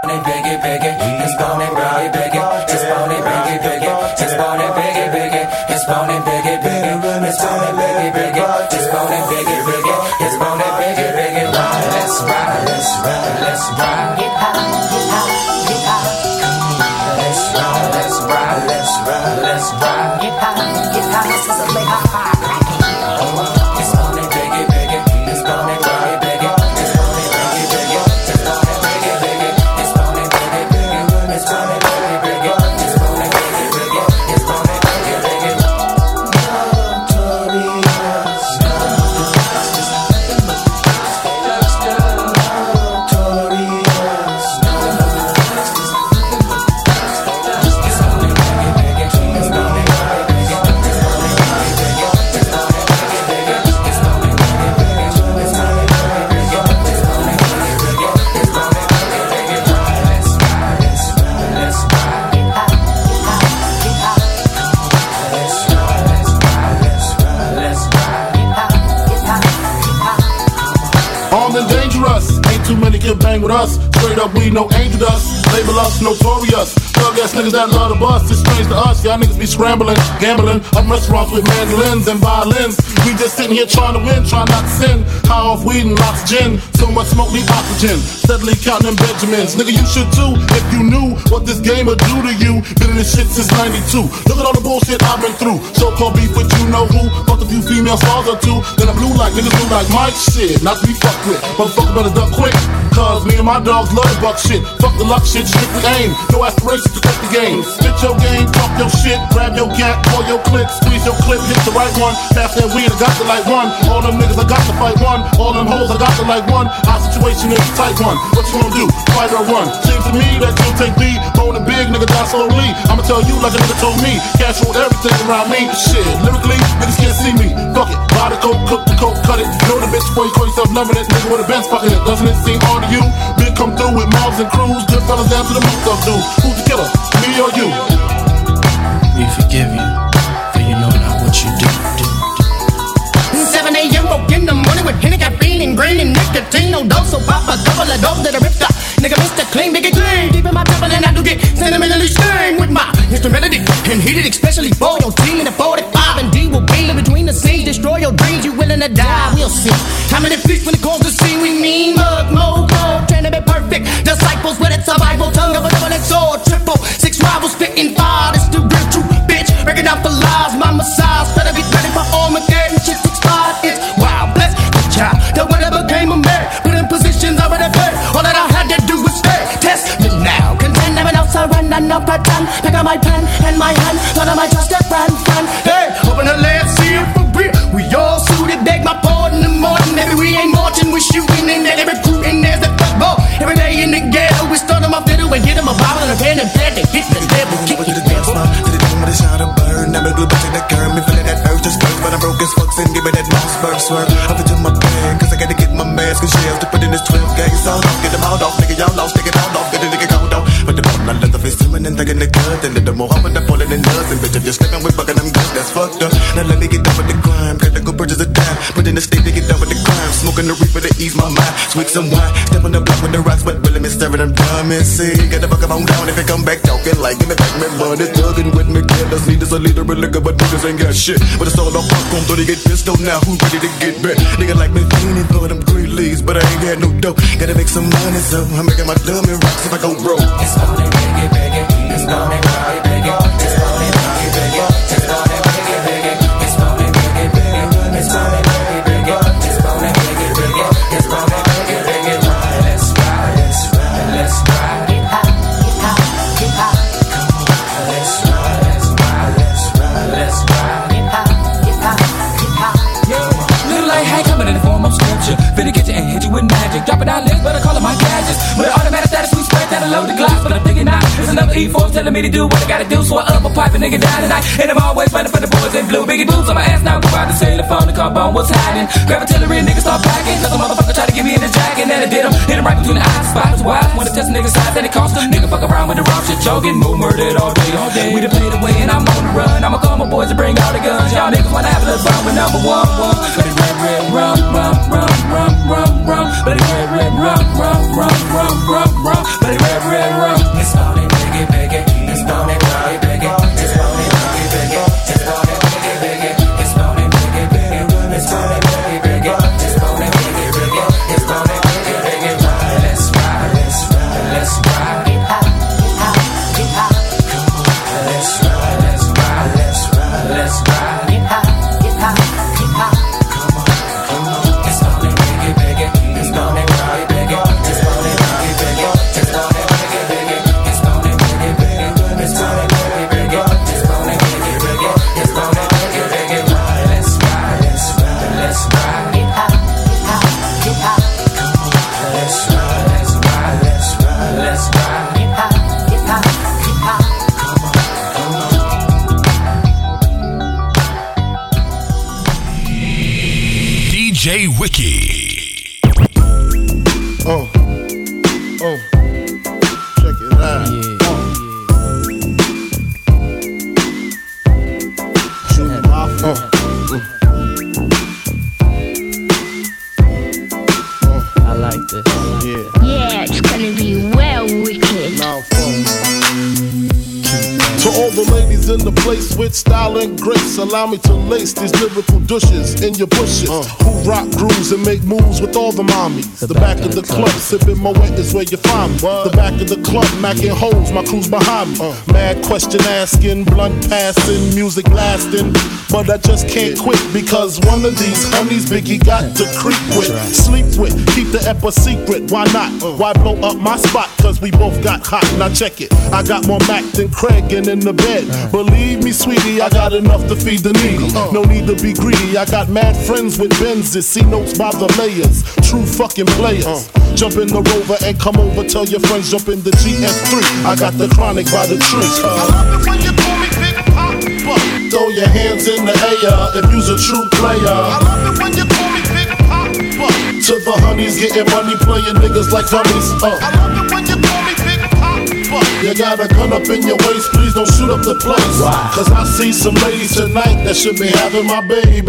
bone biggie, biggie. His bone biggie, biggie. His bone biggie, biggie. His bone biggie, biggie. His bone biggie, biggie. His bone biggie, biggie. His bone biggie, biggie. His bone biggie, biggie. Ride, let's ride, let's ride, let's ride. Get high, get high, get high. Let's ride, let's ride, let's ride, let's ride. Get high, get high. This is a late high. His bone biggie, biggie. His bone biggie, biggie. His bone biggie, biggie. His bone biggie, biggie. His bone biggie, biggie. His bone biggie, biggie. His bone biggie, biggie. His bone biggie, biggie. Too many can bang with us. Straight up, we no angel dust. Label us notorious. Thug ass niggas that love the bus. It's strange to us. Y'all niggas be scrambling, gambling. Up restaurants with mandolins and violins. We just sitting here trying to win, trying not to sin. High off weed and lots of gin. So much smoke, need oxygen. Steadily counting them Benjamins. Nigga, you should too if you knew what this game would do to you. Been in this shit since 92. Look at all the bullshit I've been through. So-called beef with you know who. Fucked a few female stars or two. Then I blew like niggas do like Mike shit. Not to be fucked with. Motherfucker better duck quick. Cause me and my dogs love the buck shit. Fuck the luck shit, strictly aim. No aspirations to cut the game. Spit your game, talk your shit. Grab your gat, pull your clip. Squeeze your clip, hit the right one. Pass that weed, I got the like one. All them niggas, I got to fight one. All them hoes, I got to like one. Our situation is a tight one. What you gonna do? Fight or run? Seems to me that you'll take me. Bone and big, nigga, die slowly. I'ma tell you like a nigga told me. Cash ruled everything around me. Shit, lyrically, niggas can't see me. Fuck it, buy the coke, cook the coke, cut it. Know the bitch before you call yourself loving it. Nigga with a Benz fucking it. Doesn't it seem hard to you? Big come through with mobs and crews. Good fellas down to the moot up dude. Who's the killer? Me or you? We forgive you, for you know not what you do. 7 a.m. woke in the morning with Henny, caffeine, and green, and nicotine. No dose, so pop a couple of dope that I ripped up. Nigga, Mr. Clean, big and clean. Deep in my temple, and I do get sentimentally stained with my instrumentality. And heated, especially for your team in the 45. And D will be in between the scenes. Destroy your dreams, you willing to die, we'll see. How many feast when it calls to see we mean? Mug, mojo, trying to be perfect. Disciples with a survival tongue of a double-edged sword. Triple, 6 rivals spitting fire. That's the real true bitch. Breaking out for lies, my massage. Better get ready for Armageddon. Shit's expired, it's wild. Bless the child that whatever became a man. Put in positions already paid. All that I had to do was stay. Test me now. Contend, never know, surrender, no pretend. Pick up my pen and my hand. Thought I might trust a friend. Hey, open the land, see it for real. We all suited, beg my pardon in the morning. Maybe we ain't marching, we shooting and then recruiting. There's the football. Every day in the ghetto, we start them off fiddle and get them a bottle and a pen and pad to hit the devil, kick the devil. To the dome with a shot of burn. I'm a glue bitch in the curve. Me feeling that urge to spurt, but I'm broke as fuck. And give me that mouse spurt swerve. Up into my bag, cause I gotta get my mask and shells to put in this 12 gauge sound off. Get them out off, nigga, y'all lost, take it out off. Get a nigga count off. But the bottom line left of his swimming and thinking the good. And the more I'm with the falling in love. And bitch, if you're sleeping with bucking them guns, that's fucked up. Now let me get done with the crime. Gotta go purchase a dime. Put in the state to get done with the crime. Smoking the reaper to ease my mind. Sweet some wine. Step on the block with the rocks, but really me staring them dumb and see. Get the fuck up on down if it come back talking like give me back me money. Thugging with me, killers need us a leader of liquor, but niggas ain't got shit. But it's all off fuck on 30 get pistol now. Who ready to get back? Nigga like me feeling for them green leaves, but I ain't got no dough. Gotta make some money, so I'm making my dummy rocks if I go broke. It's gonna biggie, biggie. It's gonna biggie, biggie. It's gonna biggie, biggie. It's gonna biggie, biggie. It's gonna biggie, biggie. It's gonna biggie, biggie. It's gonna biggie, biggie. It's gonna biggie, biggie. Ride, let's ride, let's ride, let's ride. Get high, get high, get high. Come on, let's ride, let's ride, let's ride, let's ride. Get high, get high, get high. Yo, little light high coming in the form of scripture. Finna get you and hit you with magic. Dropping down legs, but I call it my gadgets. With an automatic status, we spread that I load the glass, but I'm thinking now it's another E4 telling me to do what I gotta do. So I up a pipe and nigga down tonight. And I'm always running for the boys in blue. Biggie boots on my ass now. Go out to say the phone, the car bone, what's hiding? Grab artillery and niggas start packing. Cause a motherfucker try to get me in the jacket. And I did him. Hit him right between the eyes. Spots wide. Wanna test a nigga's size and it cost him. Nigga fuck around with the wrong shit. Jogging, move murdered all day, all day. We done played away and I'm on the run. I'ma call my boys to bring all the guns. Y'all niggas wanna have a little fun with number one. But it's red, red, rum, rum, rum, rum, rum, rum. But it's red, red, rum, rum, rum, rum, rum, rum. But it's red, red. it out. Junior Mafia. I like this. Yeah, it's gonna be well wicked. Now, to all the ladies in the place with style and grace, allow me to lace these lyrical douches in your bushes. Who rock grooves and make moves with all the mommies. The back of the club, sipping Moet is where you find me. The back of the club, macking holes, my crew's behind me. Mad question asking, blunt passing, music blasting. But I just can't quit because one of these honeys Biggie got to creep with, sleep with, keep the ep a secret. Why not? Why blow up my spot? Cause we both got hot. Now check it. I got more Mac than Craig and in the bed. Believe me, sweetie, I got enough to feed the needy. No need to be greedy. I got mad friends with Benzes, see notes by the layers. True fucking players. Jump in the Rover and come over. Tell your friends jump in the GS3. I got the chronic by the tree. I love it when you call me Big Papa. Throw your hands in the air if you's a true player. I love it when you call me Big Papa. To the honeys getting money, playing niggas like dummies. I love it when you call me Big Papa. You got a gun up in your waist, please don't shoot up the place. Cause I see some ladies tonight that should be having my baby.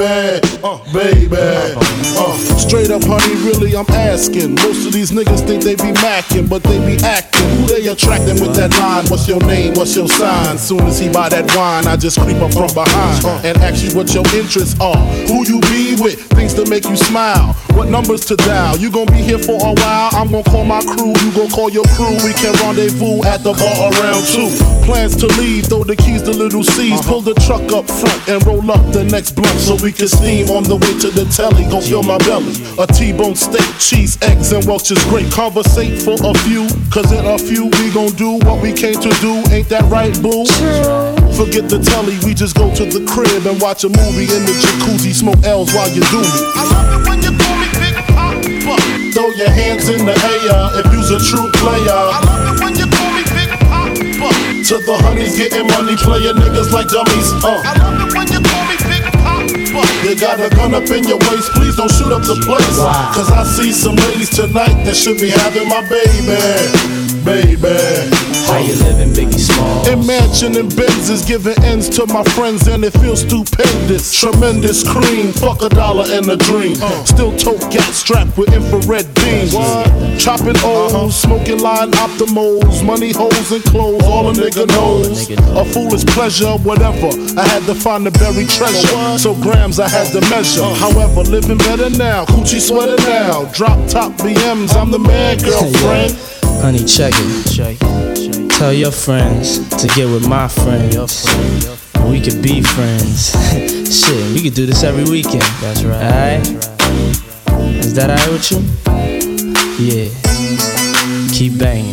Baby. Straight up, honey, really, I'm asking. Most of these niggas think they be macking, but they be acting. Who they attracting with that line? What's your name? What's your sign? Soon as he buy that wine, I just creep up from behind and ask you what your interests are. Who you be with? Things to make you smile. What numbers to dial? You gon' be here for a while. I'm gon' call my crew. You gon' call your crew. We can rendezvous at the bar around 2. Plans to leave, throw the keys to little C's. Pull the truck up front and roll up the next blunt so we can steam on the way to the telly. Gon' fill my belly. A T-bone steak, cheese, eggs, and Welch's grape. Conversate for a few, cause in a few we gon' do what we came to do. Ain't that right, boo? Forget the telly, we just go to the crib and watch a movie in the jacuzzi. Smoke L's while you do me. I love it when you call me Big Papa. Throw your hands in the air if you's a true player. I love it when you call me Big Papa. To the honeys getting money, playing niggas like dummies. I love it when you call me Big Papa. You got a gun up in your waist, please don't shoot up the place. Cause I see some ladies tonight that should be having my baby. How you living, Biggie Smalls? Imagine Benzes giving ends to my friends and it feels stupendous. Tremendous cream, fuck $1 and a dream. Still tote gat strapped with infrared beams. Chopping O's, smoking line optimals, money holes and clothes, all a nigga knows. A foolish pleasure, whatever. I had to find the buried treasure, so grams I had to measure. However, living better now, coochie sweater now. Drop top BMs, I'm the man, girlfriend. Honey, check it. Tell your friends to get with my friends. We could be friends. Shit, we could do this every weekend. That's right. Alright? Is that alright with you? Yeah. Keep banging.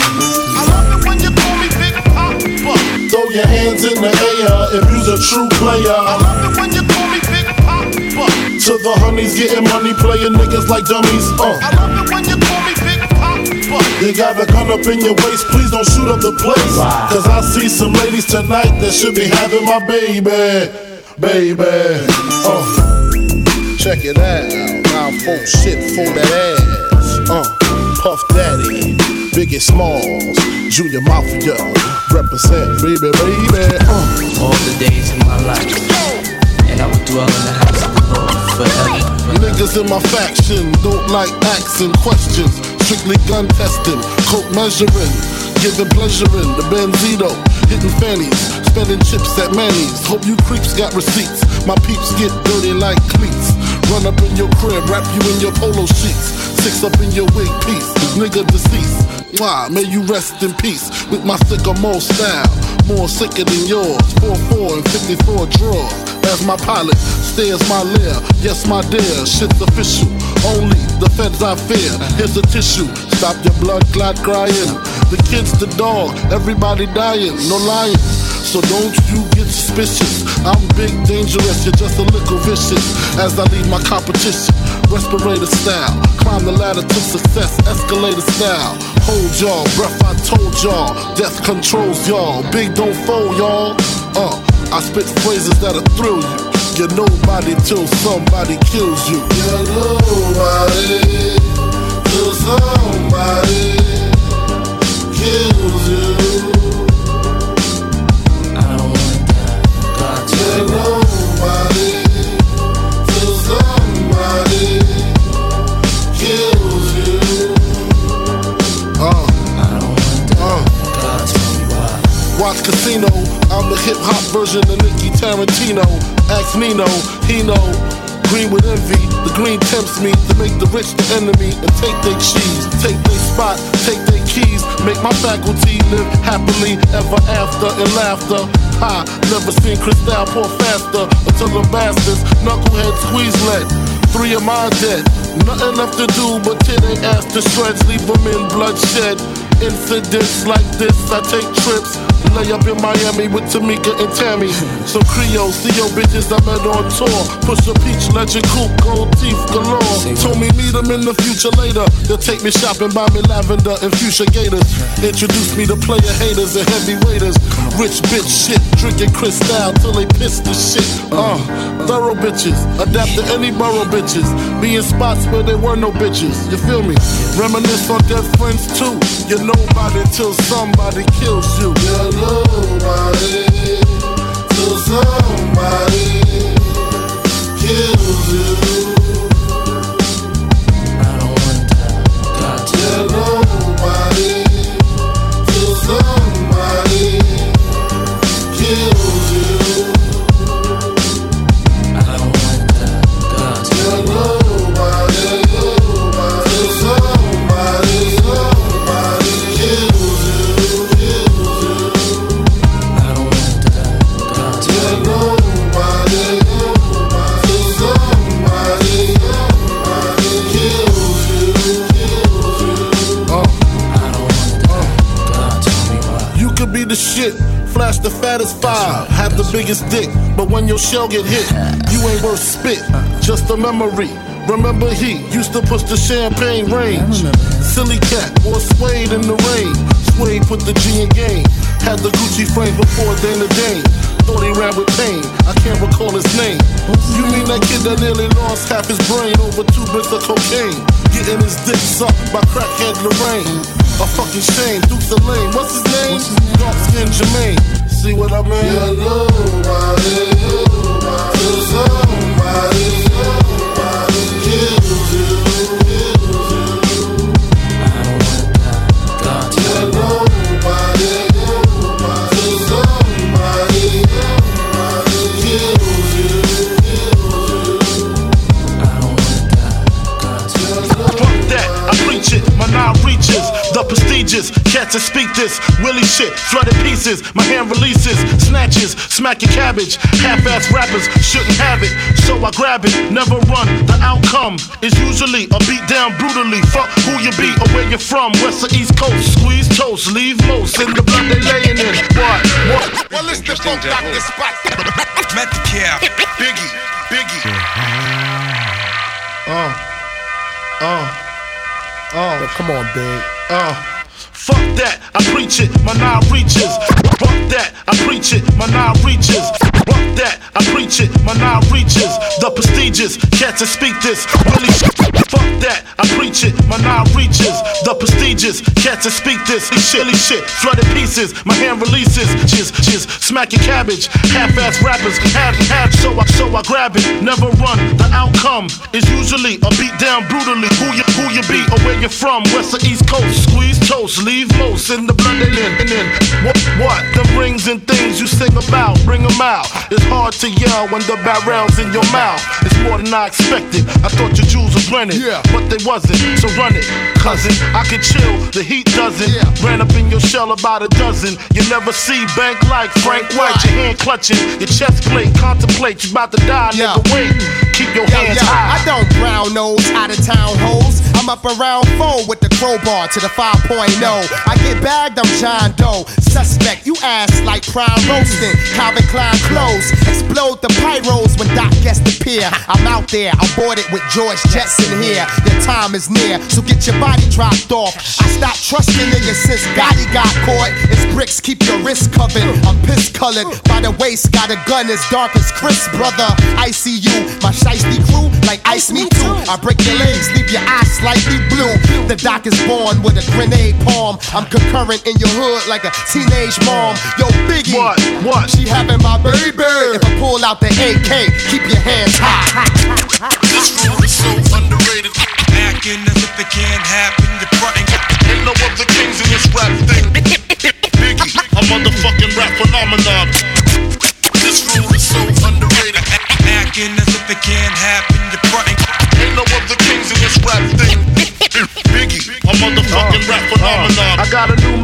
I love it when you call me Big Papa. Throw your hands in the air if you's a true player. I love it when you call me Big Papa. To the honeys getting money, playing niggas like dummies. I love it when you call me Big Papa. You got a gun up in your waist, please don't shoot up the place. Cause I see some ladies tonight that should be having my baby. Check it out. Now folk shit for that ass. Puff Daddy, Biggie Smalls, Junior Mafia, represent baby. All the days of my life, and I will dwell in the house of the Lord forever. Niggas in my faction don't like asking questions. Strictly gun testing, coke measuring, giving pleasure in the Benzito, hitting fannies, spending chips at Manny's. Hope you creeps got receipts. My peeps get dirty like cleats. Run up in your crib, wrap you in your polo sheets. 6 up in your wig piece, nigga deceased. Why? May you rest in peace with my sycamore style. More sicker than yours. 4-4 and 54 drawers. As my pilot stares my lair. Yes, my dear, shit's official. Only the feds I fear. Here's a tissue. Stop your blood clot crying. The kids, the dog, everybody dying. No lying. So don't you get suspicious. I'm big, dangerous, you're just a little vicious. As I leave my competition, respirator style. Climb the ladder to success, escalator style. Hold y'all, breath I told y'all. Death controls y'all, big don't fold y'all. I spit phrases that'll thrill you. You're nobody till somebody kills you. You're nobody till somebody kills you. watch Casino. I'm the hip-hop version of Nicky Tarantino. Ask Nino, he know. Green with envy, the green tempts me to make the rich the enemy and take their cheese, take their spot, take their keys, make my faculty live happily ever after in laughter. Ha, never seen Cristal pour faster until the bastards knucklehead squeeze lead. 3 of mine dead, nothing left to do but tear they ass to shreds, leave them in bloodshed. Incidents like this, I take trips, lay up in Miami with Tamika and Tammy. So Creole, see your bitches I met on tour. Push a peach, legend coupe, gold teeth galore. Told me meet them in the future later. They'll take me shopping, buy me lavender and fuchsia gators. Introduce me to player haters and heavyweights. Rich bitch shit, drinking Cristal till they piss the shit. Thorough bitches, adapt to any borough bitches. Be in spots where there were no bitches. You feel me? Reminisce on dead friends too. You're nobody till somebody kills you. You're nobody till somebody kills you. I don't want that. Got to. You're nobody till somebody kills you. I don't want that. Got to. You're nobody till somebody kills you. I don't want that. Got to. You're nobody till somebody kills you. I don't want that. God, tell me why. You could be the shit, flash the fattest five, have the biggest dick, but when your shell get hit, you ain't worth spit, just a memory. Remember he used to push the champagne range. Silly cat, wore suede in the rain. Suede put the G in game. Had the Gucci frame before Dana Dane. Thought he ran with pain, I can't recall his name. You mean that kid that nearly lost half his brain over 2 bricks of cocaine? Getting his dick sucked by crackhead Lorraine. A fucking shame, Dukes of Lane. What's his name? Dark skin Jermaine. See what I mean? You're nobody till somebody kills you. I don't want that. God, tell You're me why. nobody till somebody kills you. I don't want that. God, tell me why. Fuck that, I preach it, my now reaches the prestigious, cats that speak this Willie shit, flooded pieces, my hand releases, snatches, smack your cabbage, half-ass rappers shouldn't have it, so I grab it, never run, the outcome is usually a beat down brutally, fuck who you be or where you're from, west or east coast, squeeze toast, leave most in the blood they laying in, what? Well, it's the funk doctor spot. Metcalf, Biggie. Yo, come on, big. Fuck that, I preach it, my now reaches. Fuck that, I preach it, my now reaches. Fuck that, I preach it, my now reaches. The prestigious, cats that speak this Willie shit. Fuck that, I preach it, my now reaches. The prestigious, cats that speak this Willie shit, flooded pieces, my hand releases. Jizz, smack your cabbage, half-ass rappers have so I grab it, never run. The outcome is usually a beat down brutally. Who you be or where you're from, west or east coast, squeeze toast, leave most in the blood they in. And then what? Them rings and things you sing about, bring them out. It's hard to yell when the barrel's in your mouth. It's more than I expected. I thought your jewels was rented, but they wasn't. So run it, cousin. I can chill, the heat doesn't. Ran up in your shell about a dozen. You never see bank like Frank White. Your hand clutching, your chest plate, contemplate. You about to die, nigga. Wait, keep your hands high. I don't brown nose out of town hoes. I'm up around 4 with the crowbar to the 5.0. I get bagged, I'm John Doe. Suspect, you ass like prime roasting. Calvin Klein clothes, explode the pyros when Doc gets the pier. I'm out there, I'm boarded with George Jetson here. Your time is near, so get your body dropped off. I stopped trusting niggas since Gotti got caught. It's bricks, keep your wrist covered. I'm piss colored by the waist, got a gun as dark as Chris, brother. I see you, my shiesty crew, like ice me too. I break your legs, leave your eyes slightly blue. The Doc is born with a grenade palm. I'm concurrent in your hood like a teenage mom. Yo, Biggie, What? she having my baby. If I pull out the AK, keep your hands high. This rule is so underrated. Acting as if it can't happen. You're fronting. Ain't no other kings in this rap thing. Biggie, a motherfucking rap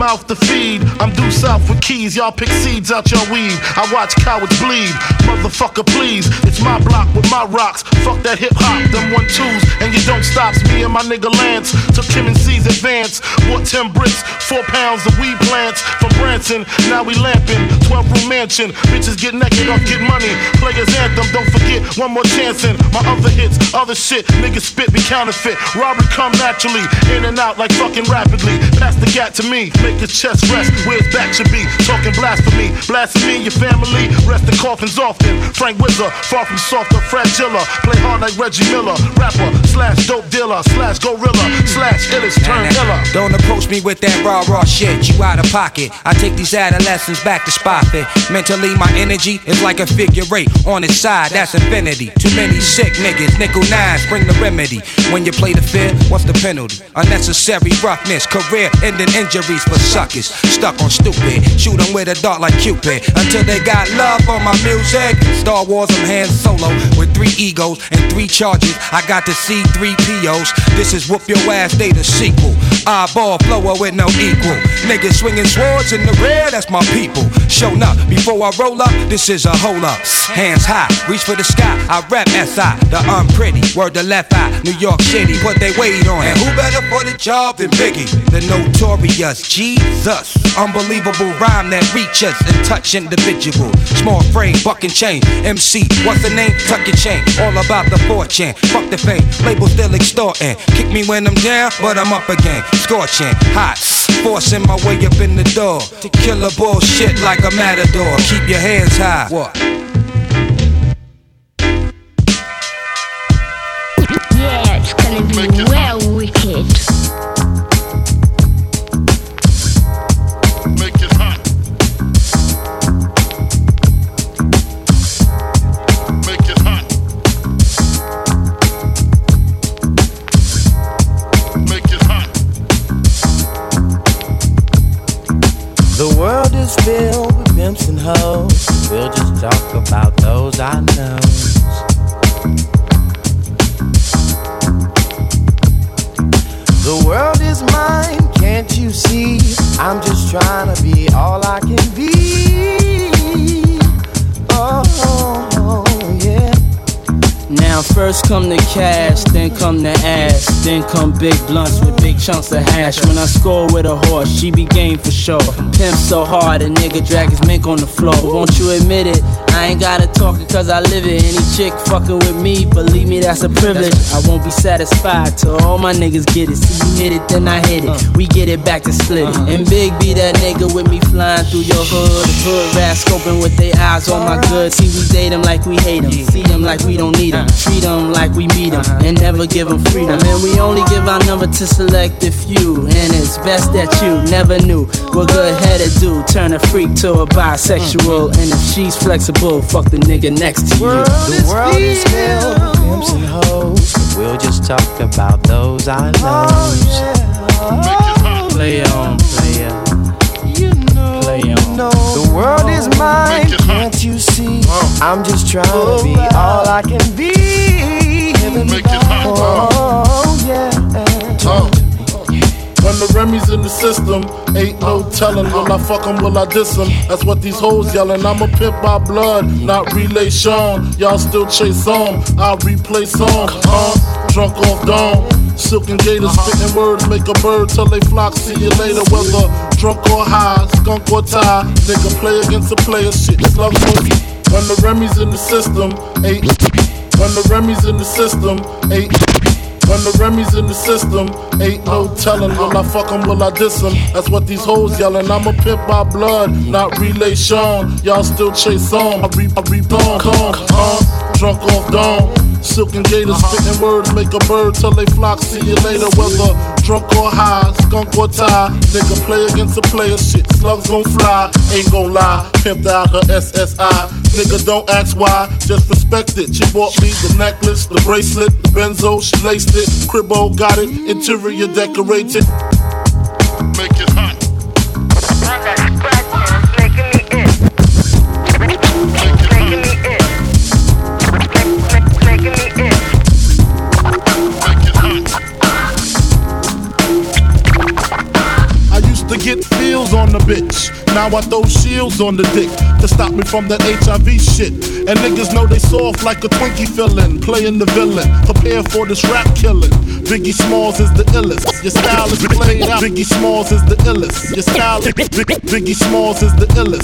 mouth to feed. I'm due south with keys, y'all pick seeds out your weed. I watch cowards bleed, motherfucker please. It's my block with my rocks, fuck that hip hop, them 1-2s, and you don't stop. Me and my nigga Lance took Kim and C's advance. Bought 10 bricks, 4 pounds of weed plants from Branson. Now we lamping, 12-room mansion. Bitches get naked off get money. Players anthem, don't forget one more chance in. My other hits, other shit, niggas spit be counterfeit. Robbery come naturally, in and out like fucking rapidly. Pass the gat to me, make his chest rest where his back should be. Talking blasphemy, blasphemy your family. Rest the coffins often. Frank Wizard, far from soft or fragile. Play hard like Reggie Miller. Rapper slash dope dealer slash gorilla slash illest turn iller. Don't approach me with that raw shit. You out of pocket. I take these adolescents back to spot it. Mentally, my energy is like a figure eight. On its side, that's infinity. Too many sick niggas, nickel nines, bring the remedy. When you play the fair, what's the penalty? Unnecessary roughness, career-ending injuries for suckers. Stuck on stupid, shoot them with a dart like Cupid. Until they got love for my music. Star Wars, I'm Han Solo with 3 egos and 3 charges. I got to see 3 POs. This is Whoop Your Ass Day, the sequel. Eyeball flower with no equal. Niggas swinging swords in the rear, that's my people. Showing up before I roll up, this is a hold up. Hands high, reach for the sky. I rap SI, the unpretty. Word the left eye, New York City, put they weight on. And who better for the job than Biggie? The notorious Jesus. Unbelievable rhyme that reaches and touch individual. Small frame, buck and chain. MC, what's the name? Tuck your chain. All about the fortune. Fuck the fame, label still extorting. Kick me when I'm down, but I'm up again. Scorching, hot, forcing my way up in the door. To kill a bullshit like a matador. Keep your hands high. What? Yeah, it's gonna be well wicked. Make it hot. Make it hot. Make it hot. The world is filled with pimps and hoes. We'll just talk about those I know. The world is mine, can't you see? I'm just trying to be all I can be. Oh, yeah. Now first come the cash, then come the ass, then come big blunts with big chunks of hash. When I score with a horse, she be game for sure. Pimp so hard, a nigga drag his mink on the floor. Won't you admit it? I ain't gotta talk it cause I live it. Any chick fucking with me, believe me, that's a privilege. I won't be satisfied till all my niggas get it. See you hit it, then I hit it. We get it back to split it. And Big B, that nigga with me flying through your hood. Hood rats scoping with their eyes on my goods. See, we date them like we hate them. See them like we don't need them. Treat them like we meet them. And never give them freedom. And we only give our number to select a few. And it's best that you never knew what good-headed do. Turn a freak to a bisexual. And if she's flexible, fuck the nigga next to you. The world is filled with pimps and hoes, but we'll just talk about those I know. Play on, player. Play on. The world is mine, can't you see? I'm just trying to be all I can be. Oh, yeah. When the Remy's in the system, ain't no telling. Will I fuck 'em, will I diss 'em? That's what these hoes yelling. I'm a pimp by blood, not relation. Y'all still chase on, I'll replay song. Drunk off dawn, silken gators, spitting words, make a bird till they flock. See you later, whether drunk or high, skunk or tie. Nigga play against a player, shit, slugs for you. When the Remy's in the system, ain't. When the Remy's in the system, ain't. When the Remy's in the system, ain't no telling. Will I fuck 'em, will I diss 'em? That's what these hoes yelling. I'm a pimp by blood, not relation. Y'all still chase on, I reap on. Drunk off dawn, silken gators, spitting words, make a bird till they flock. See you later, whether drunk or high, skunk or tie. Nigga play against a player, shit, slugs gon' fly. Ain't gon' lie, pimped out her SSI. Nigga don't ask why, just respect it. She bought me the necklace, the bracelet, the benzo, she laced it. Cribbo got it, interior decorated. Make it hot. Get feels on the bitch. Now I throw shields on the dick to stop me from that HIV shit. And niggas know they soft like a Twinkie fillin', playing the villain. Prepare for this rap killing. Biggie Smalls is the illest. Your style is played out. Biggie Smalls is the illest. Your style. Biggie Smalls is the illest.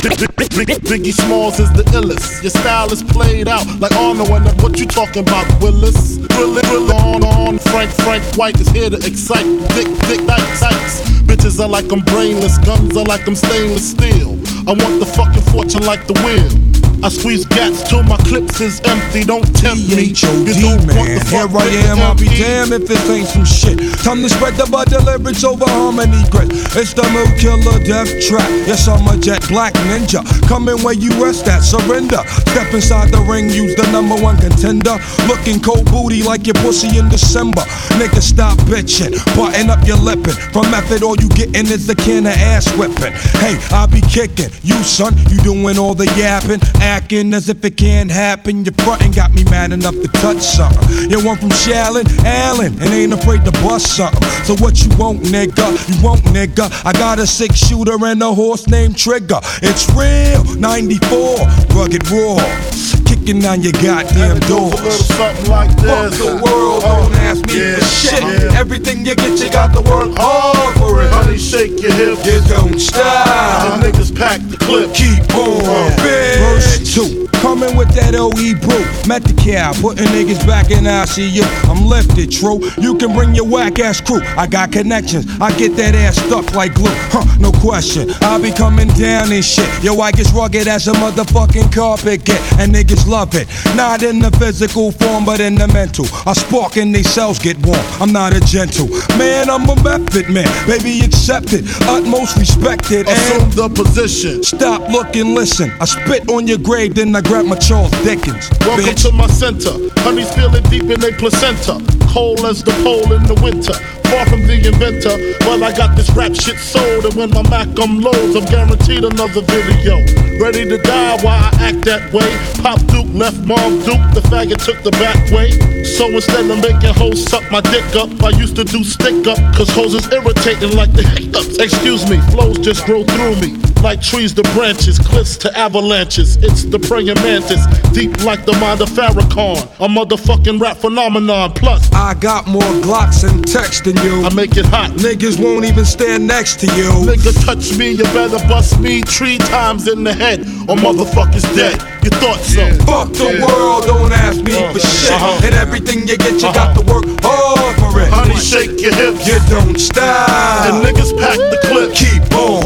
Biggie Smalls is the illest. Your style is played out like Arnold. And what you talking about, Willis? Drill on. Frank White is here to excite. Dick Dykes. Bitches are like I'm brainless. Guns are like I'm stainless steel. I want the fucking fortune like the wheel. I squeeze gats till my clips is empty. Don't tempt me. You don't want the fuck. Here I am, I'll be damned if this ain't some shit. Time to spread the butter lyrics over harmony grit. It's the Mood Killer Death Trap. Yes, I'm a jet black ninja. Coming where you rest at, surrender. Step inside the ring, use the #1 contender. Looking cold booty like your pussy in December. Nigga, stop bitching, button up your lippin'. From method, all you gettin' is a can of ass whipping. Hey, I be kicking. You son, you doing all the yapping, acting as if it can't happen. Your frontin' got me mad enough to touch something. You want from Shallon, Allen, and ain't afraid to bust something. So what you want, nigga? You want, nigga? I got a 6-shooter and a horse named Trigger. It's real, 94, rugged raw. Kicking down your goddamn doors. Something like this. Fuck the world, don't ask me for shit. Yeah. Everything you get, you got to work hard for it. Honey, shake your hips. You don't stop. The niggas pack the clip. Keep on, bitch. Verse 2, coming with that OE brew. Met the cow, putting niggas back in ICU. I'm lifted, true. You can bring your whack ass crew. I got connections. I get that ass stuck like glue. No question. I'll be coming down and shit. Yo, I get rugged as a motherfucking carpet get, and niggas love it. Not in the physical form, but in the mental. I spark and they cells get warm. I'm not a gentle man. I'm a method man. Baby, accept it. Utmost respected. Assume the position. Stop, look, and listen. I spit on your grave, then I grab my Charles Dickens. Welcome bitch. to my center. Honey's feeling deep in their placenta. Cold as the pole in the winter. Far from the inventor. Well, I got this rap shit sold. And when my Mac loads, I'm guaranteed another video. Ready to die while I act that way. Pop Duke left Mom Duke. The faggot took the back way. So instead of making hoes suck my dick up, I used to do stick up. Cause hoes is irritating like the hiccups. Excuse me, flows just grow through me. Like trees to branches, cliffs to avalanches. It's the praying mantis, deep like the mind of Farrakhan. A motherfucking rap phenomenon. Plus, I got more Glocks and text than you. I make it hot. Niggas won't even stand next to you. Nigga touch me, you better bust me 3 times in the head, or motherfuckers dead. You thought so? Fuck the world, don't ask me for shit. And everything you get, you got to work hard for it. Honey, shake your hips. You don't stop. And niggas pack the clip. Keep on.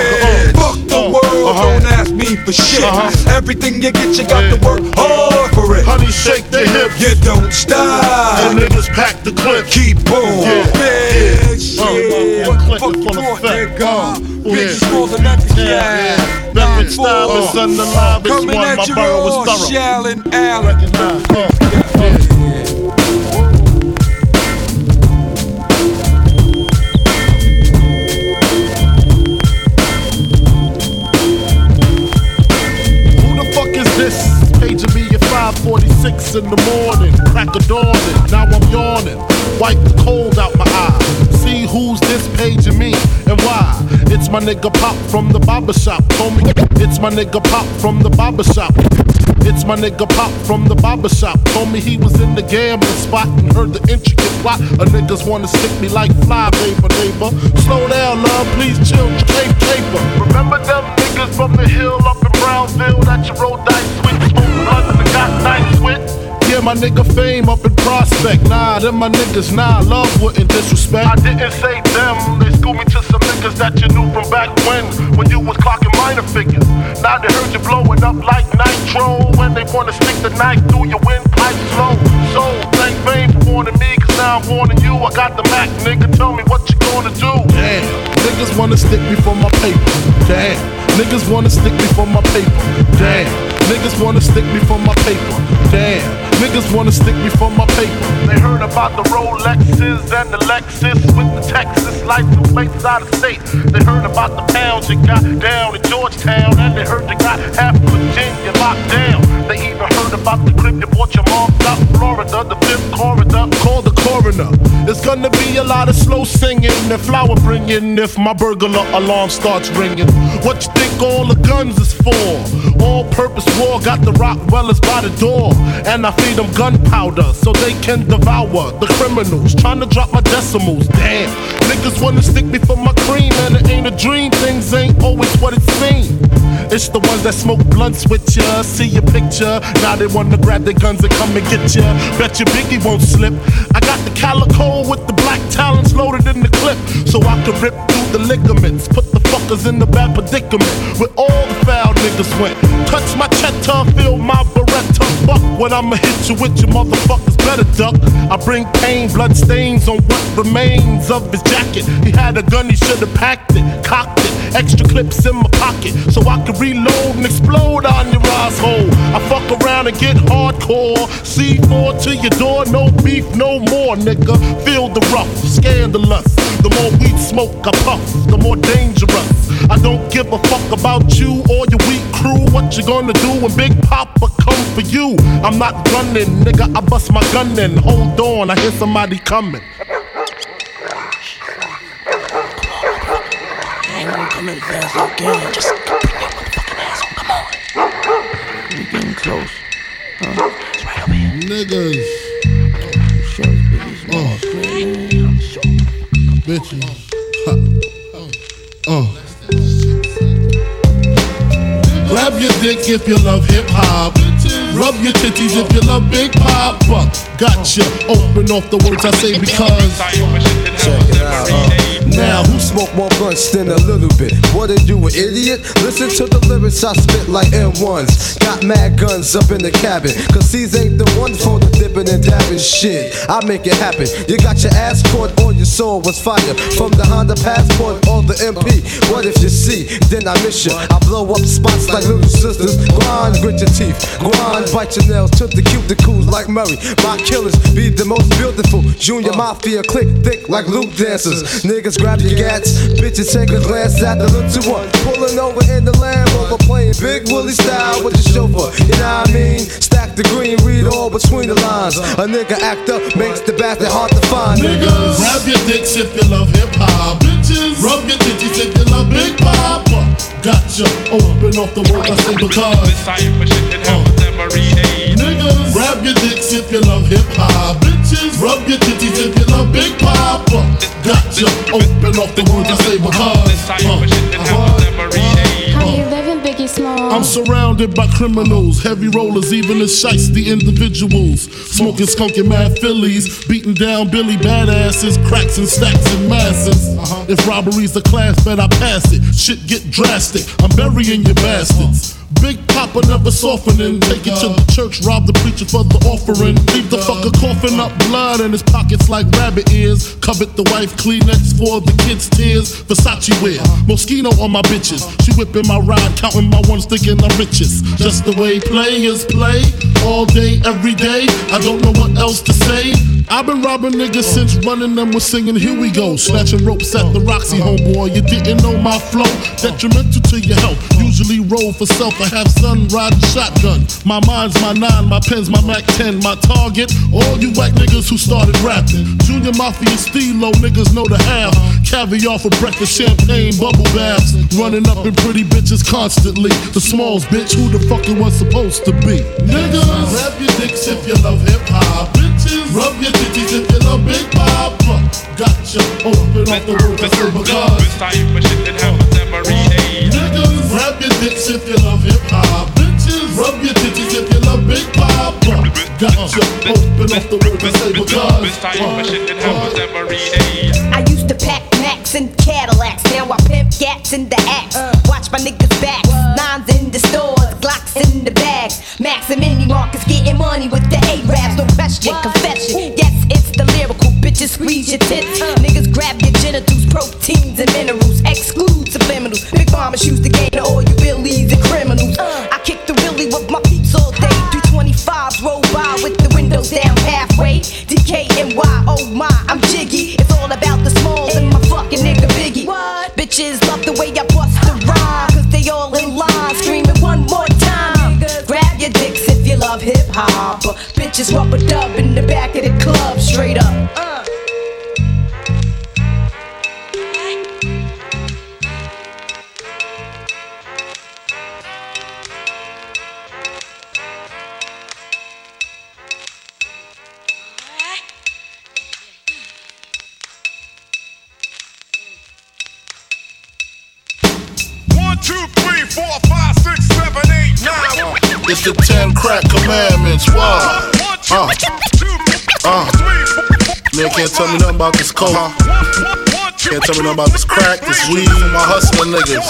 Fuck the world, don't ask me for shit. Everything you get, you got to work hard for it. Honey, shake the hips. You don't stop. And niggas pack the clip. Keep on. Bitch, Clip is full of effect. Bitch, more than that. Beverage style is on the live. It's one. Coming My at you borough all, is thorough. Shallon Allen. Paging me at 5:46 in the morning, crack of dawning, now I'm yawning. Wipe the cold out my eye. See who's this paging me and why. It's my nigga Pop from the barber shop. Told me it's my nigga Pop from the barber shop. It's my nigga Pop from the barber shop. Told me he was in the gambling spot and heard the intricate plot. A niggas wanna stick me like fly, neighbor. Slow down, love, please chill, caper. Remember them niggas from the hill up in Brownsville that you roll dice with? Got nice with. Yeah, my nigga Fame up in Prospect. Nah, them my niggas, nah, love wouldn't disrespect. I didn't say them, they schooled me to some niggas that you knew from back when you was clocking minor figures. Now they heard you blowing up like nitro, when they wanna stick the knife through your windpipe slow. So, thank Fame for warning me, cause now I'm warning you. I got the Mac, nigga, tell me what you gonna do. Damn, niggas wanna stick me for my paper. Damn, niggas wanna stick me for my paper. Damn, niggas wanna stick me for my paper. Damn, niggas wanna stick me for my paper. They heard about the Rolexes and the Lexus with the Texas license plates out of state. They heard about the pounds you got down in Georgetown, and they heard you got half Virginia locked down. They even heard about the clip you bought your mom out Florida, the 5th corridor. Call the coroner. It's gonna be a lot of slow singing and flower bringing if my burglar alarm starts ringing. What you think all the guns is for? All-purpose war, got the Rockwellers by the door, and I feed them gunpowder so they can devour the criminals. Trying to drop my decimals, damn. Niggas wanna stick me for my cream, and it ain't a dream. Things ain't always what it seems. It's the ones that smoke blunts with ya, see your picture. Now they wanna grab their guns and come and get ya. Bet your Biggie won't slip. I got the calico with the black talons loaded in the clip, so I can rip through the ligaments. Put the fuckers in the bad predicament where all the foul niggas went. Touch my cheddar, feel my Beretta. Fuck when I'ma hit you with your motherfuckers better duck. I bring pain, blood stains on what remains of his jacket. He had a gun, he should've packed it, cocked it. Extra clips in my pocket so I can reload and explode on your asshole. I fuck around and get hardcore. C4 to your door, no beef, no more, nigga. Feel the rough, scandalous. The more weed smoke I puff, the more dangerous. I don't give a fuck about you or your weak crew. What you gonna do when Big Papa come for you? I'm not gunning, nigga, I bust my gun in. Hold on, I hear somebody coming. Coming fast again. Just bring that motherfucking ass on. Come on. We getting close. It's right over here. Niggas. Show Biggie's man. I'm sure. Bitches. Grab your dick if you love hip hop. Rub your titties if you love Big Papa. Gotcha. Open off the words I say because. Check it out. Now, who smoke more blunts than a little bit? What are you, an idiot? Listen to the lyrics I spit like M1s. Got mad guns up in the cabin, cause these ain't the ones for the dipping and dabbing shit. I make it happen. You got your ass caught or your soul was fire. From the Honda Passport or the MP. What if you see, then I miss you. I blow up spots like little sisters. Grind, grit your teeth. Grind, bite your nails to the cuticles like Murray. My killers be the most beautiful. Junior Mafia click thick like Luke dancers. Niggas grab your gats, bitches take a glance at the little one. Pulling over in the Land Rover, playing Big Willie style with the chauffeur. You know what I mean? Stack the green, read all between the lines. A nigga act up, makes the bastard hard to find. Niggas, grab your dicks if you love hip hop. Bitches, rub your titties if you love Big Papa. Gotcha. Open off the words I say because. Niggas, grab your dicks if you love hip hop. Bitches, rub your titties if you love Big Papa. Gotcha. Open off the words I say because. How you living, Biggie Small? I'm surrounded by criminals, heavy rollers, even the shiesty individuals. Smoking skunky mad Phillies, beating down Billy badasses, cracks and stacks in masses. If robbery's a class, bet I pass it. Shit get drastic, I'm burying your bastards. Big Papa never softening. Take it to the church, rob the preacher for the offering. Leave the fucker coughing up blood in his pockets like rabbit ears. Covet the wife, Kleenex for the kids' tears. Versace wear, Moschino on my bitches. She whipping my ride, counting my ones, thinking I'm richest. Just the way players play, all day, every day. I don't know what else to say. I've been robbing niggas since running them was singing Here We Go. Snatching ropes at the Roxy, homeboy. You didn't know my flow, detrimental to your health. Usually roll for self, I have son riding shotgun. My mind's my 9, my pen's my Mac 10. My target, all you white niggas who started rapping. Junior Mafia Stilo, niggas know the half. Caviar for breakfast, champagne, bubble baths. Running up in pretty bitches constantly. The smalls, bitch, who the fuck it was supposed to be? Niggas, grab your dicks if you love hip hop. Bitches, rub your titties if you love Big Papa. Gotcha, open off the words I say because. Niggas, grab your dicks if you love hip hop. Bitches, rub your titties if you love Big Papa. Gotcha, open off the words I say because. I used to pack Macs and Cadillacs, now I pimp gats in the axe. Watch my niggas back, nines in the stores, Glocks in the bags. Max and Mini Marcus getting money with the A-Raps, no question, confession. Yes, it's the lyrical, bitches squeeze your tits. Niggas grab your genitals, proteins and minerals, exclude subliminals. Big Mama's used to gain all you willies and criminals. I kick the willy with my peeps all day. 325s roll by with the windows down halfway. DKNY, oh my, I'm jiggy. It's all about the smalls and my fucking nigga Biggie. What? Bitches love the way I bust the rhyme, cause they all in line, screaming one more time. Grab your dicks if you love hip hop. Bitches rubber dub in the back of the club, straight up. 2, 3, 4, 5, 6, 7, 8, 9. It's the 10 crack commandments. Wow. Man can't tell me nothing about this coke. Can't tell me nothing about this crack, this weed, my hustling niggas.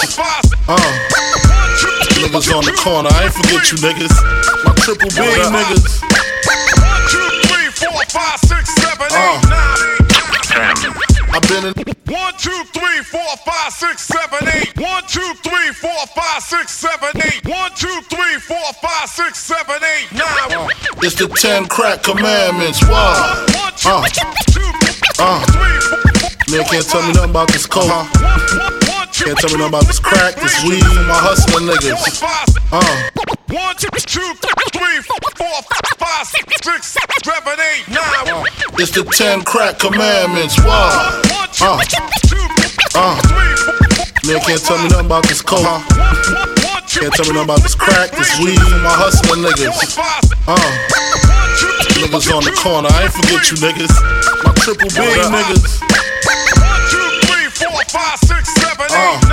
Niggas on the corner, I ain't forget you niggas. My triple B niggas. 1, 2, 3, 4, 5, 6, 7, 8, 9. I've been in 1, 2, 3, 4, 5, 6, 7, 8. 1, 2, 3, 4, 5, 6, 7, 8. 1, 2, 3, 4, 5, 6, 7, 8, 9. It's the 10 crack commandments. Wow. Man can't tell me nothing about this coke. Can't tell me nothing about this crack, this weed, my hustling niggas. 1, 2, 3, 4, 5, 6, 7, 8, 9. It's the 10 crack commandments. Wow. Man can't tell me nothing about this coke. Can't tell me nothing about this crack, this weed, my hustling niggas. Niggas on the corner, I ain't forget you niggas. My triple B niggas. 1, 2, 3, 4, 5, 6, 7, 8,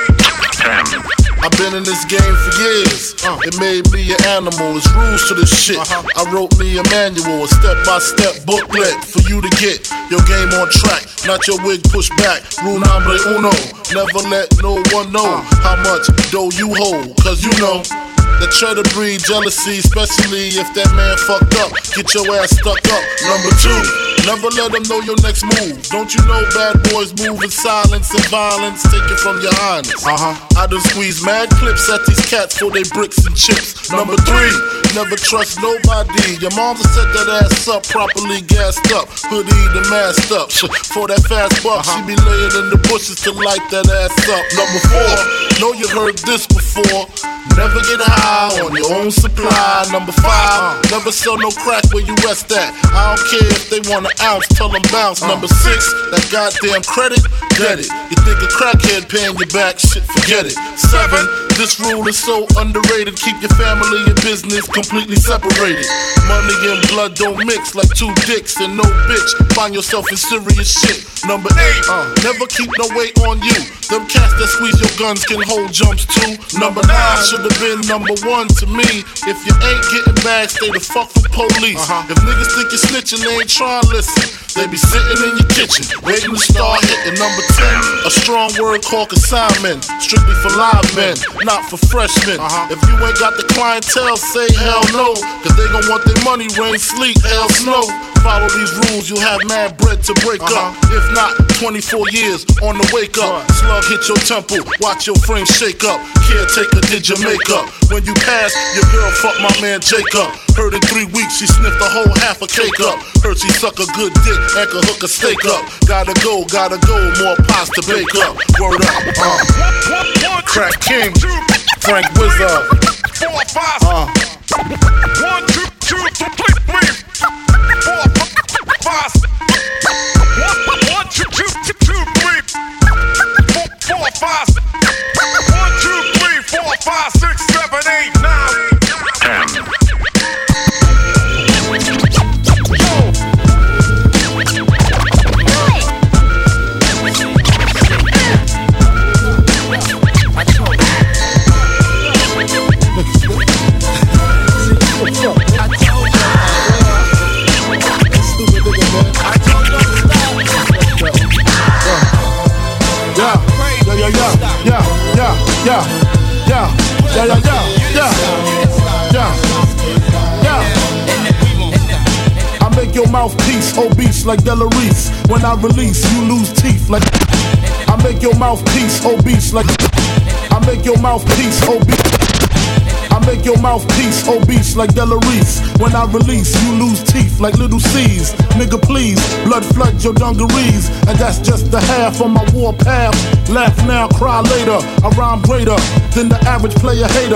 9. I've been in this game for years. It made me an animal. It's rules to this shit. I wrote me a manual, a step-by-step booklet for you to get your game on track. Not your wig pushed back. Rule number uno. Never let no one know how much dough you hold. Cause you know that try to breed jealousy, especially if that man fucked up. Get your ass stuck up. Number 2, never let them know your next move. Don't you know bad boys move in silence and violence? Take it from your highness. I done squeeze mad clips at these cats for they bricks and chips. Number 3, never trust nobody. Your mama set that ass up, properly gassed up, hoodie and masked up. For that fast buck, she be laying in the bushes to light that ass up. Number 4, know you heard this before. Never get high on your own supply. Number 5, never sell no crack where you rest at. I don't care if they want an ounce, tell them bounce. Number 6, that goddamn credit, get it. You think a crackhead paying you back, shit, forget it. 7, this rule is so underrated. Keep your family and business completely separated. Money and blood don't mix like 2 dicks and no bitch. Find yourself in serious shit. Number 8, never keep no weight on you. Them cats that squeeze your guns can hold jumps too. Number 9 should have been number 1 to me. If you ain't getting back, stay the fuck from police. If niggas think you're snitching, they ain't trying to listen. They be sitting in your kitchen, waiting to start hitting. Number 10, a strong word called consignment. Strictly for live men, not for freshmen. If you ain't got the clientele, say hell no. Cause they gon' want their money, rain, sleet, hell, snow. Follow these rules, you'll have mad bread to break up. If not, 24 years on the wake up. Slug hit your temple, watch your frame shake up. Caretaker did your makeup. When you pass, your girl fucked my man Jacob. Heard in 3 weeks she sniffed a whole half a cake up. Heard she suck a good dick and could hook a steak up. Gotta go, more pots to bake up. Word up, Crack King, Frank Wizard. 4, 5, 1, 2, 3, 4, 5, 1, 2, 3, 4, 5, 1, 2, 3, 4, 5, 6, 7, 8, 9. I make your mouthpiece obese like Delarice. When I release, you lose teeth like. I make your mouthpiece obese like. I make your mouthpiece obese. I make your mouthpiece obese like Delarice. When I release, you lose teeth like little C's. Nigga, please, blood flood your dungarees. And that's just the half on my war path. Laugh now, cry later. I rhyme greater than the average player hater.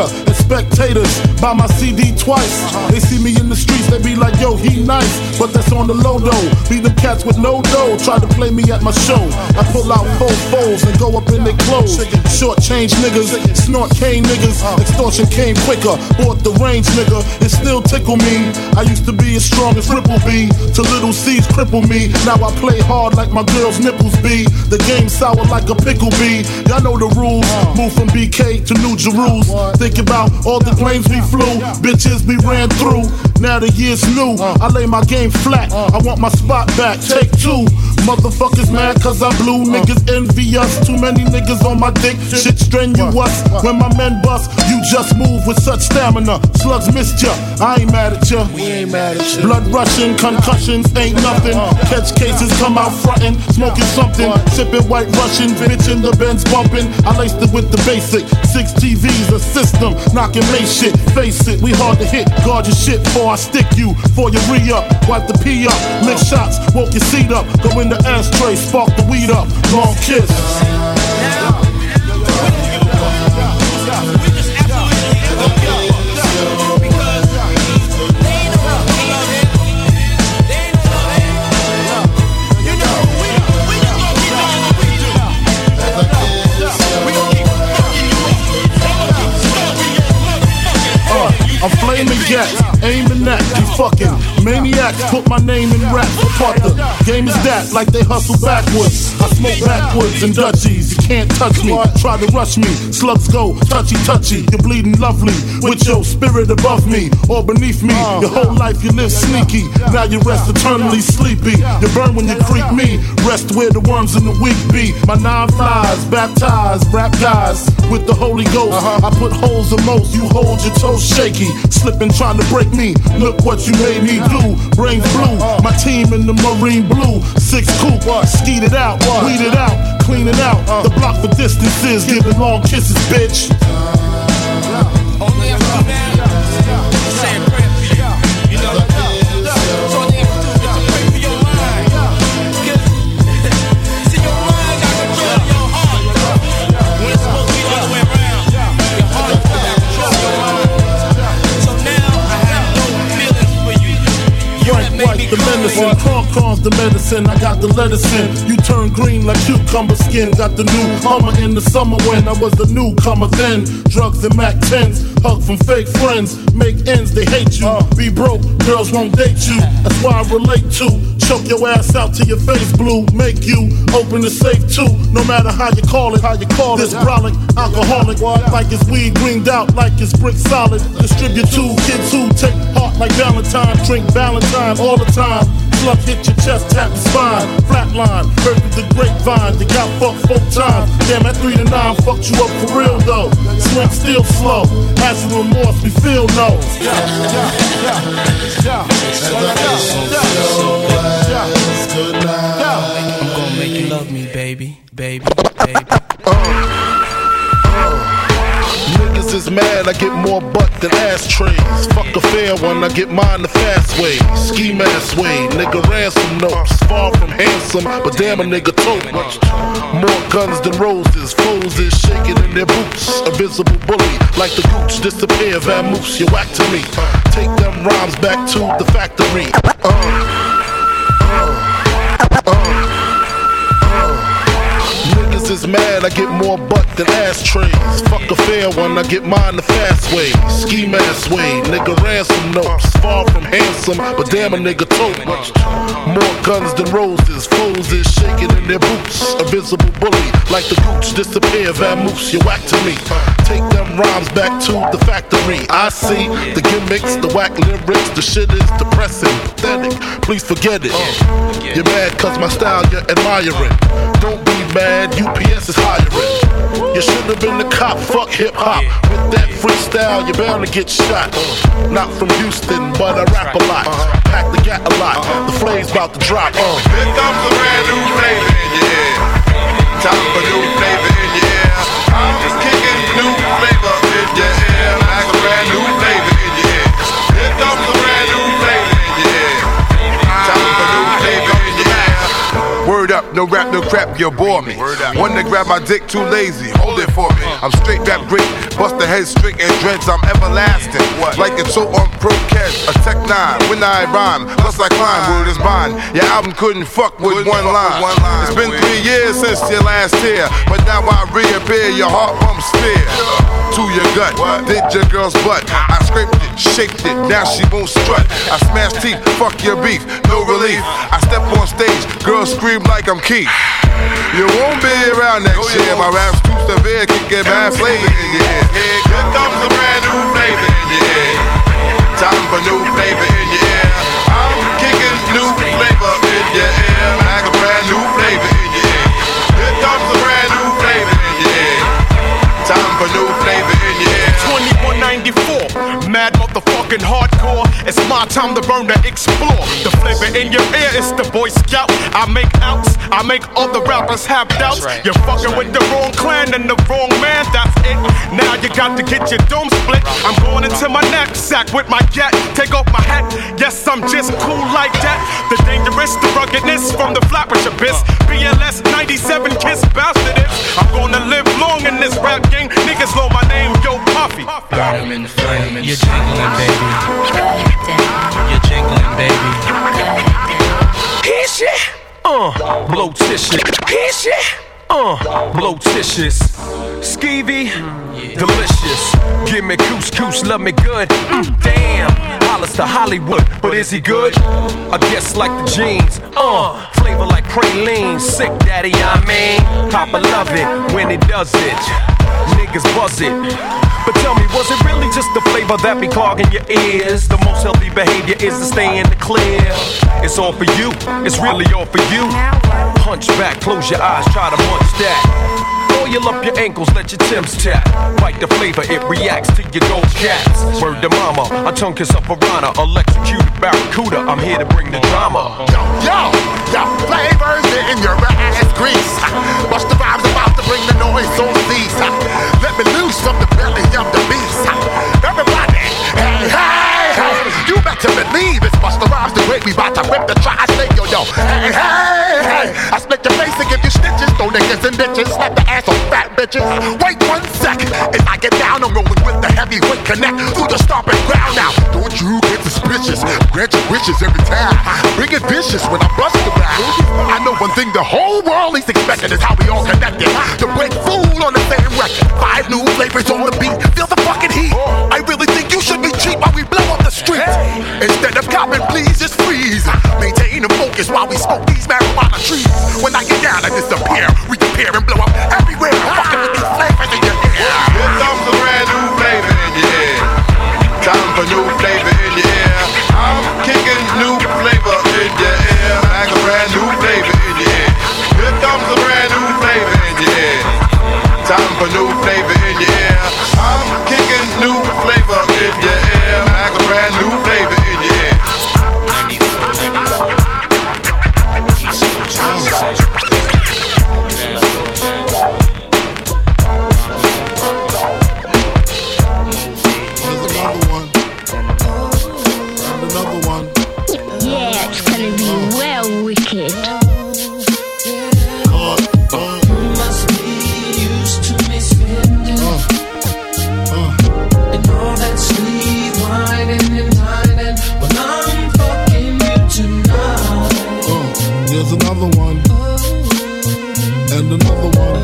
spectators buy my CD twice. They see me in the streets, they be like, yo, he nice. But that's on the low though. Be them cats with no dough, try to play me at my show. I pull out 4 foes and go up in their clothes. Short change niggas, snort cane niggas. Extortion came quicker, bought the range nigga. It still tickle me. I used to be as strong as Ripple B, till little C's cripple me. Now I play hard like my girl's nipples be. The game sour like a pickle bee. Y'all know the rules. Move from BK to New Jerusalem. Think about all the planes we flew, bitches we ran through. Now the year's new, I lay my game flat. I want my spot back, take 2. Motherfuckers mad cause I blew, niggas envy us. Too many niggas on my dick, shit strenuous. When my men bust, you just move with such stamina. Slugs missed ya, I ain't mad at ya. We ain't mad at ya. Blood rushing, concussions ain't nothing. Catch cases, come out frontin', smoking something. Sipping white Russian, bitch in the Benz bumping. I laced it with the basic, 6 TVs, a system, knocking May shit. Face it, we hard to hit, guard your shit before I stick you. For your re-up, wipe the pee up, lick shots, woke your seat up. Go in the ashtray, spark the weed up, long kiss. I'm flaming gas, aiming at you fucking maniacs. Put my name in rap, apart the game is that, like they hustle backwards. I smoke backwards and Dutchies, you can't touch me. Try to rush me, slugs go touchy touchy. You're bleeding lovely, with your spirit above me or beneath me. Your whole life you live sneaky, now you rest eternally sleepy. You burn when you creep me, rest where the worms in the weak be. My 9 flies, baptized, rap guys with the Holy Ghost. I put holes in most, you hold your toes shaky. Slipping trying to break me, look what you made me do. Brains blue, my team in the marine blue. 6 coupe, skeet it out, weed it out, clean it out. The block for distances, giving long kisses, bitch. Only have to do now, say a prayer for you, you know. So all you have to do is to pray for your mind. See, your mind got control of your heart. When it's supposed to be the other way around, your heart got control of your mind. White the medicine, corn's the medicine. I got the lettuce in. You turn green like cucumber skin. Got the new Hummer in the summer when I was the newcomer then. Drugs and Mac 10s, hug from fake friends. Make ends, they hate you. Be broke, girls won't date you. That's why I relate to. Choke your ass out till your face blue. Make you open the safe too. No matter how you call it, This brolic, alcoholic, like it's weed greened out, like it's brick solid. Distribute to kids who take heart like Valentine. Drink Valentine all the time. Slug hit your chest, tap the spine. Flatline, heard through the grapevine. You got fucked 4 times. Damn, at 3 to 9 fucked you up for real though. Swing still slow. Acid remorse, we feel no. I'm gonna make you love me, baby, baby, baby. Niggas is mad, I get more butt than ashtrays. Fuck a fair one, I get mine the fast way. Ski mask way, nigga ransom notes. Far from handsome, but damn a nigga tote. More guns than roses, foes is shaking in their boots. A visible bully, like the gooch, disappear, vamoose, you whack to me. Take them rhymes back to the factory. Niggas is mad, I get more butt than ashtrays. Fuck a fair one, I get mine the fast way. Ski mask way, nigga ransom notes. Far from handsome, but damn a nigga tote. More guns than roses, foes is shaking in their boots. A visible bully, like the gooch, disappear, vamoose, you whack to me. Take them rhymes back to the factory. I see the gimmicks, the whack lyrics, the shit is depressing, pathetic. Please forget it. You're mad cause my style you're admiring. Don't be mad, UPS is hiring. You should have been the cop, fuck hip hop. With that freestyle, you're bound to get shot. Not from Houston, but I rap a lot. Pack the gat a lot, the flame's about to drop. Here comes a brand new flavor in your ear. Time for new flavor in your ear. I'm just kicking new flavor in your ear. Like a brand new flavor in your ear. Here comes a brand new flavor in your ear. Time for new flavor in your ear. Word up, no rap, no crap, you bore me. One to grab my dick, too lazy, hold it for me. I'm straight rap great, bust the head straight and dreads, I'm everlasting. Like it's so on Pro-Cast, a Tech 9, when I rhyme, plus I climb, word is bond. Your album couldn't fuck with one line. It's been 3 years since your last tear, but now I reappear, your heart pumps fear to your gut, did your girl's butt. I scraped it, shaped it, now she won't strut. I smashed teeth, fuck your beef, no relief. I step on stage, girls scream like I'm Keith. You won't be around next year, my rap's too severe, can get bad flavor in your ear. Here comes a brand new flavor in your ear. Time for new flavor in your ear. I'm kicking new flavor in your ear, like a brand new flavor in your ear. Here comes a brand new flavor in your ear. Time for new flavor in your ear. 2194, mad motherfucking hardcore. It's my time to burn, to explore. The flavor in your ear is the Boy Scout. I make outs, I make other rappers have doubts. You're fucking with the wrong clan and the wrong man, that's it. Now you got to get your dome split. I'm going into my knapsack with my gat. Take off my hat, yes, I'm just cool like that. The dangerous, the ruggedness from the Flatbush abyss. BLS 97 Kiss bastard is. I'm gonna live long in this rap game. Niggas know my name, Yo Puffy. Burn 'em in the flame, you're jingling, baby. You're jingling, baby. Here's shit. Blow tissues. Here's shit. Blow tissues. Skeevy, delicious. Give me couscous, love me good. Damn, Hollis to Hollywood, but is he good? I guess like the jeans. Flavor like praline. Sick daddy, I mean. Papa love it when he does it. Niggas buzz it. But tell me, was it really just the flavor that be clogging your ears? The most healthy behavior is to stay in the clear. It's all for you, it's really all for you. Hunch back, close your eyes, try to munch that. Oil up your ankles, let your Timbs tap. Bite the flavor, it reacts to your gold caps. Word to mama, a tongue kiss a piranha. Electrocuted barracuda, I'm here to bring the drama. Yo, flavors in your ass grease. Watch the vibes about to bring the noise on these. Let me loose from the belly of the beast. Everybody, hey, hey, hey. You better believe it's Busta Rhymes the great. We bout to rip the tri-state, yo. Hey, hey, hey. I split your face and give you stitches. Throw niggas and bitches. Slap the ass on fat bitches. Wait 1 sec. As I get down, I'm rolling with the heavyweight connect through the stomping ground now. Don't you get suspicious. Grant your wishes every time. Bring it vicious when I bust the back. I know one thing the whole world is expecting is how we all connected. To break fool on the same record. 5 new flavors on the beat. Feel the fucking heat. I really think you should be cheap while we blow up the streets. Instead of copping, please just freeze. Maintain the focus while we smoke these marijuana trees. When I get down, I disappear. We compare and blow up everywhere. I'm fucking with these flavors in your ear. Here comes a brand new flavor in your ear. Time for new flavor in your ear. I'm kicking new flavor in your ear. Like a brand new flavor in your ear. Here comes a brand new flavor in your ear. Time for new flavor in your ear. I'm kicking new flavor in your ear. Like a brand new flavor in your ear. Yeah, it's gonna be well wicked. Must be used to me spending and all that sweet whining and dining when I'm fucking you tonight. There's another one, and another one.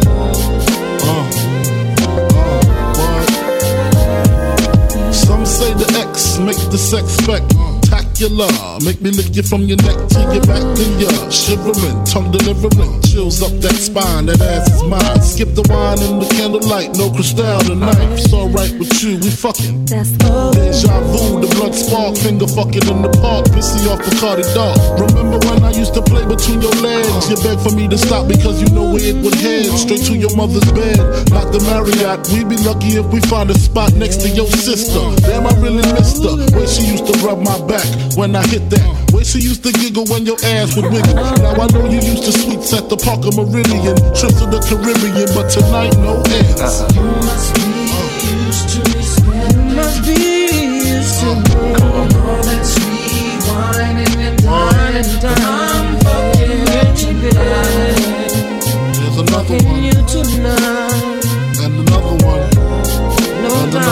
What? Some say the X make the sex spectacular. Make me lick you from your neck to your back, then you're shivering, tongue delivering, chills up that spine. That ass is mine. Skip the wine and the candlelight, no crystal tonight. It's alright with you, we fucking. Deja vu, the blood spark, finger fucking in the park, pissy off Bacardi Dark. Remember when I used to play between your legs? You begged for me to stop because you know where it would head. Straight to your mother's bed, not the Marriott. We'd be lucky if we find a spot next to your sister. Damn, I really missed her. Way she used to rub my back when I hit that. Way she used to giggle when your ass would wiggle. Now I know you used to sweets at the Parker Meridian, trips to the Caribbean, but tonight no ends. You must be used to me spending. You must be used to me. All that sweet whining and dining. I'm fucking you tonight. There's another one, you tonight. and another one.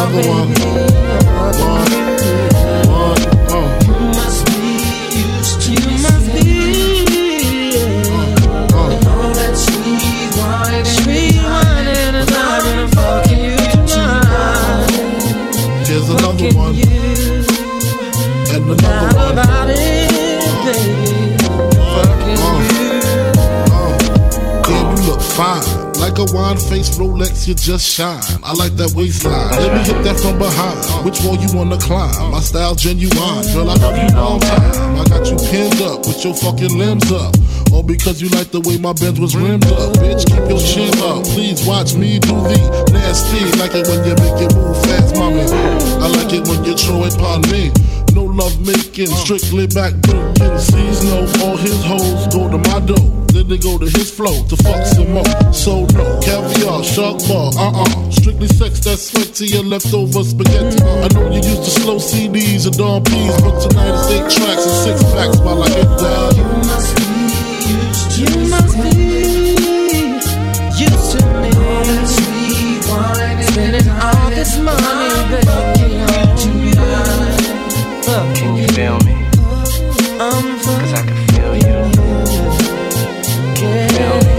another one. You must be used to you must be all that sweet wine and I've been fucking you tonight. Here's another one. And another one. About it, baby. Fucking Damn, you look fine. Like a wine-faced Rolex, you just shine. I like that waistline. Let me hit that from behind. Which wall you wanna climb? My style genuine. Girl, I love you long time. I got you pinned up with your fucking limbs up. All because you like the way my Benz was rimmed up. Bitch, keep your chin up. Please watch me do the nasty. Like it when you make it move fast, mommy. I like it when you throw it upon me. No love making, strictly back breaking. Sees no, all his hoes go to my dough. Then they go to his flow to fuck some more. So no, caviar, shark bar, strictly sex, that's sweat to your leftover spaghetti. I know you used to slow CDs and Dawn P's, but tonight it's 8 tracks and 6 packs while I hit that. You must be used to me. Sweet wine, spending all this money, baby. Can you feel me? Cause I can feel you. Can you feel me?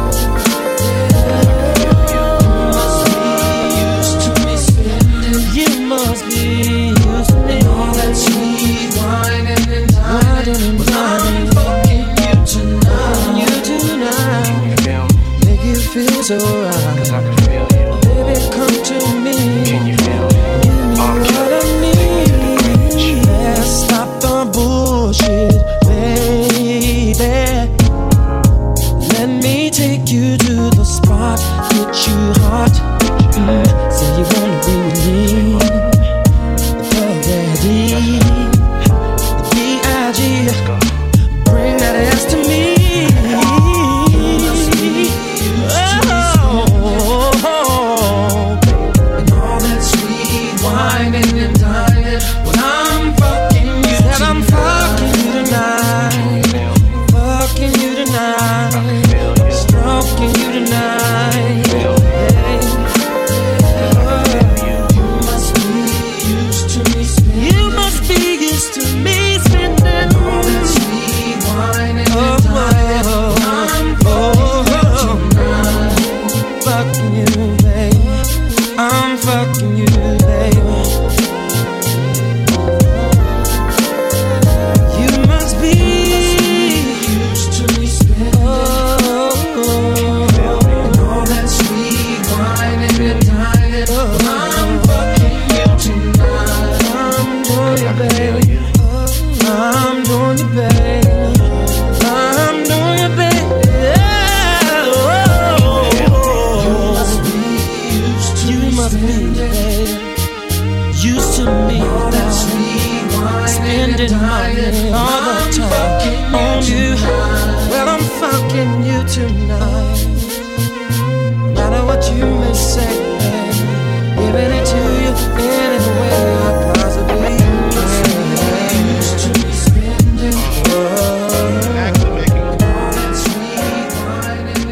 You must be used to me. All that sweet wine and dining. But I'm fucking you tonight. Make you feel so right. Cause I can feel you. Baby, come to me. Can you feel me? What I need. Stop the bullshit, baby. Let me take you to the spot, get you hot. Say you wanna be with me. Already. The B.I.G. Bring that ass to me. And all that sweet wine and dining. When I'm fucking you tonight, stroking you tonight. You must be used to me spending. You must be used to me spending all that sweet wine and dining. I'm fucking you baby. I'm fucking you, baby. You must be used to me spending and all that sweet wine and dining. I'm fucking you tonight. I'm doing you, baby. I'm doing you, baby. I'm doing you, baby. You must be, baby, used to me. Spending money all the time on you. Well, I'm fucking you tonight. No matter what you may say, baby, giving it to you any way I possibly can. Used to me spending all that sweet wine and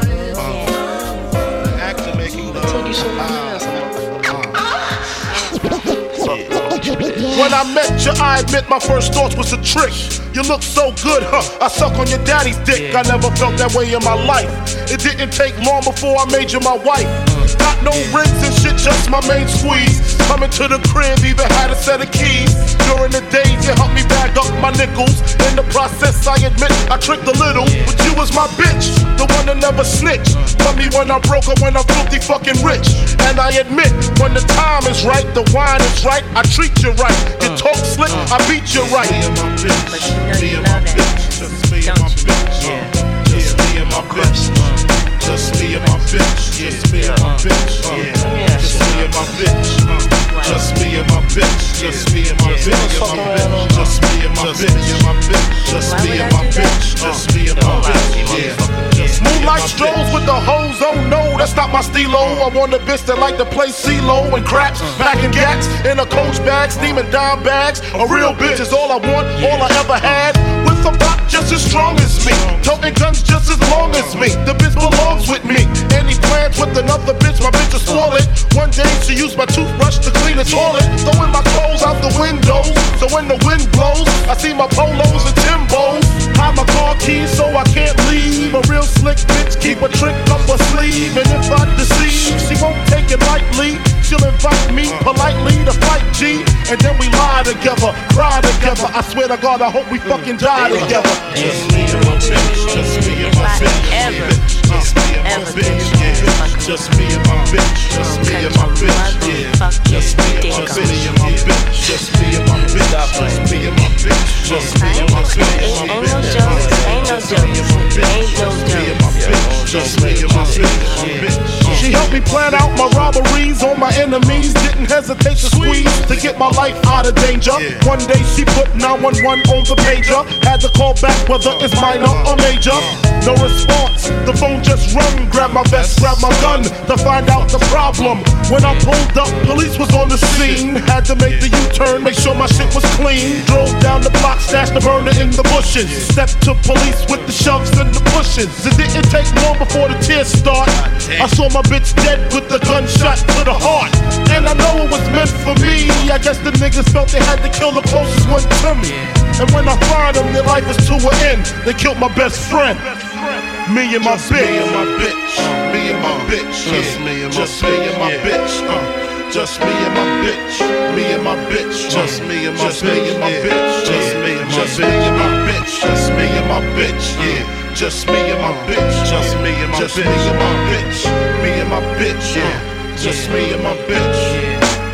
When I met you, I admit my first thoughts was a trick. You look so good, huh? I suck on your daddy's dick. I never felt that way in my life. It didn't take long before I made you my wife. Got no rings and shit, just my main squeeze. Coming to the crib, even had a set of keys. During the days, you helped me bag up my nickels. In the process, I admit I tricked a little, but you was my bitch, the one that never snitched. Tell me when I'm broke or when I'm filthy fucking rich. And I admit, when the time is right, the wine is right, I treat you right. You talk slick, I beat you right. Me and my bitch, me and my bitch, just me and my bitch, just me and my bitch, just me and my bitch, just me and my bitch, just me and my bitch, just me and my bitch, just me and my bitch, just me and my bitch, just me and my bitch, just me and my bitch, Moonlight strolls with the hoes, oh no, that's not my stilo. I want a bitch that like to play CeeLo and craps, packing gats in a coach bag, steaming dime bags. A real bitch is all I want, all I ever had. With a rock just as strong as me, toting guns just as long as me. The bitch belongs with me. Any plans with another bitch, my bitch will spoil it. One day she used my toothbrush to the toilet, throwing my clothes out the windows. So when the wind blows, I see my polos and Timbos. Hide my car keys so I can't leave. A real slick bitch keep a trick up her sleeve. And if I deceive, she won't take it lightly. She'll invite me politely to fight G. And then we lie together, cry together. I swear to God, I hope we fucking die together. Just me and my bitch, just me and my bitch. Just me and my bitch, yeah. Just me and my bitch, just me and my bitch, yeah. Just me and my bitch, just me and my bitch, just me and my bitch, just me and my bitch. Ain't no jokes, ain't no jokes, just me and my bitch. She helped me plan out my robberies on my enemies. Didn't hesitate to squeeze to get my life out of danger. One day she put 911 on the pager. Had to call back whether it's minor or major. No response, the phone just rung. Grab my vest, grab my gun to find out the problem. When I pulled up, police was on the scene. Had to make the U-turn, make sure my shit was clean. Drove down the block, stashed the burner in the bushes. Stepped to police with the shoves and the pushes. It didn't take long before the tears start. I saw my bitch dead with the gunshot to the heart. And I know it was meant for me. I guess the niggas felt they had to kill the closest one to me. And when I find them, their life is to an end. They killed my best friend. Me and my bitch. Me and my bitch. Me and my bitch. Just me and my bitch. Just me and my bitch. Just me and my bitch. Me and my bitch. Just me and my bitch. Just me and my bitch. Just me and my bitch. Yeah. Just me and my bitch. Just me and my bitch. Me and my bitch. Yeah. Just me and my bitch.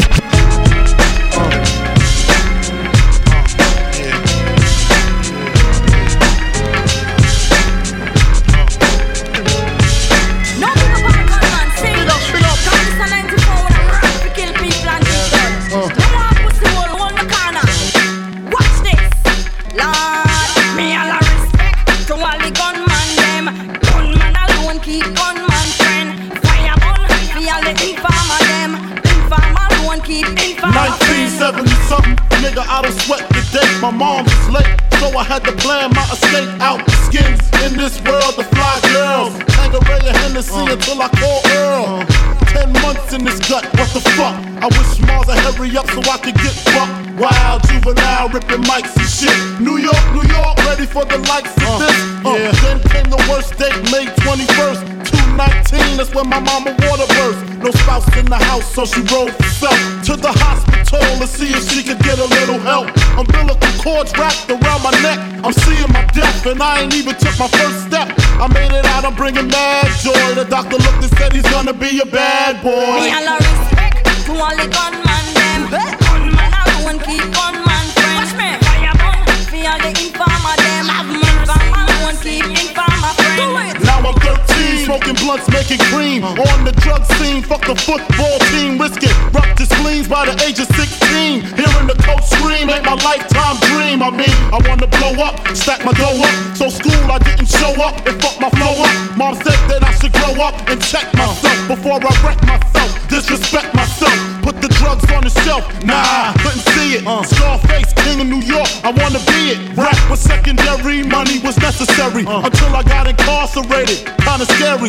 I don't sweat the day, my mom was late, so I had to plan my escape out the skins. In this world, the fly girls, Tangeray and Hennessy until I call Earl. 10 months in this gut, what the fuck? I wish Mars would hurry up so I could get fucked. Wild juvenile ripping mics and shit. New York, ready for the likes of this. Then came the worst date, May 21st. 219, that's when my mama water burst. No spouse in the house, so she rode herself to the hospital to see if she could get a little help. Umbilical cords wrapped around my neck. I'm seeing my death, and I ain't even took my first step. I made it out, I'm bringing mad joy. The doctor looked and said he's gonna be a bad boy. Me all respect to all the gunman them. Gunman alone keep gunman friends. Fire burn for all the informer them. Informer alone keep informer friends. Now I'm 13, smoking blunts, making cream. On the drug scene, fuck the football team. Risk it, rupture spleens by the age of 16. Hearing the coach scream ain't my lifetime dream. I mean, I wanna blow up, stack my dough up. So school I didn't show up and fuck my flow up. Mom said that I should grow up and check myself before I wreck myself, disrespect myself. Put the drugs on the shelf, nah, couldn't see it. Scarface, king of New York, I wanna be it. Rap was secondary, money was necessary. Until I got incarcerated, kinda scary.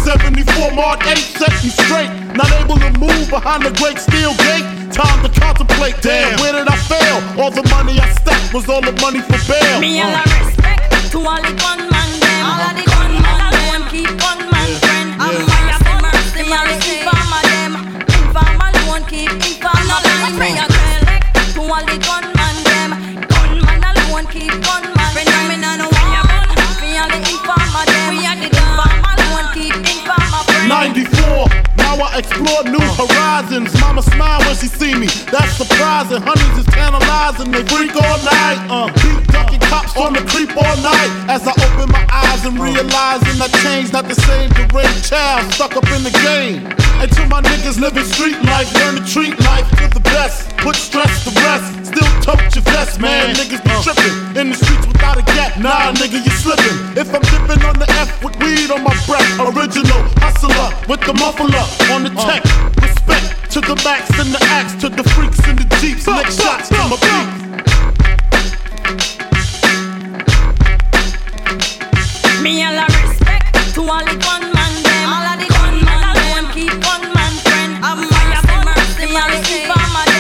C-74 Mark 8 set me straight. Not able to move behind the great steel gate. Time to contemplate, damn, where did I fail? All the money I stacked was all the money for bail. Me all I respect to all the gunman them. All of the gunman alone keep gunman friend. Fire burn mercy, all the informer them. Informer alone keep informer friend. Me all respect to all the gunman them. Gunman alone keep gunman friend. Me no fire burn for all the informer them. Informer alone keep informer friend. 94. Now I explore new horizons. Mama smile when she see me, that's surprising. Honeys is tantalizing, they freak all night. Beat ducking cops on the creep all night. As I open my eyes and realizing that change not the same deranged child stuck up in the game. And to my niggas living street life, learn to treat life to the best. Put stress to rest, still tote your vest, man. Niggas be tripping in the streets without a gap. Nah, nigga, you slipping. If I'm dipping on the F with weed on my breath, original hustler with the muffler on the tech. Respect to the max and the axe, to the freaks in the jeeps. Next shots to my beat. Me all I respect to all the gunman them. All of the gunman alone keep gunman friend. Fire burn mercy, all the informer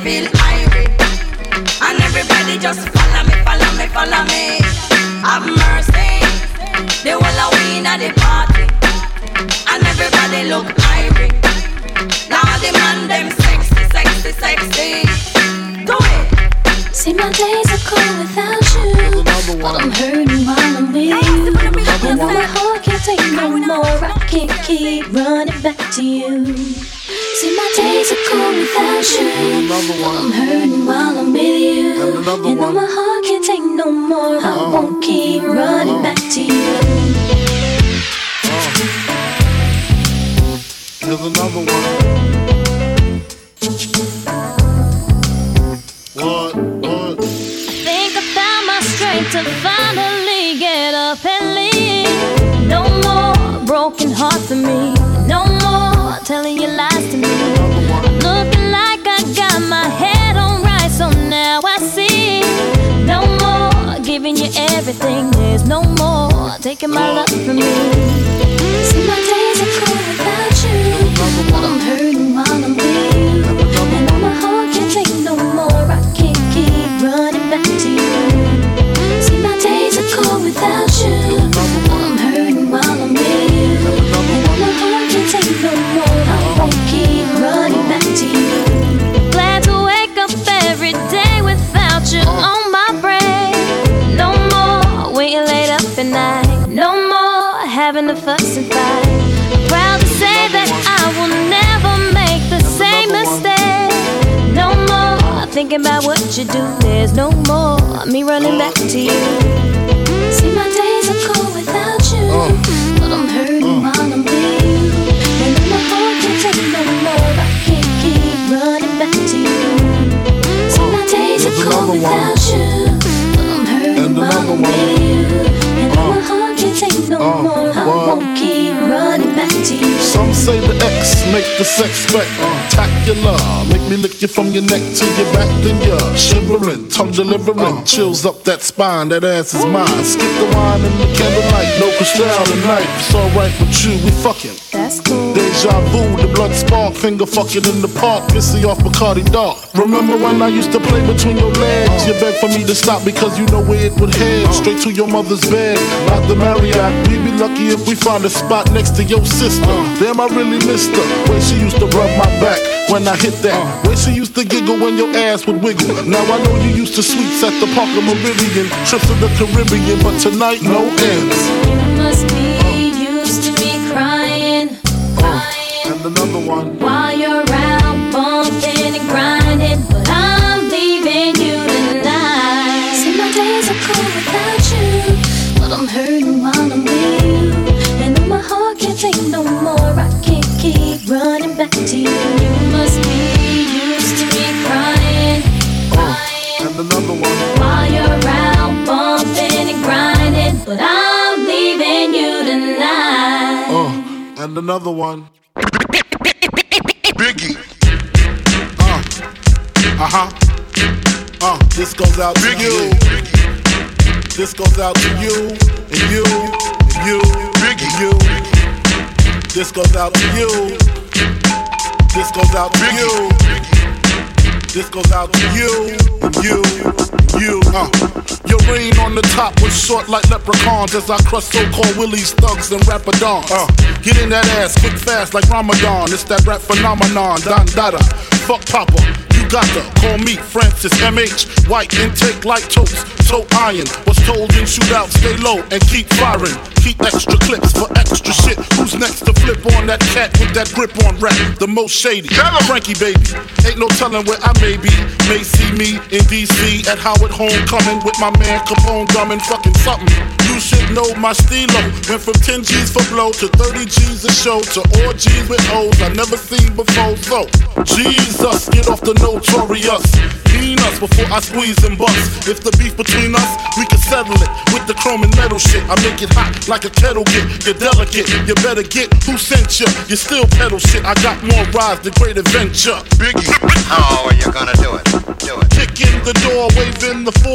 feel irate. And everybody just follow me, follow me, follow me. Have mercy. The whole of we in the party. And everybody look irate. Now the man them sexy, sexy, sexy. Do it. See, my days are cold without you, but I'm hurting while I'm with you. And my heart can't take no more, I can't keep running back to you. See, my days are cold without you, but I'm hurting while I'm with you. And though my heart can't take no more, I won't keep running back to you. Here's another one. What? I think I found my strength to finally get up and leave. No more broken heart for me. No more telling your lies to me. I'm looking like I got my head on right, so now I see. No more giving you everything. There's no more taking my love from me. See, my days are cold without you, but I'm hurting while I'm with you. And though my heart can't take no more, I can't keep running back to you. See, my days are cold without you, but I'm hurting while I'm with you. And though my heart can't take no more, I won't keep running back to you. Glad to wake up every day without you on my brain. No more waiting late up at night. No more having to fuss and fight. I'm proud to say that I will never make the same mistake. No more thinking about what you do. There's no more me running back to you. See, my days are cold without you, but I'm hurting while I'm with you. And though my heart can't take no more, I can't keep running back to you. See, my days are cold without you, but I'm hurting while I'm with you. And though my heart can't take no more, I won't keep running back to you. Some say the X make the sex spectacular. Make me lick you from your neck to your back, then you're shivering, tongue delivering, chills up that spine. That ass is mine. Skip the wine and the candlelight, no crystal tonight. It's alright with you, we fucking. That's cool. Deja vu, the blood spark, finger fucking in the park, pissy off Bacardi Dark. Remember when I used to play between your legs? You begged for me to stop because you know where it would head. Straight to your mother's bed, not the Marriott. We'd be lucky if we found a spot next to your sister. Damn, I really missed her. Way she used to rub my back when I hit that. Way she used to giggle when your ass would wiggle. Now I know you used to sweets at the Parker Meridian, trips to the Caribbean, but tonight no ends. You must be used to me crying, And another one. while you're out bumping and grinding, but I'm leaving you tonight. See, my days are cold without you, but I'm hurting while I'm with you. And though my heart can't take no more, I can't keep running back to you. You must be used to me crying, And another one. while you're out bumping and grinding, but I'm leaving you tonight. And another one. Biggie. This goes out to you. This goes out to you, and you, and you, and you. This goes out to you. This goes out to you. This goes out to you, and you, and you. Your reign on the top was short like leprechauns as I crush so-called willies, thugs, and rapadons. Get in that ass quick fast like Ramadan. It's that rap phenomenon, Don Dada. Fuck Papa, you got to call me Francis MH. White intake like toast, toe iron. Was told in shootout, stay low and keep firing. Keep extra clips for extra shit. Who's next to flip on that cat with that grip on rap? The most shady, Frankie baby. Ain't no telling where I may be. May see me in DC at Howard Homecoming with my man Capone drumming fucking something. You should know my stilo. Went from 10 G's for blow to 30 G's a show to all G's with O's I never seen before. So Jesus, get off the notorious. Mean us before I squeeze and bust. If the beef between us, we can settle it with the chrome and metal shit. I make it hot like a kettle get. You're delicate, you better get who sent you. You still pedal shit. I got more rides than Great Adventure. Biggie. How are you gonna do it? Do it. Kick in the door, waving the 4-4.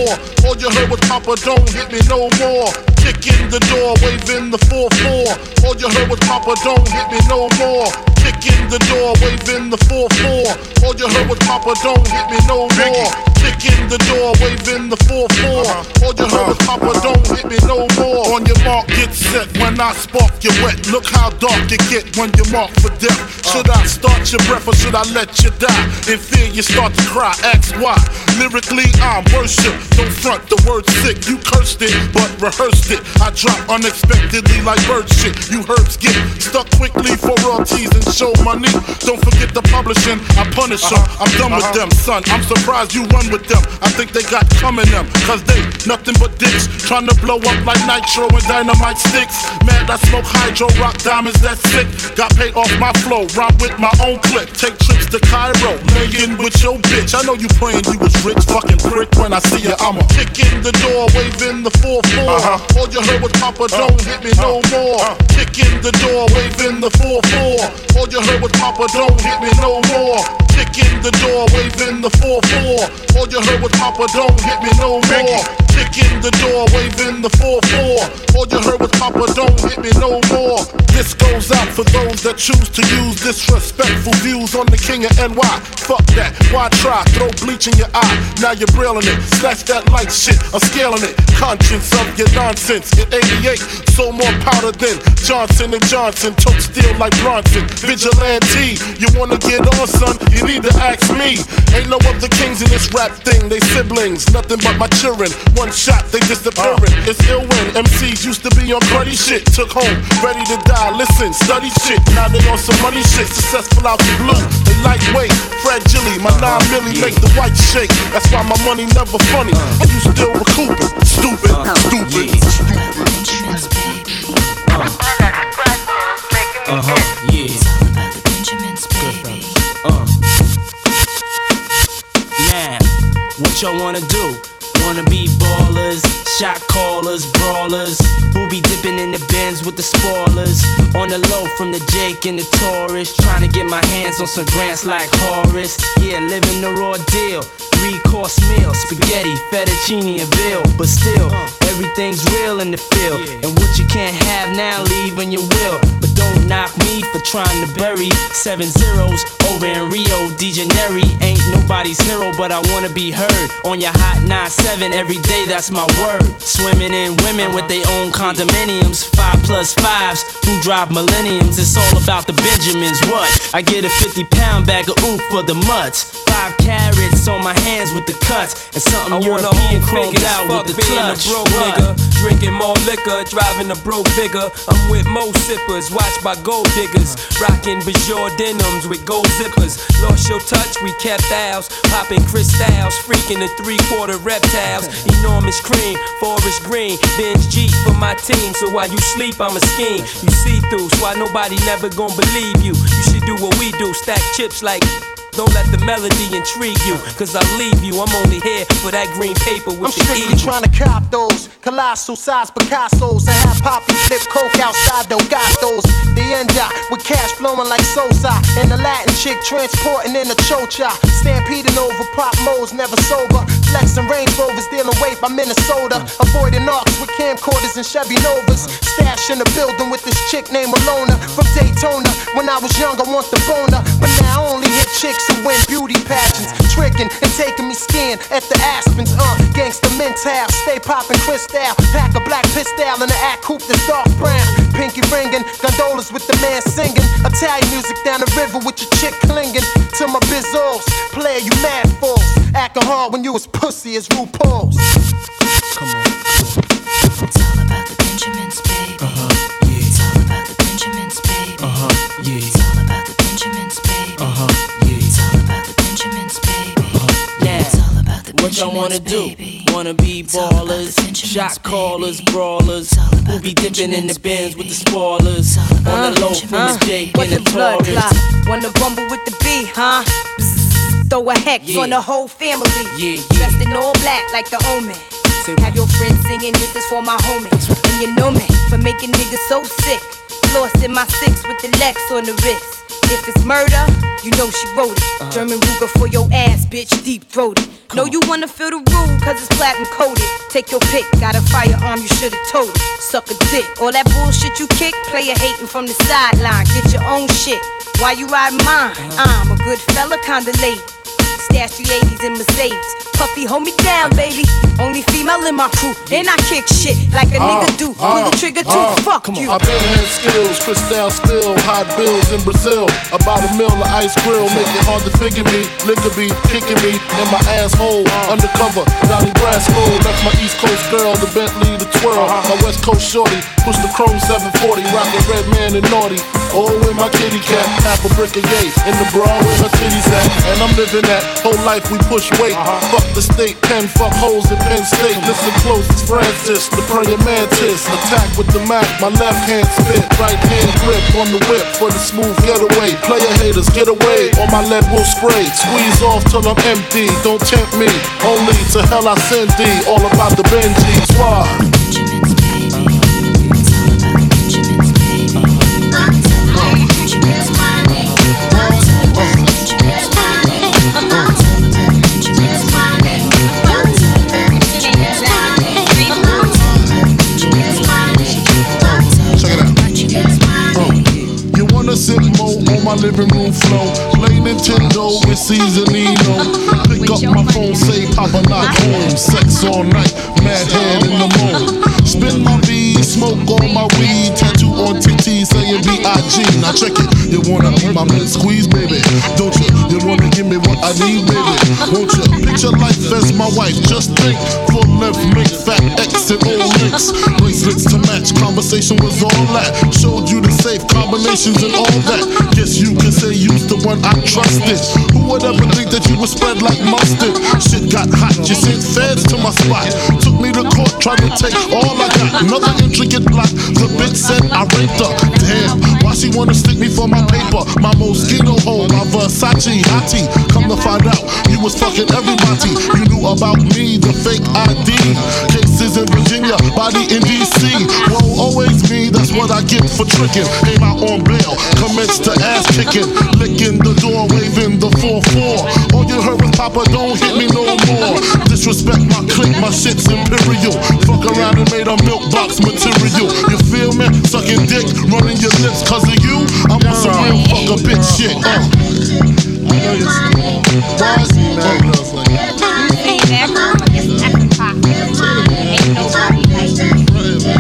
All you heard was Papa, don't hit me no more. Kick in the door, waving the 4-4. All you heard was Papa, don't hit me no more. Kick in the door, waving the 4-4. All you heard was Papa, don't hit me no more. Kick in the door, waving the 4-4. All you heard was Papa, don't hit me no more. On your mark, get set. When I spark, you wet. Look how dark you get when you mark for death. Should I start your breath or should I let you die? In fear, you start to cry. Ask why. Lyrically, I'm worship. Don't front the word sick. You cursed it, but rehearsed it. I drop unexpectedly like bird shit. You herbs get stuck quickly for royalties and show money. Don't forget the publishing. I punish them. I'm done with them, son. I'm surprised you run with them. I think they got coming them. Cause they nothing but dicks. Trying to blow up like nitro and dynamite sticks. Man, I smoke hydro, rock diamonds, that's sick. Got paid off my flow. Rhyme with my own clip. Take trips to Cairo. Laying with your bitch. I know you praying you was rich. Fucking prick. When I see ya, I'ma kick in the door, waving the 4-4. All you heard was Papa, don't hit me no more. Kick in the door, waving the 4-4. All you heard was Papa, don't hit me no more. Kick in the door, waving the 4-4. All you heard was Papa, don't hit me no more. Kick in the door, waving the 4-4. All you heard was Papa, don't hit me no more. This goes out for those that choose to use disrespectful views on the king of NY. Fuck that, why try? Throw bleach in your eye, now you're brilling it. Snatch that light shit, I'm scaling it. Conscience of your nonsense. In 88, so more powder than Johnson & Johnson. Tote steel like Bronson. Vigilante, you wanna get on, son? You need to ask me. Ain't no other kings in this rap thing. They siblings, nothing but my children. One shot, they disappearing. It's ill when MCs used to be on cruddy shit. Took home, ready to die. Listen, study shit. Now they on some money shit. Successful out the blue. They lightweight, fragile. My 9 milli make the white shake. That's why my money never funny. And you still recouping. Stupid, stupid, Now, what y'all wanna do? Wanna be ballers, shot callers, brawlers, who be dipping in the bins with the spoilers. On the low from the Jake and the Taurus, trying to get my hands on some grants like Horace. Yeah, living the raw deal. 3-course meal, spaghetti, fettuccine and veal. But still, everything's real in the field. And what you can't have now, leave when you will. But don't knock me for trying to bury 7 zeros over in Rio de Janeiro. Ain't nobody's hero, but I wanna be heard. On your hot 9-7 every day, that's my word. Swimming in women with their own condominiums. 5+5s who drive millenniums. It's all about the Benjamins, what? I get a 50-pound bag of oof for the mutts. 5 carats on my hands with the cuts. And something European chromed out with the clutch. Broke nigga, drinking more liquor, driving a broke bigger. I'm with mo sippers, watched by gold diggers. Rocking Bajor denims with gold zippers. Lost your touch, we kept ours. Popping crystals, freaking the 3/4 reptiles. Enormous cream, forest green. Benz Jeep for my team, so while you sleep, I'm a scheme. You see through, so why nobody never gon' believe you. You should do what we do, stack chips like. Don't let the melody intrigue you, cause I'll leave you. I'm only here for that green paper with the strictly trying to cop those colossal size Picassos and have Poppy flip coke outside Delgados. The end with cash flowing like Sosa, and the Latin chick transporting in a chocha. Stampeding over pop modes, never sober. Flexing Range Rovers, dealing weight by Minnesota. Avoiding arcs with camcorders and Chevy Novas. Stash in the building with this chick named Alona from Daytona. When I was young, I want the boner, but now I only hit chicks who win beauty pageants. Tricking and taking me skiing at the Aspens. Gangsta mental, stay popping crystal. Pack a black pistol in the act coupe that's dark brown. Pinky ringing, gondolas with the man singing. Italian music down the river with your chick clinging to my bizzos. Player, you mad fools. Acting hard when you was pussy as RuPaul's. Come on. It's all about the Benjamins, baby. Yeah. It's all about the Benjamins, baby. Yeah. It's all about the Benjamins, baby. Yeah. It's all about the Benjamins, baby. Yeah. It's all about the What y'all wanna do? Wanna be ballers, shot callers, brawlers, who be dipping in the bins with the spoilers. On the low from the Jake and the Taurus. Wanna rumble with the B, huh? Bzz, throw a hex on the whole family. Dressed in all black like the Omen. Have your friends singing, this is for my homies. And you know me, for making niggas so sick. Lost in my 6 with the Lex on the wrist. If it's murder, you know she wrote it. German Ruger for your ass, bitch, deep throated. Know you wanna feel the rule, cause it's platinum coated. Take your pick, got a firearm, you should've told it. Suck a dick, all that bullshit you kick, player hating from the sideline. Get your own shit, why you ride mine? I'm a good fella, kinda late. Stash the 80s in Mercedes. Puffy, hold me down, baby. Only female in my crew, and I kick shit like a nigga do. Pull the trigger too, fuck you. I've been had skills, crystal spill, hot bills in Brazil. About a mill of ice grill, make it hard to figure me. Liquor be kicking me in my asshole. Undercover, Johnny Brasco. Left my East Coast girl, the Bentley, the twirl. My West Coast shorty, push the chrome 740, rockin' red man and naughty. Oh, with my kitty cat, half a brick of yay. In the bra where her titties at, and I'm living that. Whole life we push weight. Fuck the state pen, fuck hoes in Penn State. Listen close, it's Francis, the praying mantis. Attack with the Mac, my left hand spit. Right hand grip on the whip for the smooth getaway. Player haters, get away, or my lead will spray. Squeeze off till I'm empty, don't tempt me. Only to hell I send thee. All about the Benjis, why? Sip mo on my living room floor. Play Nintendo with Seasonino. Pick up my phone, say Papa not home. Sex all night, mad head in the moon. Spin my V, smoke on my weed. Tattoo on TT saying B.I.G. Now check it, you wanna be my mid squeeze, baby? Don't you? You wanna give me what I need, baby? Won't you? Picture life as my wife, just think. Full length, make fat X and old links. Bracelets to match, conversation was all that. Showed you the safe combinations and all that. Guess you can say you's the one I trusted. Who would ever think that you would spread like mustard? Shit got hot, you sent feds to my spot. Took me to court, tried to take all I got. Another intricate plot, the bitch said I raped her. Damn, why she wanna stick me for my paper? My Moschino hole, my Versace hottie. Come to find out, you was fucking everybody. You knew about me, the fake ID. Cases in Virginia, body in DC. Whoa, always me, that's what I get for tricking. Came out on bail, commenced to ass kicking, licking the door, waving the 4-4. All you heard was Papa, don't hit me no more. Disrespect my clique, my shit's imperial. Fuck around and made a milk box material. You feel me? Sucking dick, running your lips cause of you. I'm on some real fuck a bitch shit. I know you're why is he mad at us like that? Ain't nobody like that.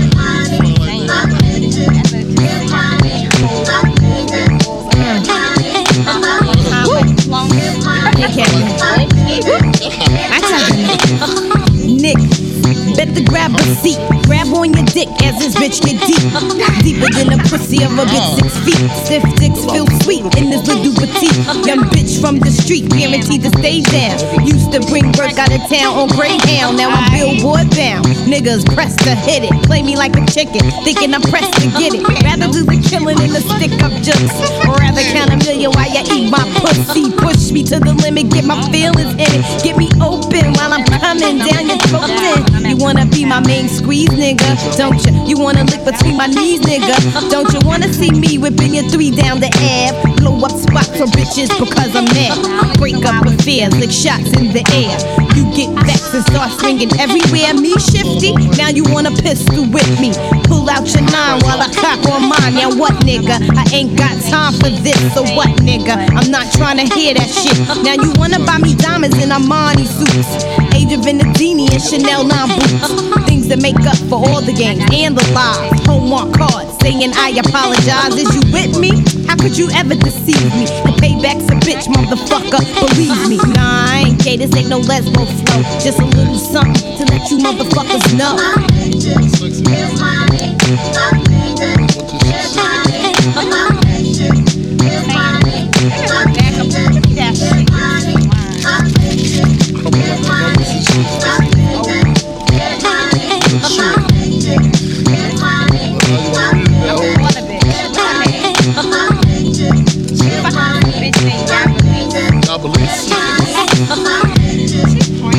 Nick, better grab a seat. Grab on your dick as this bitch get deep. Deeper than the pussy of a bitch 6 feet. Stiff dicks feel sweet in this little petite. Young bitch from the street, guaranteed to stay down. Used to bring work out of town on Greyhound. Now I'm Billboard bound. Niggas pressed to hit it. Play me like a chicken, thinking I'm pressed to get it. Rather do the killing than the stick up jokes. Or rather count a million while you eat my pussy. Push me to the limit, get my feelings in it. Get me open while I'm coming down your throat. You wanna be my main squeeze, nigga? Don't you? You wanna lick between my knees, nigga? Don't you wanna see me whipping your 3 down the Ave? Blow up spots for bitches because I'm mad. Break up affairs, lick shots in the air. You get vexed and start swinging everywhere. Me shifty, now you wanna pistol with me. Pull out your 9 while I cock on mine. Now what, nigga? I ain't got time for this, so what, nigga? I'm not trying to hear that shit. Now you wanna buy me diamonds in Armani suits, Age of Venedini and Chanel 9 boots. Things that make up for all the games and the lies. Homework cards saying I apologize. Is you with me? How could you ever deceive me? The payback's a bitch, motherfucker, believe me. Nah, I ain't gay, this ain't no lesbo flow. Just a little something to let you motherfuckers know.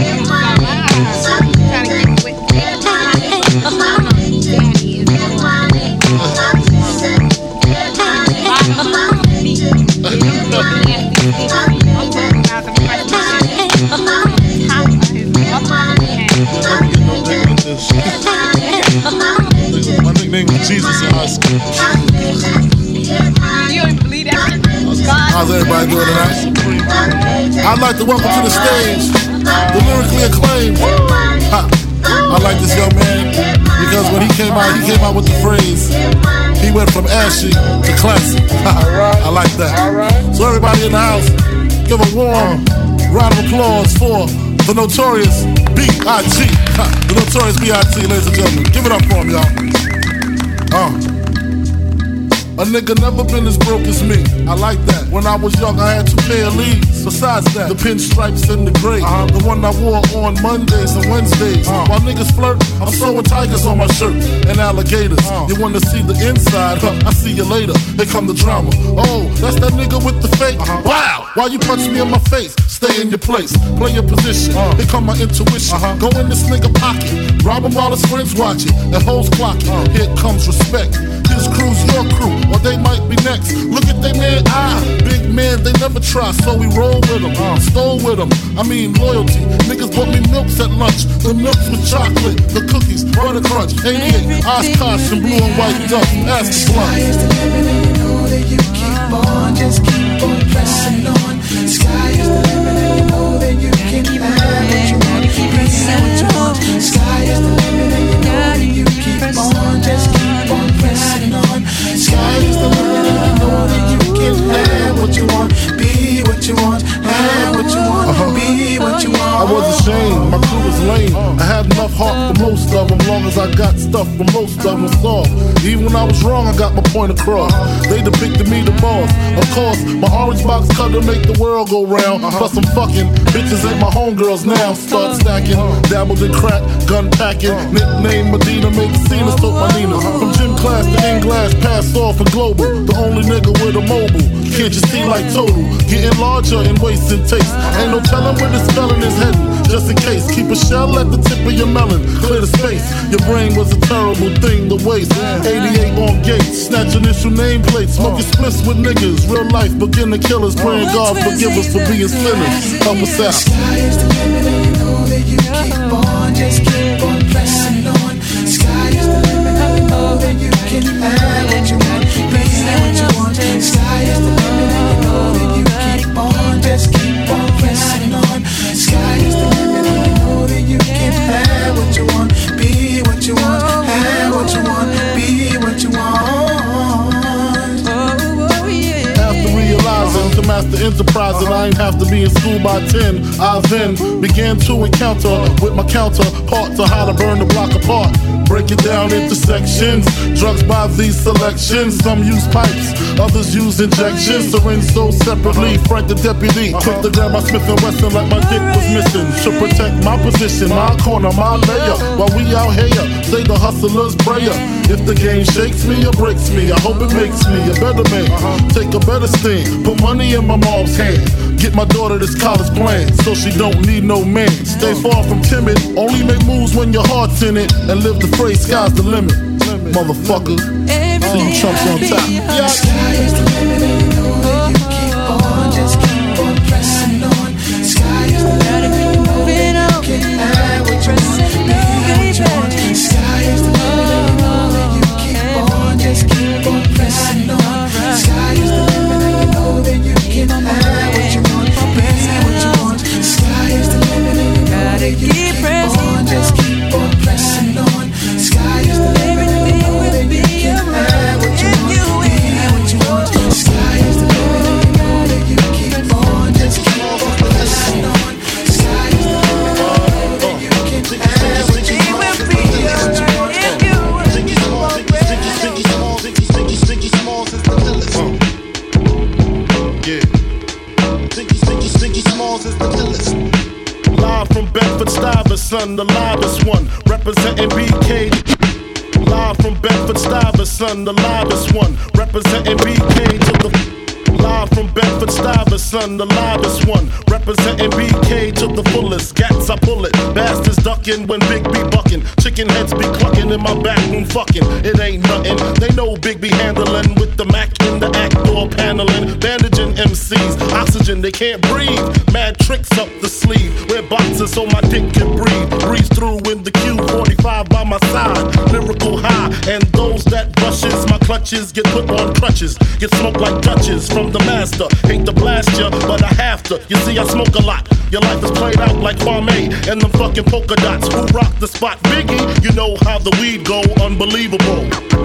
Daddy is everybody doing tonight? I'd like to welcome to the stage the lyrically acclaimed. I like this young man because when he came out with the phrase, he went from ashy to classic. I like that. So everybody in the house, give a warm round of applause for the Notorious B.I.G. The Notorious B.I.G., ladies and gentlemen. Give it up for him, y'all. A nigga never been as broke as me. I like that. When I was young, I had 2 pair of leads. Besides that, the pinstripes and the gray. The one I wore on Mondays and Wednesdays. While niggas flirt, I'm sewing tigers on my shirt and alligators. You wanna see the inside? I see you later. Here come the drama. Oh, that's that nigga with the fake. Wow! Why you punch me in my face? Stay in your place. Play your position. Here come my intuition. Go in this nigga pocket. Rob him while his friends watching. And hoes clocking. Here comes respect. His crew's your crew, or they might be next. Look at they man, big man, they never try, so we roll with them, stole with them. I mean loyalty. Niggas bought me milks at lunch, the milks with chocolate, the cookies, butter crunch, 88, Oshkosh and blue and white duck. Ask the Sky is the limit, and you know that you keep on, just keep on pressing on. Sky is the limit, and you know that you can have what you want, be what you want. Sky is the limit, and you know that you keep on, just keep on pressing on. Sky is the limit, and you know that you can have what you want, be what you want, have what you want, be what you want. I was ashamed, my crew was lame. I had enough heart for most of them, long as I got stuff for most of them soft. Even when I was wrong, I got my point across. They depicted me the boss. Of course, my orange box cutter make the world go round. Plus I'm fucking bitches ain't my homegirls now. Start stacking, dabbled in crack, gun packing. Nickname Medina, make Cena, took my Nina. From gym class to English, passed off for global. The only nigga with a mobile. Can't you see like total? Getting larger in waist and taste. Ain't no telling where this felon is heading. Just in case, keep a shell at the tip of your melon. Clear the space. Your brain was a terrible thing to waste. 88 on gates, snatch initial nameplates. Smoking splits with niggas. Real life begin to kill us. Praying God forgive us for being sinners. Help us out. Sky is the limit, and you know that you keep on, just keep on pressing on. Sky is the limit, and you know that you can have what you want, be what you want. Sky is the limit, and you know that you keep on, just keep on pressing on. Sky is the limit, and you know that you can have what you want, be what you want, have what you want, be what you want. After realizing to master enterprise and I ain't have to be in school by 10, I then began to encounter with my counterpart to how to burn the block apart. Break it down into sections. Drugs by these selections. Some use pipes, others use injections. Syringe sold separately. Frank the deputy, quick to grab my Smith & Wesson like my dick was missing. To protect my position, my corner, my layer. While we out here, say the hustler's prayer. If the game shakes me or breaks me, I hope it makes me a better man. Take a better stand, put money in my mom's hand. Get my daughter this college plan, so she don't need no man. Stay far from timid, only make moves when your heart's in it. And live the phrase, sky's the limit. Motherfucker, see you chumps on top. Yeah. Sky is the limit, and you know that you keep on, just keep on pressing on. Sky is the limit, and you know that you can have what you want, be what you want. Sky is the limit, and you know that you keep on, just keep on pressing on. Sky is the limit, and you know that you can have what you want, be what you want. Sky is the limit, and you know that you keep on, just keep on pressing on. Sky is the limit, and you know that you can have what you want, be what you want. Sky is the limit, and you know that you keep on, just keep on pressing on. Sky is the limit, and you know that you can have what you want, be what you want. Ziggy Smalls is the illest. Yeah. Ziggy Smalls is the illest. Live from Bedford-Stuyvesant, the livest one, representing BK. Live from Bedford-Stuyvesant, the livest one, representing BK to the. Live from Bedford-Stuyvesant, the livest one, representing BK to the fullest. Gats I pull it, bastards ducking when Big B bucking. Chicken heads be clucking in my back room fucking. It ain't nothing, they know Big B handling with the Mac in the act door paneling, bandaging MCs. Oxygen, they can't breathe. Mad tricks up the sleeve. Wear boxes so my dick can breathe. Breeze through in the Q45 by my side. Lyrical high, and those that brushes my clutches get put on crutches. Get smoked like Dutches from the master. Hate to blast ya, but I have to. You see, I smoke a lot. Your life is played out like Kwame and them fucking polka dots. Who rock the spot? Biggie, you know how the weed go. Unbelievable.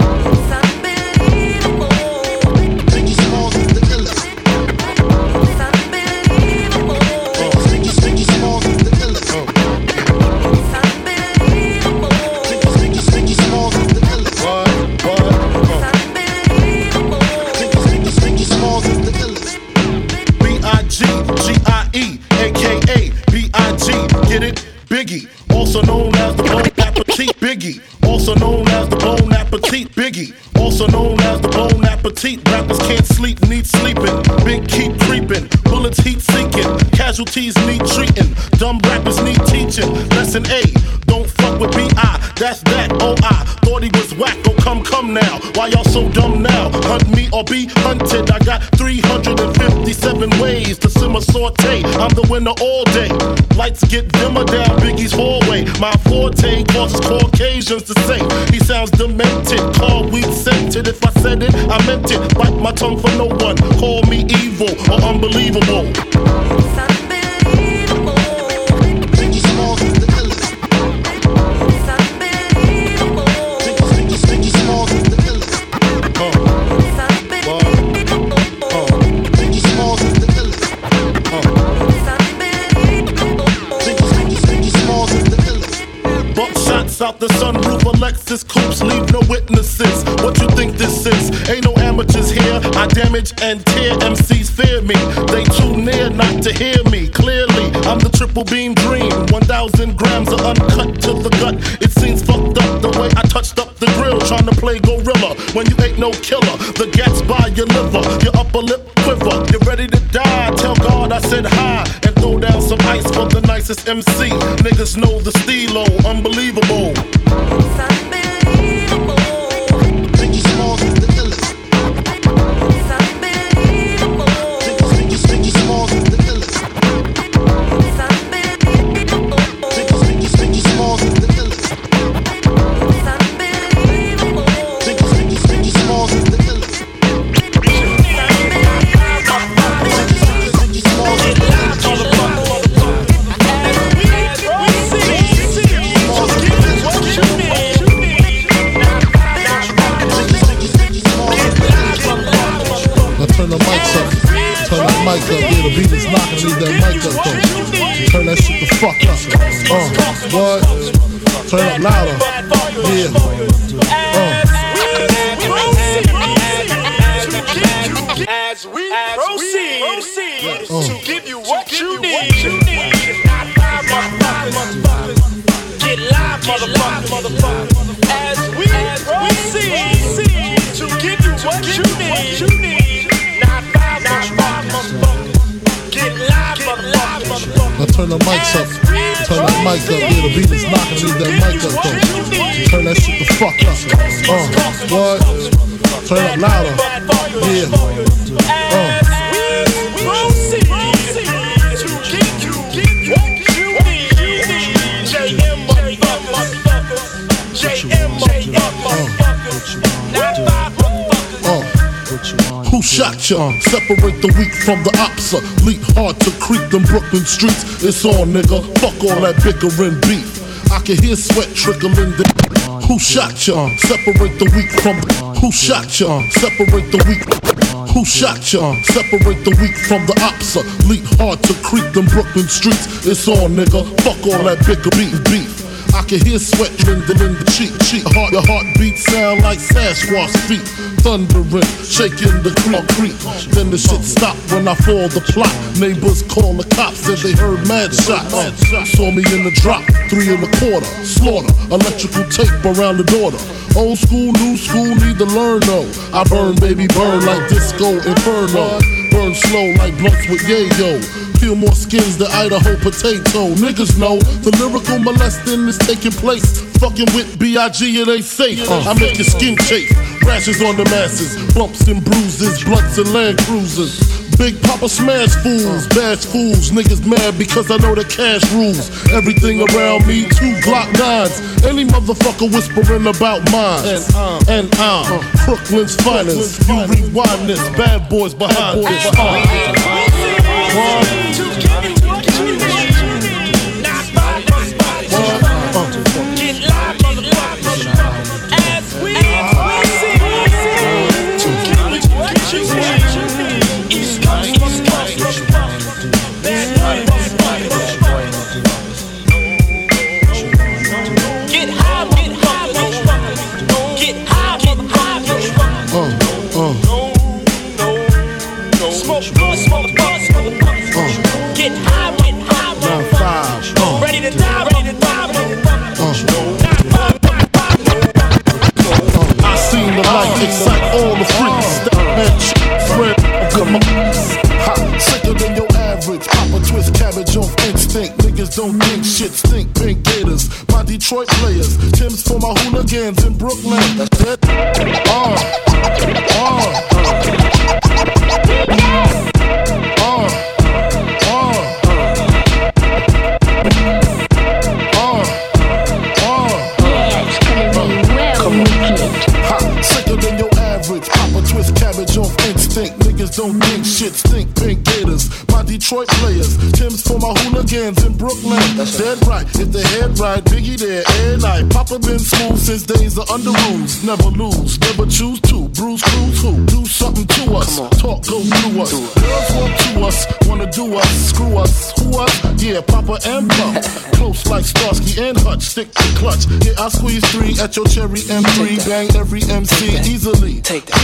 B.I.G.G.I.E. aka B.I.G. Get it? Biggie, also known as the Bon Appetit. Biggie, also known as the Bon Appetit. Biggie, also known as the Bon Appetit. Rappers can't sleep, need sleeping. Big keep creeping, bullets heat seeking. Casualties need treating. Dumb rappers need teaching. Lesson A, don't fuck with B.I. That's that, O.I. Thought he was whack, oh come now. Why y'all so dumb now? Hunt me or be hunted. I got 357 ways to simmer saute. I'm the winner all day. Lights get dimmer down Biggie's hallway. My forte causes Caucasians to say he sounds demented. Call weed scented. If I said it, I meant it. Bite my tongue for no one. Call me evil or unbelievable. Out the sunroof, Alexis coupes leave no witnesses. What you think this is? Ain't no amateurs here. I damage and tear. MCs fear me. They too near not to hear me. Clearly, I'm the triple beam dream. 1,000 grams of uncut to the gut. It seems fucked up the way I touched up the grill, trying to play gorilla when you ain't no killer. The gat's by your liver, your upper lip quiver. You're ready to die. Tell God I said hi and throw down some ice for the nicest MC. Niggas know the stilo, unbelievable. Biggie Smalls is the illest. Biggie Smalls is the illest. Biggie Smalls is the illest. Biggie Smalls is the illest. Turn the mics up. Turn that mic up. Yeah, the beat is knocking. Leave that mic up though. Turn that shit the fuck up. What? Turn it up louder. Yeah. As we proceed to give you what you need. Get live, motherfucker. As we proceed to give you what you need. Not five, motherfucker. Get live, motherfucker. Now turn the mics up. Turn that mic up. Yeah, the beat is knocking. Leave that mic up though. Turn that shit the fuck up. What? Turn it up louder. Yeah. Who shot ya? Separate the weak from the opsa. Leap hard to creep them Brooklyn streets. It's on, nigga. Fuck all that bickering beef. I can hear sweat trickling. Who shot ya? Separate the weak from the. Who shot ya? Separate the weak. Who shot ya? Separate the weak from the opsa. Leap hard to creep them Brooklyn streets. It's on, nigga. Fuck all that bicker beef. I can hear sweat trembling in the cheek. Your heartbeat sound like Sasquatch feet. Thundering, shaking the concrete. Then the shit stopped when I fall the plot. Neighbors call the cops, said they heard mad shots. Saw me in the drop, 3 1/4. Slaughter, electrical tape around the daughter. Old school, new school, need to learn though. I burn, baby, burn like disco inferno. Burn slow like blunts with yayo. Peel more skins than Idaho potato. Niggas know the lyrical molesting is taking place. Fucking with B.I.G. it ain't safe. I make your skin chafe. Rashes on the masses, bumps and bruises, blunts and Land Cruisers. Big Papa smash fools, bash fools. Niggas mad because I know the cash rules. Everything around me, 2 Glock 9s. Any motherfucker whispering about mine. And I'm Brooklyn's finest. You rewind this, bad boys behind this. Don't think shit stink, pink gators. My Detroit players, Tim's for my hooligans in Brooklyn. Dead. Sicker than your average. Papa twist cabbage off instinct. Niggas don't think shit stink, pink gators. My Detroit players, Tim's for my hooligans in Brooklyn. Dead right, if the head right, Biggie there, and night. Papa been smooth since days of under rules. Never lose, never choose to. Bruise, cruise, who? Do something to us. Talk, go through us. Girls want to us, wanna do us. Screw us, who us? Yeah, Papa and Pump. Close like Starsky and Hutch, stick to clutch. Yeah, I squeeze 3 at your cherry M3. Bang every MC easily.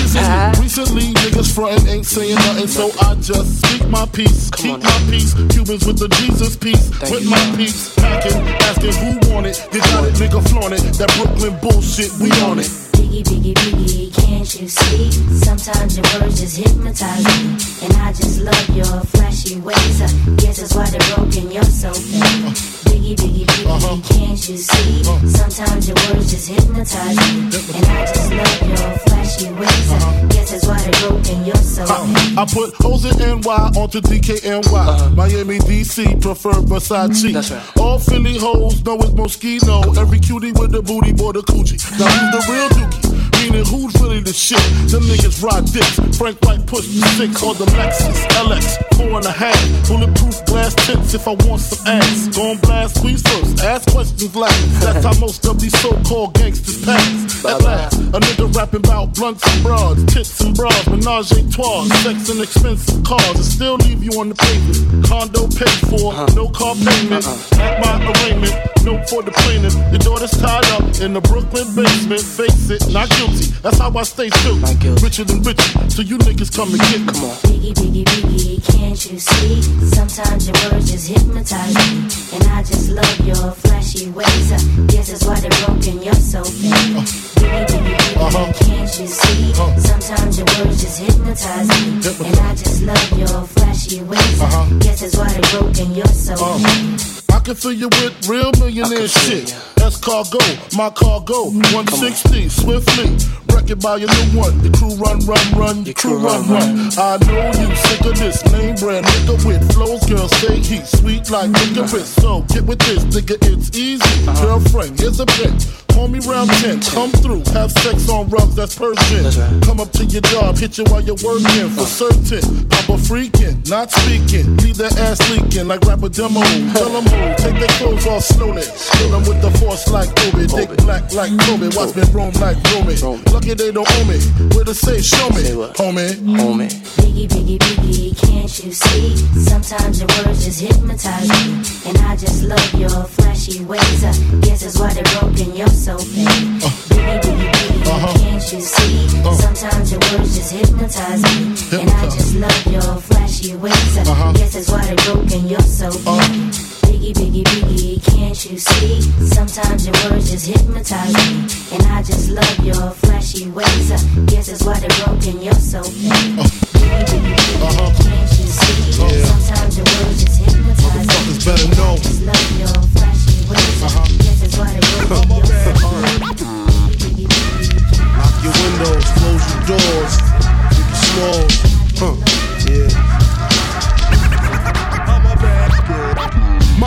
Recently, niggas frontin' ain't saying nothing, so I just speak my peace. Keep my peace. Cubans with the Jesus piece. With my peace. Packing, asking who want it. You got it, nigga, flaunt it. That Brooklyn bullshit, we on it. Biggie, biggie, biggie, can't you see? Sometimes your words just hypnotize me. And I just love your flashy ways. I guess that's why they're broken, you're so fake. Biggie, biggie, biggie, can't you see? Sometimes your words just hypnotize me. And I just love your flashy ways. I guess that's why they're broken, you're so fake. I put O's in NY onto DKNY. Miami, DC, prefer Versace. That's right. All Philly hoes know it's Moschino. Every cutie with the booty, boy, the coochie. Now who's the real dookie? Meaning who's really the shit? Them niggas ride dicks. Frank White push the 6 on the Lexus LX 4.5. Bulletproof glass tips if I want some ass. Gon' blast, squeeze first, ask questions last. That's how most of these so-called gangsters pass. At last, a nigga rapping about blunts and broads, tits and bras, menage a trois, sex and expensive cars, and still leave you on the pavement. Condo paid for, no car payment. At my arraignment, note for the plaintiff. Your daughter's tied up in the Brooklyn basement. Face it, not guilty. That's how I stay true. Richer than richer, so you niggas come and get me. Come on. Biggie, biggie, biggie, can't you see? Sometimes your words just hypnotize me. And I just love your flashy ways. I guess that's why they're broken, you're so fake. Biggie, biggie, biggie, can't you see? Sometimes your words just hypnotize me. And I just love your flashy ways. I guess that's why they're broken, you're so fake. I can fill you with real millionaire shit. That's cargo, my cargo. 160, swiftly. Wreck it by your new one. The crew run. Your crew run. I know you sick of this name brand nigga with flows. Girl, say he's sweet like licorice. So get with this, nigga, it's easy. Girlfriend, here's a bitch. Call me round 10, come through, have sex on rugs, that's Persian. Come up to your job, hit you while you're working, for certain. Papa freaking, not speaking, leave that ass leaking like rapper demo. Tell them who, take their clothes off slowly. Kill them with the force like Kobe, dick black like Kobe, watch me roam like Romy. Lucky they don't owe me, where to say, show me, homie. Biggie, biggie, biggie, can't you see? Sometimes your words just hypnotize me. And I just love your flashy ways. I guess that's why they're broken, you're so fake. Biggie, biggie, biggie, can't you see? Sometimes your words just hypnotize me. And I just love your flashy ways. I guess that's why they're broken, you're so fake. Biggie, biggie, biggie, can't you see? Sometimes your words just hypnotize me. And I just love your flashy ways. I guess that's why they're broken, you're so fake. Biggie, biggie, biggie, can't you see? Sometimes your words just hypnotize me. Better know. I just love your flashy ways. I guess that's why they're broken, you're so fake. Lock your windows.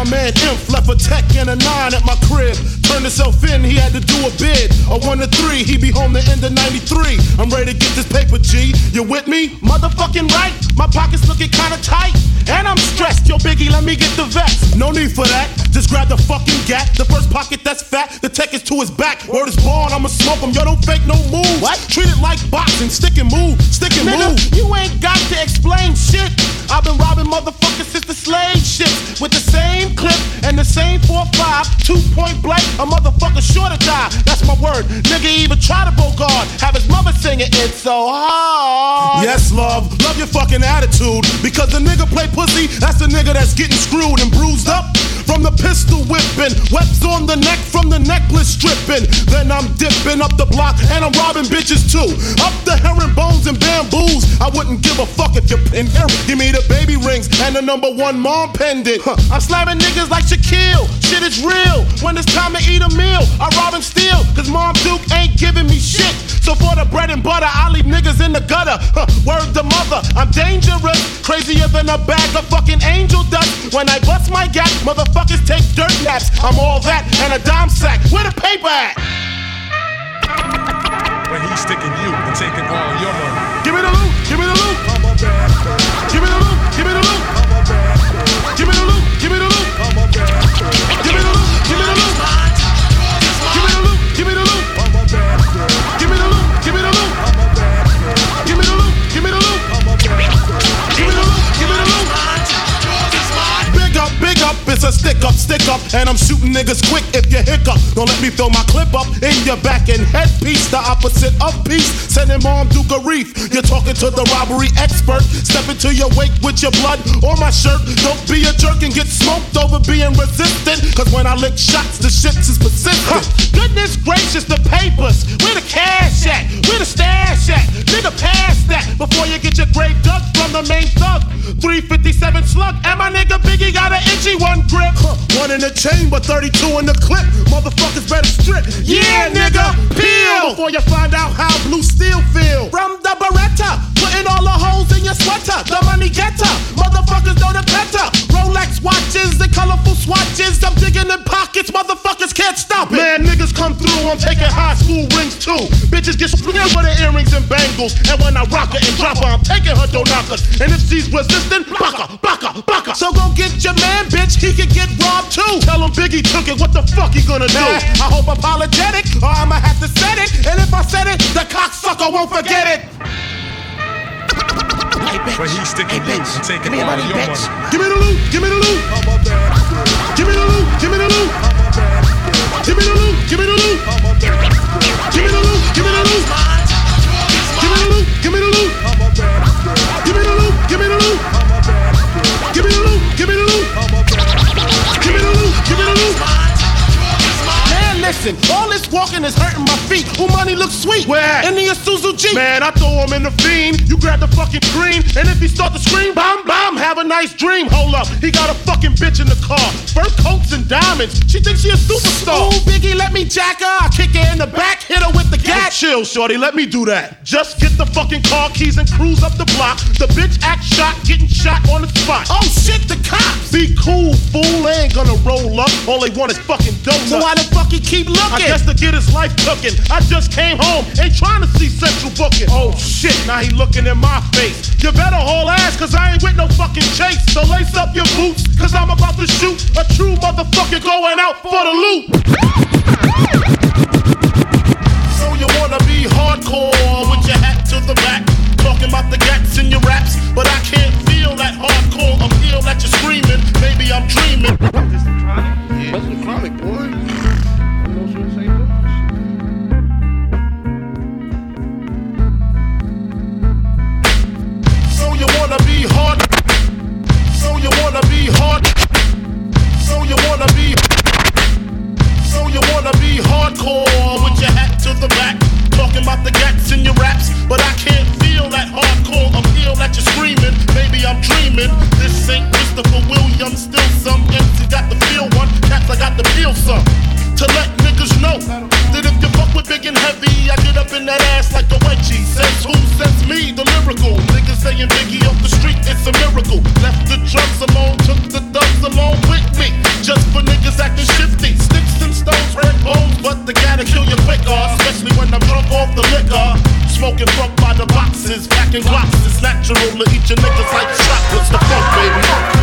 my man Imp left a tech and a 9 at my crib. Turned himself in, he had to do a bid. A 1 to 3, he be home the end of 93. I'm ready to get this paper, G. You with me? Motherfucking right. My pockets looking kinda tight. And I'm stressed. Yo, Biggie, let me get the vest. No need for that. Just grab the fucking gat. The first pocket that's fat. The tech is to his back. Word is born, I'ma smoke him. Yo, don't fake no moves. What? Treat it like boxing. Stick and move. Stick and move. You ain't got to explain shit. I've been robbing motherfuckers since the slave ships. With the same clip and the same 4-5. 2-point blank. A motherfucker sure to die. That's my word. Nigga even try to bogard. Have his mother singing It's So Hard. Yes, love. Love your fucking attitude. Because the nigga play pussy, that's the nigga that's getting screwed and bruised up. From the pistol whipping, webs on the neck from the necklace stripping. Then I'm dipping up the block and I'm robbing bitches too. Up the herringbones and bamboos. I wouldn't give a fuck if you're in here. Give me the baby rings and the #1 mom pendant. I'm slamming niggas like Shaquille. Shit is real. When it's time to eat a meal, I rob and steal. Cause Mom Duke ain't giving me shit. So for the bread and butter, I leave niggas in the gutter. Word to mother, I'm dangerous. Crazier than a bag of fucking angel dust. When I bust my gap, motherfuckers take dirt naps. I'm all that and a dime sack. Where the paper at? When he's sticking you and taking all your money. Give me the loot, give me the loot. Give me the loot, give me the loot. Give me the loot, give me the loot. Give me the loot, give me the loot. Give me the loot, give me the loot. Give me the loot, give me the loot. Give me the loot, give me the loot. Give me the loot, give me the loot. Big up, it's a stick up, and I'm shooting niggas quick if you hiccup. Don't let me throw my clip up in your back and headpiece, the opposite of peace. Sending Mom Duke a reef. You're talking to the robbery expert. Step into your wake with your blood on my shirt. Don't be a jerk and get smoked over being resistant. Cause when I lick shots, the shit is persistent. Goodness gracious, the papers. Where the cash at? Where the stash at? Nigga, pass that before you get your grave dug from the main thug. 357 slug, and my nigga Biggie got an itchy one grip. One in the chamber, 32 in the clip. Motherfuckers better strip. Yeah, nigga, peel before you find out how blue steel feel. From the Beretta, putting all the holes in your sweater. The money getter, motherfuckers know the better. Rolex watches and colorful swatches. I'm digging in pockets, motherfuckers can't stop it. Man, niggas come through, I'm taking high school rings too. Bitches get screwed for the earrings and bangles. And when I rock her and drop her, I'm taking her knockers. And if she's resistant, baka. So go get your man, bitch, he could get robbed too. Tell him Biggie took it, what the fuck he gonna do? I hope apologetic, or I'ma have to set it. And if I said it, the cocksucker won't forget it. Hey, bitch. When he's sticking you and taking all money, your bitch. money. Give me the loot, give me the loot. Give me the loot, give me the loot. Give me the loot, give me the loot. Give me the loot, give me the loot. Give me the loot, give me the loot. Give me the loot, give me the loot. Give me the loot, give me the loot. Give me the loot, give me the loot. Man, listen, all this walking is hurting my feet. Who money looks sweet? Where? In the Isuzu Jeep. Man, I throw him in the fiend. You grab the fucking green, and if he start to scream, bam, bam, have a nice dream. Hold up, he got a fucking bitch in the car. Fur coats and diamonds. She thinks she a superstar. Ooh, Biggie, let me jack her. I kick her in the back, hit her with the gat. Chill, shorty, let me do that. Just get the fucking car keys and cruise up the block. The bitch act shot, getting shot on the spot. Oh shit, the cops. Be cool, fool. They ain't gonna roll up. All they want is fucking donuts. So why the fuck he keep looking? I guess to get his life cooking. I just came home, ain't trying to see Central booking. Oh shit, now he looking in my face. You better haul ass, cause I ain't with no fucking chase. So lace up your boots, cause I'm about to shoot a true motherfucker going out for the loot. So you wanna be hardcore with your hat to the back, talking about the gats in your raps, but I can't feel that hardcore appeal that you're screaming. Maybe I'm dreaming. This the Chronic? Yeah, that's the Chronic, boy. So you wanna be hard. So you wanna be hard. So you wanna be. So you wanna be hardcore with your hat to the back, talking about the gats in your raps, but I can't feel that hardcore appeal that you're screaming. Maybe I'm dreaming. This ain't Christopher Williams, still some MC got the feel one. Cats, I got the feel some. To let niggas know that if you fuck with big and heavy, I get up in that ass like a wedgie. Says who? Says me, the lyrical. Niggas saying Biggie off the street, it's a miracle. Left the drugs alone, took the thugs along with me. treat your niggas like chocolates. The funk, baby.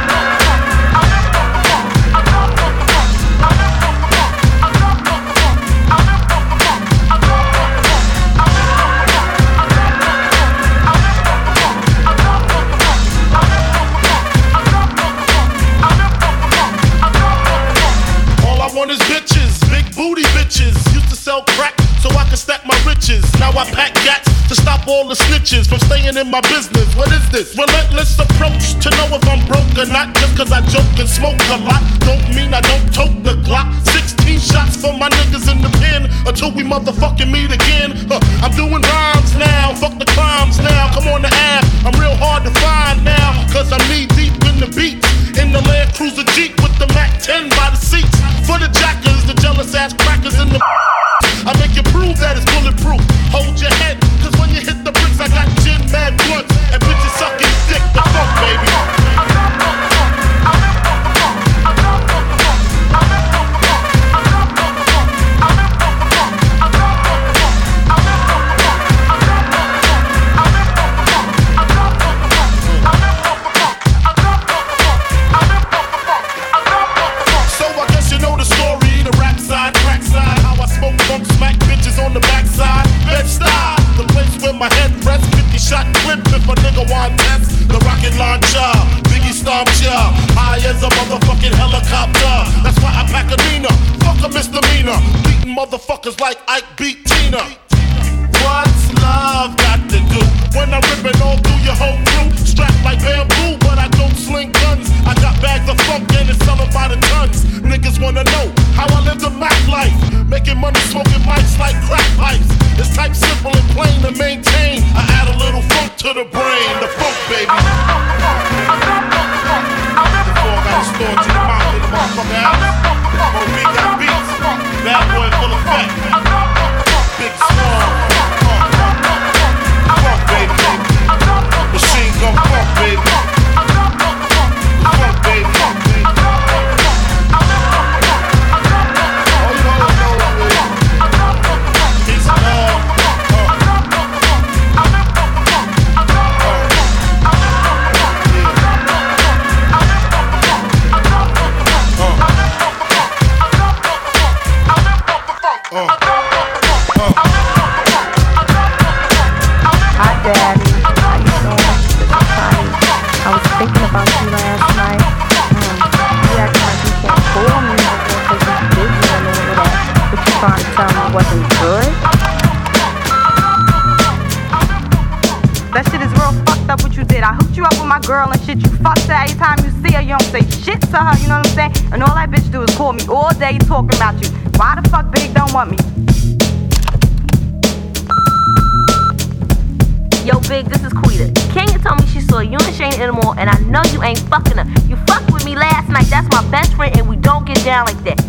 Is bitches, big booty bitches. Used to sell crack so I could stack my riches. Now I pack gats to stop all the snitches from staying in my business. What is this? Relentless approach to know if I'm broke or not. Just cause I joke and smoke a lot don't mean I don't tote the Glock. 16 shots for my niggas in the pen until we motherfucking meet again. I'm doing rhymes now, fuck the crimes now. Come on the app, I'm real hard to find now. Cause I'm knee deep in the beats. In the Land Cruiser Jeep with the Mac 10 by the seats. For the jackers, the jealous ass crackers in the I make you prove that it's bulletproof. Hold your head, cause when you hit the bricks, I got gin, mad blunts, and bitches sucking dick. The fuck, baby. On the backside, Bed-Stuy, the place where my head rests. 50-shot clip if a nigga want test. The rocket launcher, Biggie stomps ya, high as a motherfucking helicopter. That's why I pack a Nina, fuck a misdemeanor. Beating motherfuckers like Ike beat Tina. What's love got to do when I'm ripping all through your whole crew? Strapped like bamboo, but I don't sling guns. I got bags of funk and it's selling by the tons. Niggas wanna know how I live the Mac life. Making money, smoking mics like crack pipes. It's type simple and plain to maintain. I add a little funk to the brain. The funk, baby. Before I got a store to the mouth in the motherfucker house. When we got beats, bad boy full effect. Big song. Funk, baby. Machine gun funk, baby. Funk, baby. Girl and shit, you fuss her every time you see her, you don't say shit to her, you know what I'm saying? And all that bitch do is call me all day talking about you. Why the fuck Big don't want me? Yo, Big, this is Quita. Kenya told me she saw you and Shane in the mall, and I know you ain't fucking her. You fucked with me last night, that's my best friend, and we don't get down like that.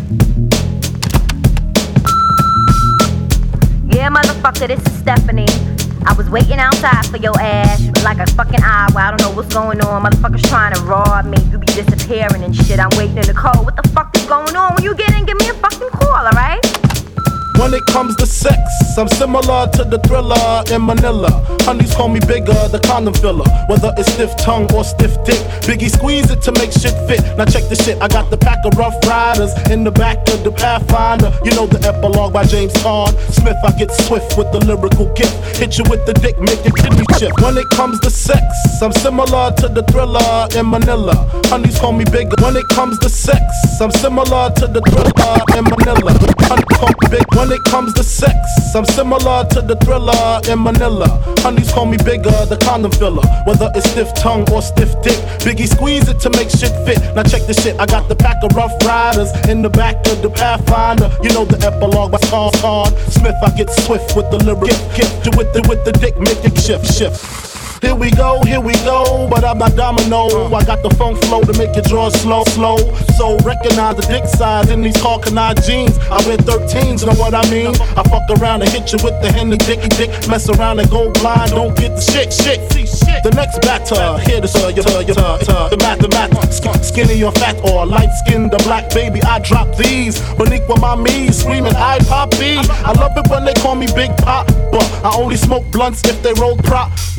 Yeah, motherfucker, this is Stephanie. I was waiting outside for your ass like a fucking hour. I don't know what's going on. Motherfuckers trying to rob me. You be disappearing and shit. I'm waiting in the cold. What the fuck is going on? When you get in, give me a fucking call, alright? When it comes to sex, I'm similar to the Thriller in Manila. Honeys call me bigger, the condom filler. Whether it's stiff tongue or stiff dick, Biggie squeeze it to make shit fit. Now check this shit, I got the pack of Rough Riders in the back of the Pathfinder. You know the epilogue by James Caan Smith. I get swift with the lyrical gift. Hit you with the dick, make your kidney shift. When it comes to sex, I'm similar to the Thriller in Manila. Honeys call me bigger. When it comes to sex, I'm similar to the Thriller in Manila. Honeys call me big. When it comes to sex, I'm similar to the Thriller in Manila. Honeys call me bigger, the condom filler. Whether it's stiff tongue or stiff dick, Biggie squeeze it to make shit fit. Now check this shit, I got the pack of Rough Riders in the back of the Pathfinder. You know the epilogue by Caan Smith. I get swift with the lyric gift. You with the dick, make it shift. Here we go, but I'm not domino. I got the funk flow to make your jaws slow. So recognize the dick size in these Carcanine jeans. I wear 13s, know what I mean? I fuck around and hit you with the Henny dicky dick. Mess around and go blind, don't get the shit. The next batter, here the math, skinny or fat or light skinned or black, baby. I drop these, Boniqua mommy, screaming I poppy. I love it when they call me Big Pop, but I only smoke blunts if they roll prop. But look,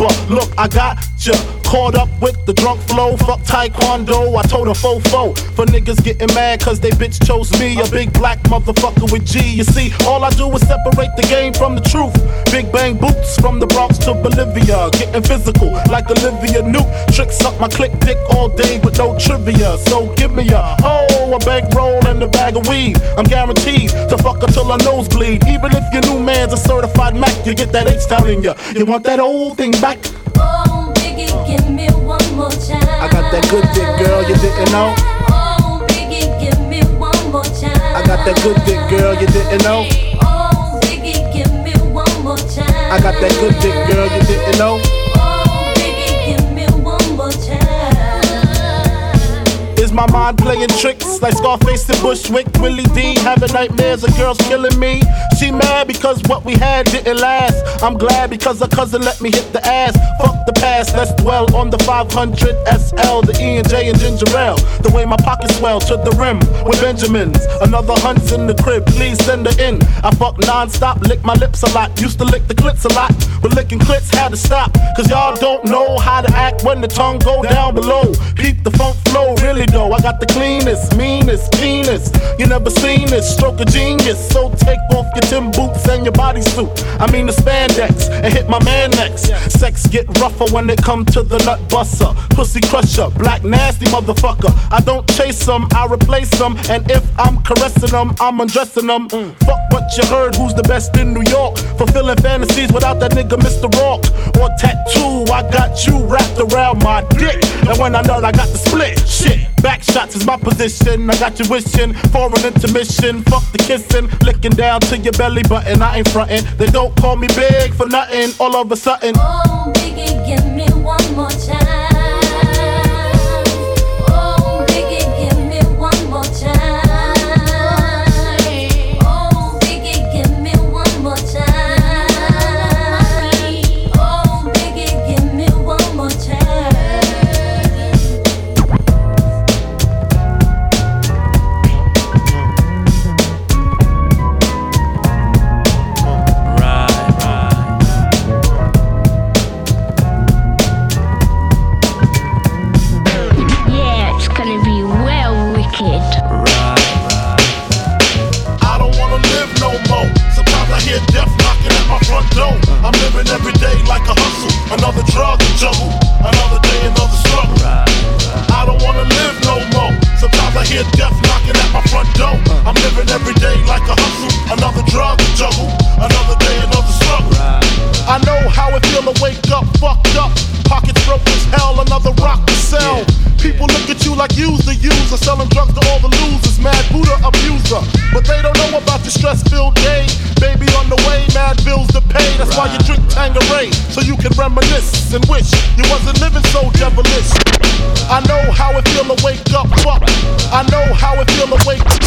I got ya caught up with the drunk flow. Fuck taekwondo, I told a fofo. For niggas getting mad cause they bitch chose me, a big black motherfucker with G. You see, all I do is separate the game from the truth. Big bang boots from the Bronx to Bolivia, getting physical like Olivia Newt. Tricks up my click dick all day with no trivia. So give me a bankroll and a bag of weed. I'm guaranteed to fuck her till her nose bleed. Even if your new man's a certified Mac, you get that H-Town in ya. You want that old thing back? Oh, Biggie, give me one more time. I got that good dick, girl, you didn't know. Oh, Biggie, give me one more time. I got that good dick, girl, you didn't know. Oh, Biggie, give me one more time. I got that good dick, girl, you didn't know. Oh, Biggie, give me one more time. Is my mind playing tricks like Scarface and Bushwick? Willie D having nightmares of girls killing me. She mad because what we had didn't last. I'm glad because her cousin let me hit the ass. Fuck the past, let's dwell on the 500 SL, the E&J and ginger ale. The way my pockets swell to the rim with Benjamins. Another hunt's in the crib, please send her in. I fuck non-stop, lick my lips a lot. Used to lick the clits a lot, but licking clits had to stop. Cause y'all don't know how to act when the tongue go down below. Peep the funk flow, really though. I got the cleanest, meanest penis. You never seen this, stroke of genius. So take off your Tim boots and your bodysuit. I mean the spandex, and hit my man next. Sex get rougher when it come to the nut buster. Pussy crusher, black nasty motherfucker. I don't chase them, I replace them. And if I'm caressing them, I'm undressing them. Fuck what you heard, who's the best in New York? Fulfilling fantasies without that nigga Mr. Rock. Or tattoo, I got you wrapped around my dick. And when I nut, I got the split. Shit, back shots is my position. I got you wishing for an intermission. Fuck the kissing, licking down to your belly button. I ain't frontin'. They don't call me big for nothing. All of a sudden, oh, Biggie, give me one more time. Oh, Biggie, give me one more time. Oh, Biggie, give me one more time. Oh, Biggie, give me one more time. Yeah, it's gonna be well wicked. I don't wanna live no more. Sometimes I hear death knocking at my front door. I'm living every day like a hustle. Another drug to juggle. Another day, another struggle. I don't wanna live no more. Sometimes I hear death knocking at my front door. I'm living every day like a hustle. Another drug to juggle. Another day, another struggle. I know how it feel to wake up fucked up. Pockets broke as hell, another rock to sell. People look at you like you's the user, selling drugs to all the losers, mad Buddha abuser. But they don't know about the stress-filled day. Baby on the way, mad bills to pay. That's why you drink Tanqueray, so you can reminisce and wish you wasn't living so devilish. I know how it feel to wake up fucked. I know how it feel to wake up.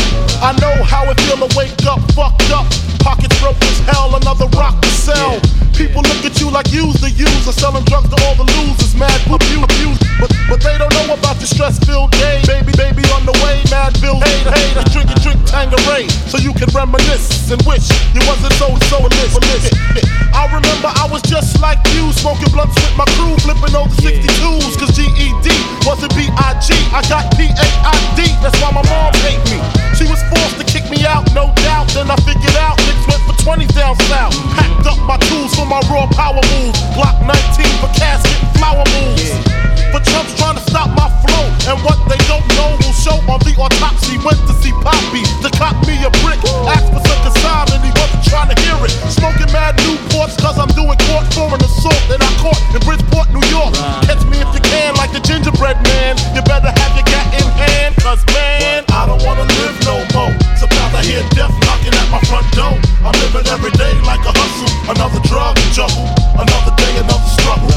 I know how it feel to wake up fucked up. Pockets broke as hell, another rock to sell. People look at you like you's the user, selling drugs to all the losers, mad abuse. But they don't know about the stress-filled day. Baby on the way, mad bills. Hey, that's drink Tanqueray, so you can reminisce and wish you wasn't so illicit. I remember I was just like you, smoking blunts with my crew, flipping over 62s, cause GED wasn't B.I.G. I got P.A.I.D. That's why my mom hate me. She was forced to kick me out, no doubt. Then I figured out niggas went for 20 down south. Packed up my tools for my raw power moves. Glock 19 for casket and flower moves. For chumps trying to stop my flow, and what they don't know will show on the autopsy. Went to see Poppy to cop me a brick. Asked for some consignment, he wasn't trying to hear it. Smoking mad Newports cause I'm doing court for an assault that I caught in Bridgeport, New York. Catch me if you can like the gingerbread man. You better have your gat in hand, cause man, I don't wanna live no more. Sometimes I hear death knocking at my front door. I'm living every day like a hustle. Another drug juggle, another day, another struggle.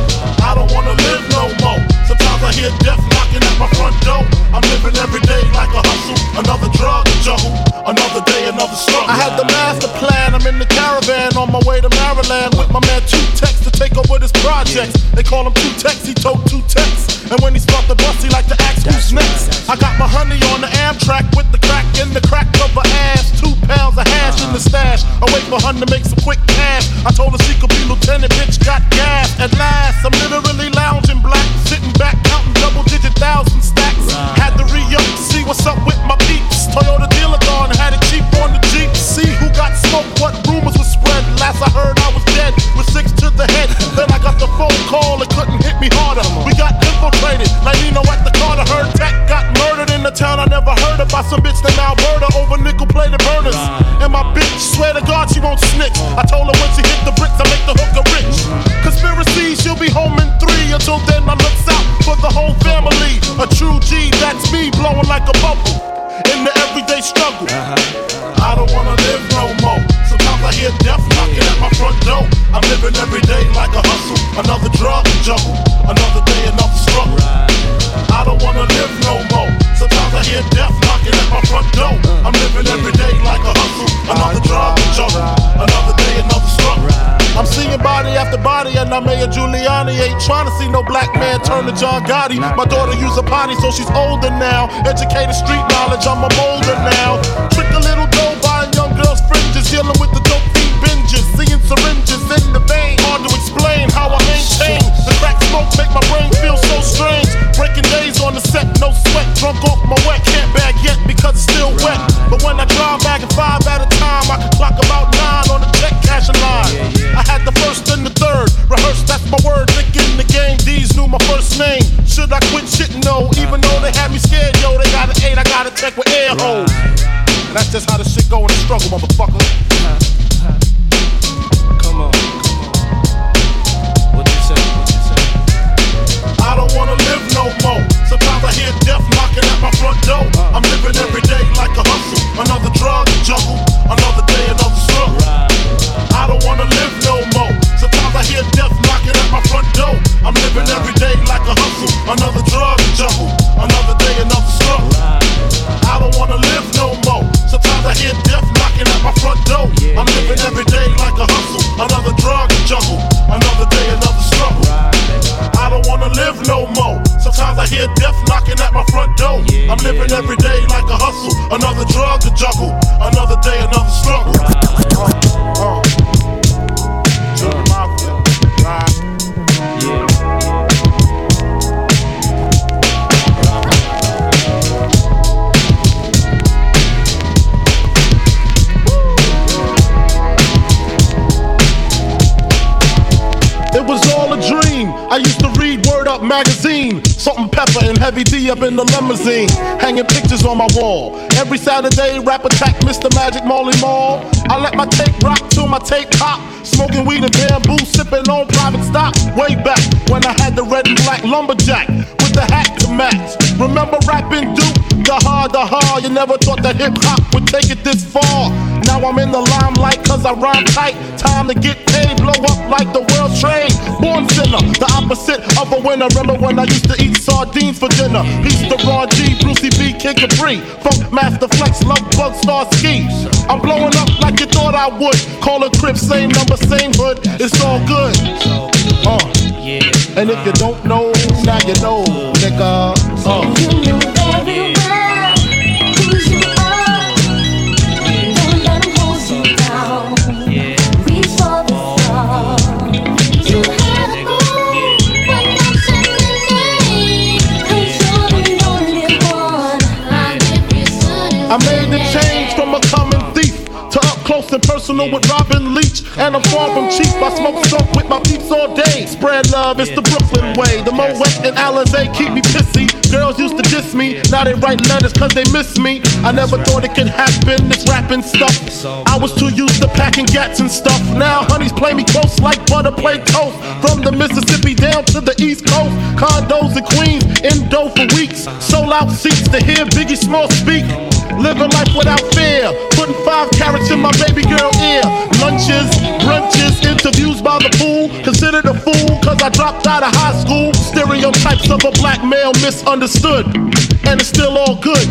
I don't wanna live no more. Sometimes I hear death knocking at my front door. I'm living every day like a hustle. Another drug juggle, another day, another struggle. I had the master plan. I'm in the caravan on my way to Maryland with my man 2Tex to take over this project. They call him 2Tex, he told 2Tex. And when he start the bus, he like to ask who's next. I got my honey on the Amtrak with the crack in the crack of her ass. 2 pounds of hash in the stash. Away for her to make some quick cash. I told her she could be lieutenant, bitch got gas. At last, I'm literally lounging black, sitting back, counting double-digit thousand stacks. Had to re-up to see what's up with my peeps. Toyota dealer gone, had it cheap on the Jeep. See who got smoked, what rumors were spread. Last I heard I was dead, with 6 to the head. Then I got the phone call, it couldn't hit me harder. We got infiltrated, like Nino at the Carter. Heard Tech got murdered in the town I never heard of by some bitch named Alberta over nickel-plated burners. And my bitch, swear to God she won't snitch. I told her when she hit the bricks, I make the hooker rich. Conspiracy, she'll be home in 3. Until then, I looks out for the whole family. A true G, that's me, blowing like a bubble in the everyday struggle. I don't wanna live no more. Sometimes I hear death knocking at my front door. I'm living every day like a hustle. Another drug juggle, another day, another struggle. I don't wanna live no more. Sometimes I hear death knocking at my front door. I'm living every day like a hustle. Another drug juggle, another day, another struggle. I'm seeing body after body, and I'm Mayor Giuliani. Ain't trying to see no black man turn to John Gotti. My daughter use a potty, so she's older now. Educated street knowledge, I'm a molder now. Trick a little dough, buying young girls' fringes, dealing with the dope fiend binges, seeing syringes in the vein. Hard to explain how I maintain. The crack smoke make my brain feel so strange. Breaking days on the set, no sweat, drunk off my wet. Can't bag yet because it's still wet. But when I drive back at 5 at a time, I can clock about 9 on the check cashing line. I had the first and the third, rehearsed, that's my word. Thinking the game, D's knew my first name. Should I quit shit? No, even though they had me scared, yo, they got an 8, I got a check with air holes. And that's just how the shit go in the struggle, motherfucker. Come on. What you say? I don't wanna live no more. Sometimes I hear death knocking at my front door. I'm living every day like a hustle. Another drug juggle, another day, another struggle. I don't wanna live no more. Sometimes I hear death knocking at my front door. I'm living every day like a hustle. Another drug juggle, another day, another struggle. I don't wanna live no more. Sometimes I hear death knocking at my front door. I'm living every day like a hustle. Another drug juggle, another day, another struggle. I don't wanna live no more. Sometimes I hear death knocking at my front door. I'm living every day like a hustle. Another drug to juggle, another day, another struggle. To the mafia, right? It was all a dream. I used to read Word Up magazine. Salt-N Pepper and Heavy D up in the limousine, hanging pictures on my wall. Every Saturday, rap attack Mr. Magic Marley Marl. I let my tape rock till my tape pop. Smoking weed and bamboo, sipping on private stock. Way back when I had the red and black lumberjack with the hat to match. Remember rapping Duke? The hard, you never thought that hip-hop would take it this far. Now I'm in the limelight cause I rhyme tight. Time to get paid, blow up like the world trade. Born sinner, the opposite of a winner. Remember when I used to eat sardines for dinner? Peace to Ron G, Brucey B, Kid Capri, Funk Master Flex, Love Bug, Star Ski. I'm blowing up like you thought I would. Call a crib, same number, same hood. It's all good. And if you don't know, now you know, nigga. You know very well who you are. Don't let 'em hold you down. Reach for the stars. You had a goal, but not just a name. 'Cause you're the only one. I made the change from a common thief to up close and personal with Robin Leach. And I'm far from cheap, I smoke skunk with my peeps all day. Spread love, it's the Brooklyn way. The Moet and Alizé keep me pissy. Girls used to diss me, now they write letters cause they miss me. I never thought it could happen, this rapping stuff. I was too used to packing gats and stuff. Now honeys play me close like butter play toast. From the Mississippi down to the East Coast. Condos in Queens, in dough for weeks. Sold out seats to hear Biggie Small speak. Living life without fear, putting 5 carats in my baby girl ear. Lunches, brunches, interviews by the pool. Considered a fool cause I dropped out of high school. Stereotypes of a black male misunderstood. And it's still all good,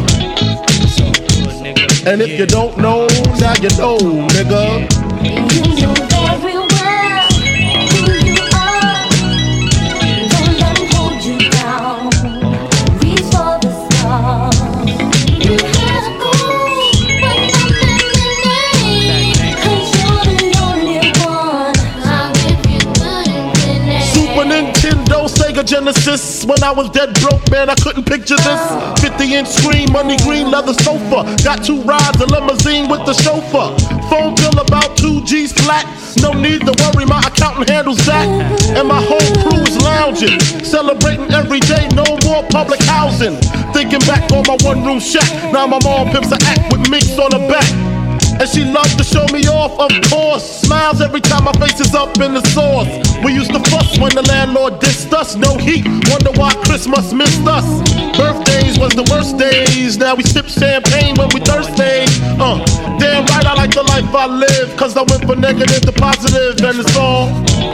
And if you don't know, now you know, nigga. You know very well who you are. Don't let 'em hold you down. Reach for the stars. You had a goal, but nothing remained. 'Cause sis. When I was dead broke, man, I couldn't picture this. 50-inch screen, money green, leather sofa. Got 2 rides, a limousine with the chauffeur. Phone bill about 2 G's flat. No need to worry, my accountant handles that. And my whole crew is lounging, celebrating every day, no more public housing. Thinking back on my one-room shack. Now my mom pimps an act with minks on her back. And she loves to show me off, of course. Smiles every time my face is up in the sauce. We used to fuss when the landlord dissed us. No heat, wonder why Christmas missed us. Birthdays was the worst days. Now we sip champagne when we thirsty. Damn right I like the life I live. Cause I went from negative to positive and it's all.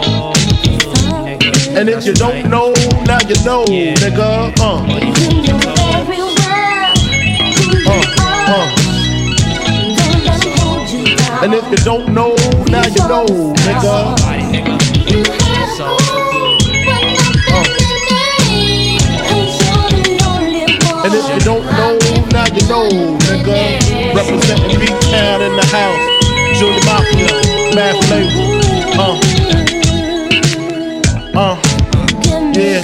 And if you don't know, now you know, nigga. And if you don't know, now you know, nigga. And if you don't know, now you know, nigga. Representing B-Town in the house. Junior Mafia, Math Label. Yeah.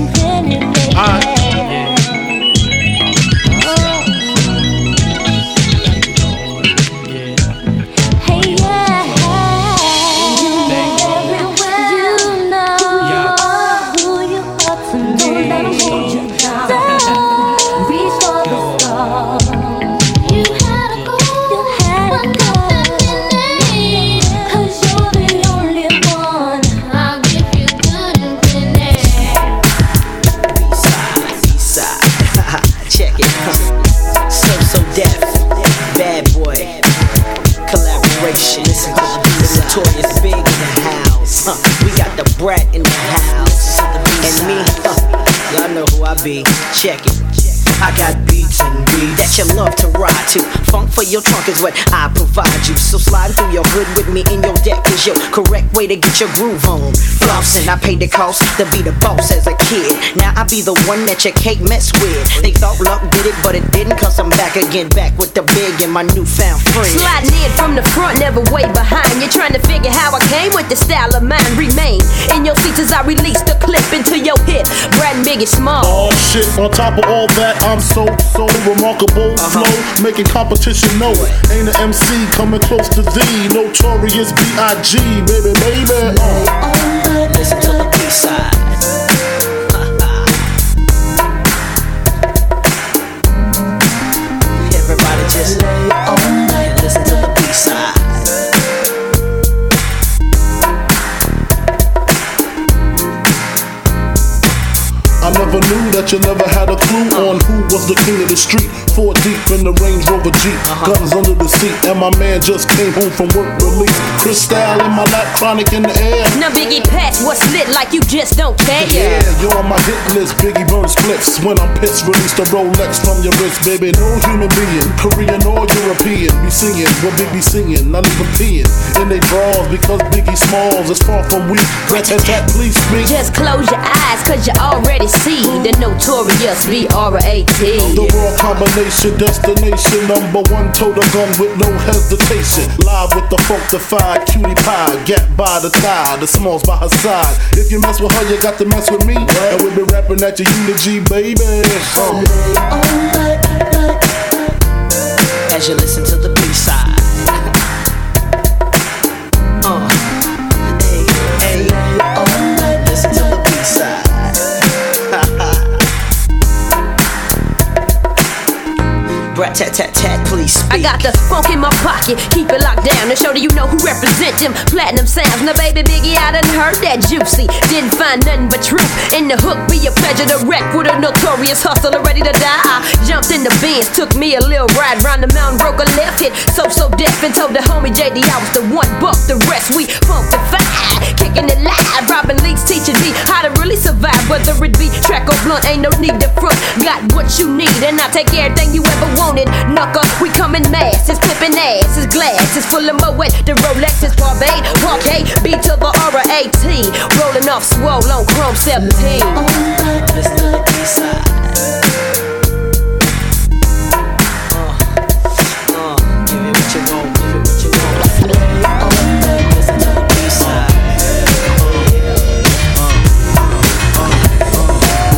Brat in the house, and me, y'all know who I be. Check it. I got beats and beats that you love to ride to. Funk for your trunk is what I provide you. So slide through your hood with me in your deck is your correct way to get your groove on. Flossing, I paid the cost to be the boss as a kid. Now I be the one that you can't mess with. They thought luck did it, but it didn't. Cause I'm back again, back with the big and my newfound friend. Sliding in from the front, never way behind. You're trying to figure how I came with the style of mine. Remain in your seats as I release the clip into your hip. Brad and Biggie Small. Oh shit, on top of all that, I'm so remarkable. Flow, making competition know it. Ain't an MC coming close to thee. Notorious B.I.G. baby. Listen to the B-side. Everybody just lay on and listen to the B-side. I never knew that you never had a clue on who was the king of the street. 4 deep in the Range Rover Jeep, guns under the seat, and my man just came home from work release. Crystal in my lap, chronic in the air. Now Biggie Patch, what's lit like you just don't care? Yeah, you're on my hit list, Biggie burn splits. When I'm pissed, release the Rolex from your wrist, baby. No human being, Korean or European, be singing what Big be singing, not even peeing in they drawers because Biggie Smalls is far from weak. Rat-tat-tat, please speak. Just close your eyes, cause you already see the notorious B.R.A.T. The raw combination, destination, #1, total gun with no hesitation. Live with the funkified cutie pie, gap by the thigh, the Smalls by her side. If you mess with her, you got to mess with me. And we be rapping at your Unity, baby. As you listen to the B-side. Listen to the B-side. Rat-tat-tat-tat, please speak. I got the funk in my pocket, keep it locked down to show that you know who represent them platinum sounds. Now baby Biggie, I done heard that juicy, didn't find nothing but truth in the hook. Be a pleasure to wreck with a notorious hustler ready to die. I jumped in the Benz, took me a little ride round the mountain, broke a left hit, so deaf, and told the homie JD I was the one. Buck the rest, we funkified, kicking it live. Robin Leaks teaching me how to really survive, whether it be track or blunt, ain't no need to front. Got what you need, and I take everything you ever wanted. Knucker, we coming masses, flipping asses, glasses full of Moet. The Rolex is Barbade, Parquet, B to the R-A-T, rolling off swole on Chrome 17. Listen to the B-side. Give it what you want, give it what you want. Listen to the B-side.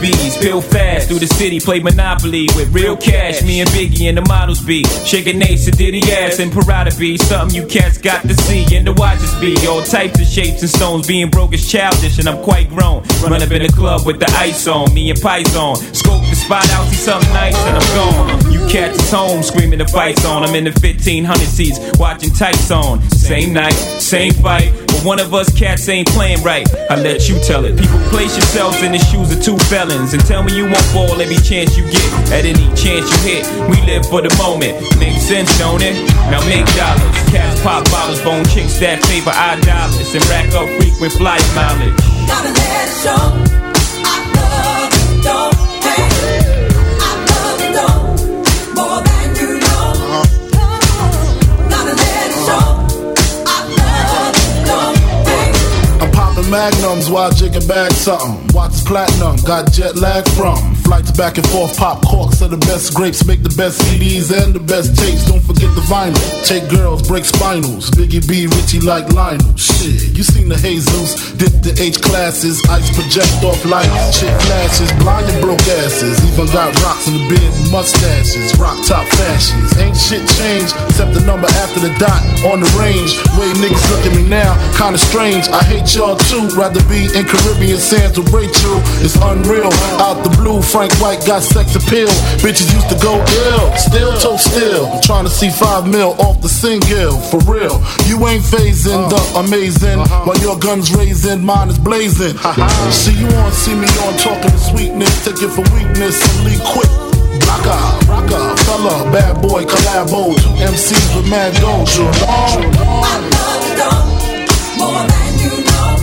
bees, pill fast through the city, play Monopoly with real cash. Me and Biggie and the models be shaking Ace and Diddy ass and Parada be something you cats got to see and the watches be all types of shapes and stones. Being broke is childish and I'm quite grown. Run up in the club with the ice on, me and Python. Scope the spot out, see something nice and I'm gone. You cats is home screaming the fights on. I'm in the 1500 seats watching tights on. Same night, same fight, but one of us cats ain't playing right. I let you tell it. People place yourselves in the shoes of two felons and tell me you won't fall every chance you get. At any chance you hit, we live for the moment. Makes sense, don't it? Now make dollars. Cats pop bottles, bone chicks that favor our dollars and rack up frequent flight mileage. Gotta let it show. I love you, don't hate. I love you, don't more than you know. Gotta let it show. I love you, don't hate. I'm popping magnums while jigging back something. Watch platinum, got jet lag from flights back and forth. Pop corks are the best grapes, make the best CDs and the best tapes. Don't forget the vinyl. Take girls, break spinals. Biggie B, Richie like Lionel. Shit, you seen the Jesus, dip the H classes, ice project off lights, chick flashes, blind and broke asses. Even got rocks in the beard and mustaches, rock top fashions. Ain't shit changed except the number after the dot on the range. Way niggas look at me now, kinda strange. I hate y'all too. Rather be in Caribbean sands with Rachel. It's unreal. Out the blue, Frank White got sex appeal. Bitches used to go ill, still toe still. Trying to see 5 mil off the single, for real. You ain't phasing the amazing, while your gun's raising, mine is blazing. See you on, see me on, talking to sweetness, take it for weakness, and leave quick. Rocker, fella, bad boy, collabo, 2 MCs with mad gold. I love you, don't more than you know.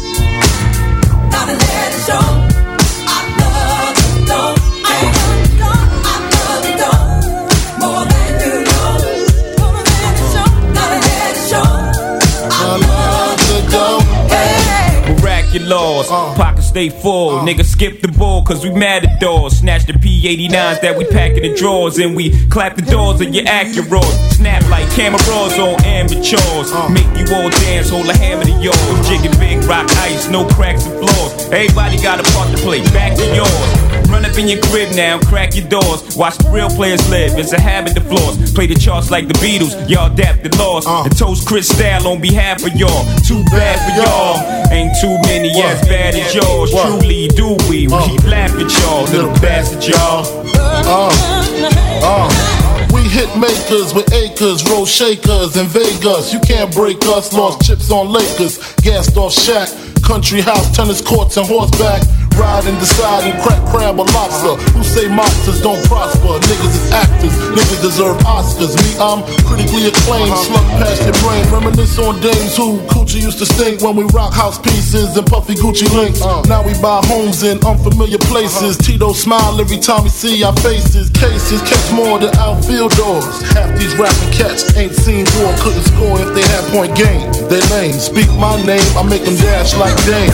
Gotta let it show. I love you, don't hate. I love you, don't more than you know. Gotta let it show. Gotta let it show. I love you, don't hate. Miraculous, pockets stay full. Niggas skip the bull cause we mad at doors. Snatch the P89s that we pack in the drawers and we clap the doors of your Acuras. Snap like cameras on amateurs. Make you all dance, hold a hammer to yours. Jigging big rock ice, no cracks and floors. Everybody got a part to play, back to yours. Run up in your crib now, crack your doors. Watch the real players live, it's a habit to floors. Play the charts like the Beatles, y'all adapt the laws. And toast Chris Style on behalf of y'all. Too bad for y'all, ain't too many as bad as yours. Truly do we keep laughing at y'all, little bastard y'all. We hit makers with acres, roll shakers in Vegas. You can't break us, lost chips on Lakers, gassed off Shaq. Country house, tennis courts, and horseback. Ride and decide and crack crab or lobster. Who say monsters don't prosper? Niggas is actors, niggas deserve Oscars. Me, I'm critically acclaimed, slug past your brain. Reminisce on days who coochie used to stink when we rock house pieces and puffy Gucci links. Now we buy homes in unfamiliar places. Tito smile every time we see our faces. Cases catch more than outfield doors. Half these rapping cats ain't seen war, couldn't score if they had point game. They lame, speak my name, I make them dash like Dame.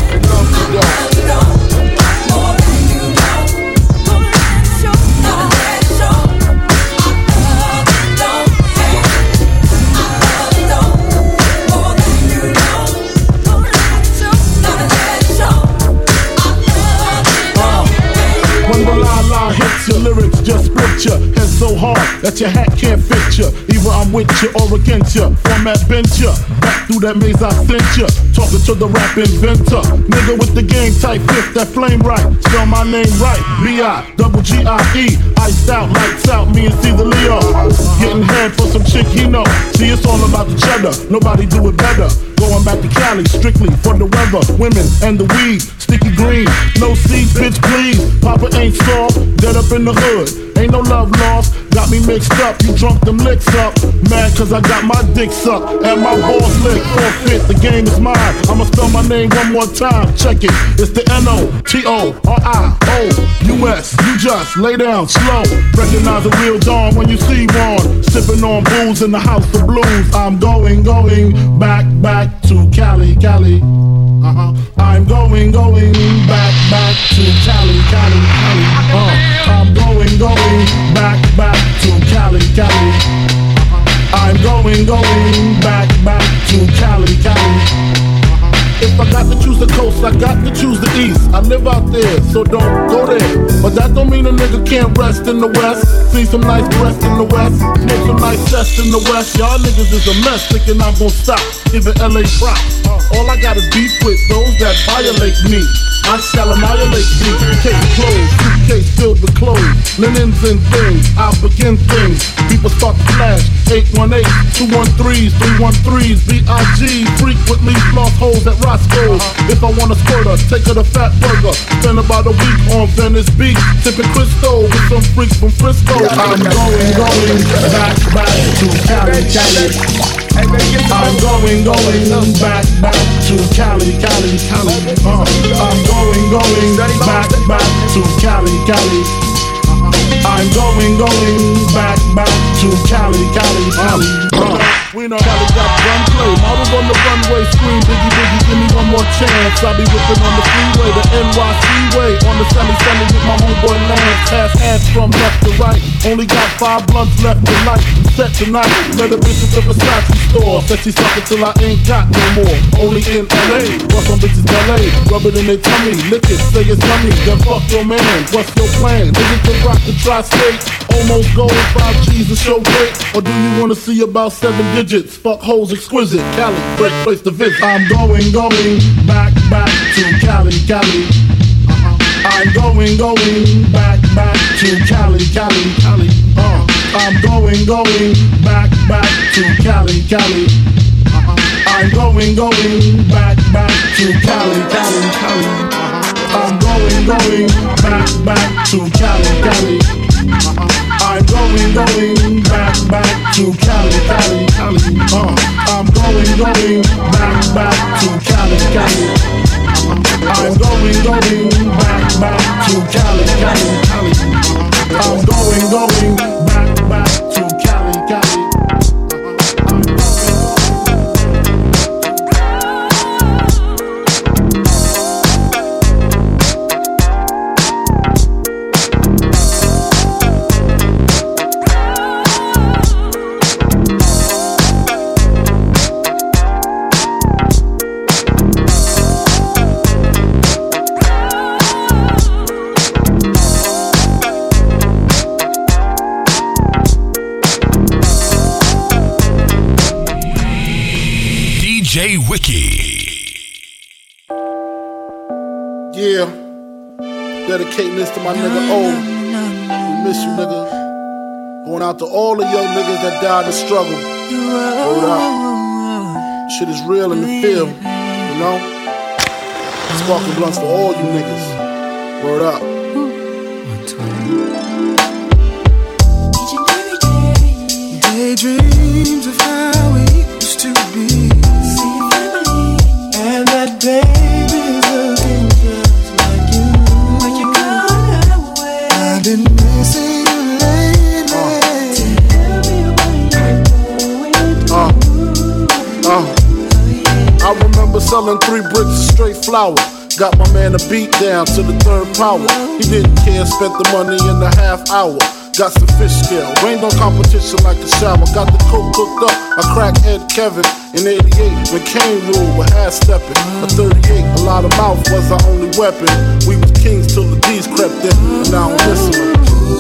Hits your lyrics, just split ya. Head so hard that your hat can't fit ya. Either I'm with ya or against ya. Format bent ya. Back through that maze I sent ya. Talking to the rap inventor. Nigga with the game type fifth, that flame right. Spell my name right. B-I-double-G-I-E. Iced out, lights out, me and Caesar Leo. Getting head for some chick he know. See, it's all about the cheddar. Nobody do it better. Going back to Cali, strictly for the weather, women, and the weed. Sticky green, no seeds, bitch, please. Papa ain't soft, dead up in the hood. Ain't no love lost, got me mixed up. You drunk them licks up. Mad cause I got my dick sucked and my balls licked. Forfeit, the game is mine. I'ma spell my name one more time. Check it, it's the N-O-T-O-R-I-O-U-S. You just lay down slow. Recognize a real dawn when you see one. Sipping on booze in the house of blues. I'm going back to Cali. I'm going back to Cali. I'm going back to Cali. I'm going back to Cali. If If I got to choose the coast, I got to choose the east. I live out there, so don't go there. But that don't mean a nigga can't rest in the west. See some nice breasts in the west, smoke some nice chest in the west. Y'all niggas is a mess, thinking I'm gon' stop, giving LA props. All I got is beef with those that violate me. I shall annihilate you. Case closed, suitcase filled with clothes, linens and things. I begin things. People start to flash. 818, 213s, 313s, BIG. Frequently floss holes at Roscoe's. If I want a squirter, take her to Fat Burger. Spend about a week on Venice Beach, tipping Cristo with some freaks from Frisco. I'm going back to Cali, Cali. I'm going back to Cali, Cali, Cali. I'm going back to Cali, Cali. I'm going back to Cali, Cali, Cali. We know Cali got gunplay. Models on the runway scream, Biggie, Biggie, give me one more chance. I be whipping on the freeway, the NYC way. On the semi with my homeboy Lance. Pass from left to right. Only got 5 blunts left to light. Set tonight, let a bitch at the Versace store. Said she suck it till I ain't got no more. Only in LA, bust some bitches LA. Rub it in their tummy, lick it, say it's yummy. Then fuck your man, what's your plan? Is it to rock the tri-state? Almost gold, 5 G's to show great? Or do you wanna see about 7 digits? Fuck hoes exquisite, Cali, great place to visit. I'm going back to Cali, Cali. I'm going back to Cali, Cali, Cali. I'm going back to Cali, Cali. I'm going back to Cali, Cali, Cali. I'm going back to Cali, Cali. I'm going back to Cali, Cali, Cali. I'm going back to Cali, Cali. I'm going back to Cali, Cali, Cali. I'm going back to Cali, Cali. DJ Wiki. Yeah, dedicating this to my nigga O. We miss you, nigga. Going out to all the young niggas that died in the struggle. Hold up. Shit is real in the field, you know? Sparking blunts for all you niggas. Word up. Daydreams of how it used to be. And that baby's looking just like you. But you gone away. I've been missing you lately. Tell me what you're going I remember selling 3 bricks of straight flour. Got my man a beat down to the 3rd power. He didn't care, spent the money in a half hour. Got some fish scale, rained on competition like a shower. Got the coke cooked up, I cracked Ed Kevin in 88 when Kane ruled with half stepping. At 38, a lot of mouth was our only weapon. We was kings till the D's crept in, and now I'm listening.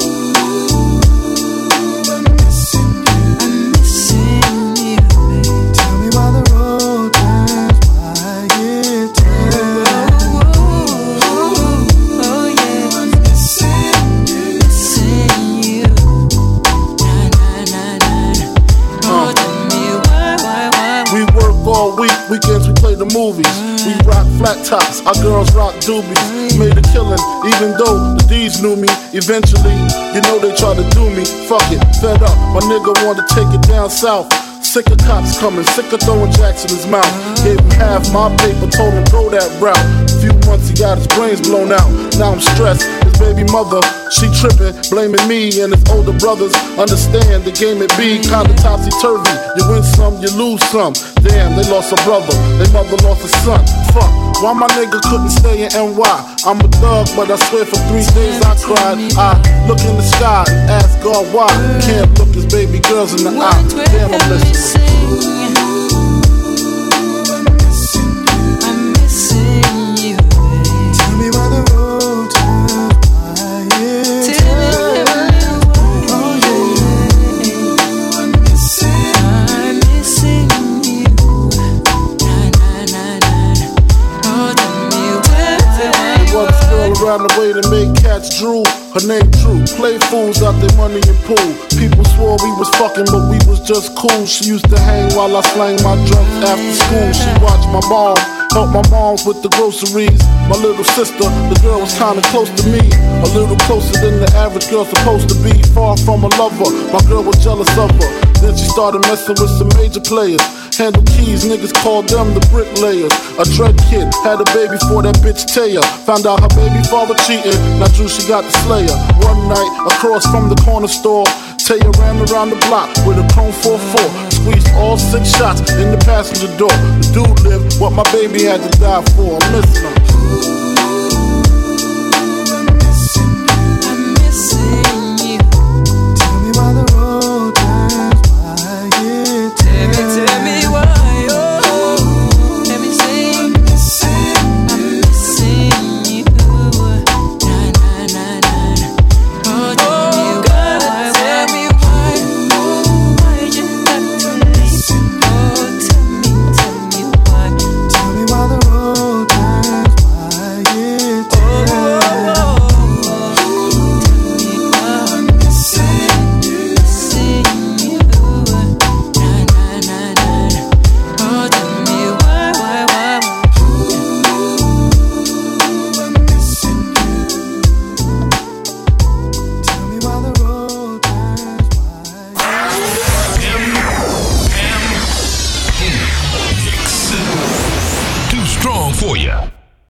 Weekends we play the movies. We rock flat tops, our girls rock doobies. Made a killing, even though the D's knew me. Eventually, you know they tried to do me. Fuck it, fed up, my nigga wanted to take it down south. Sick of cops coming, sick of throwing jacks in his mouth. Gave him half my paper, told him go that route. A few months he got his brains blown out. Now I'm stressed, his baby mother, she tripping, blaming me and his older brothers. Understand the game it be kinda topsy-turvy. You win some, you lose some. Damn, they lost a brother, their mother lost a son. Fuck, why my nigga couldn't stay in NY? I'm a thug, but I swear for 3 days I cried. I look in the sky and ask God why. Can't look his baby girls in the eye. Damn, I'm listening. and made cats drool. Her name True. Play fools out their money and pool. People swore we was fucking, but we was just cool. She used to hang while I slang my drugs after school. She watched my mom, helped my moms with the groceries. My little sister, the girl was kinda close to me. A little closer than the average girl supposed to be. Far from a lover, my girl was jealous of her. Then she started messing with some major players. Handle keys, niggas called them the bricklayers. A dread kid, had a baby for that bitch Taya. Found out her baby father cheating, now Drew she got the slayer. One night, across from the corner store, Taya ran around the block with a Chrome 4-4. Squeezed all 6 shots in the passenger door. The dude lived what my baby had to die for. I'm missing him.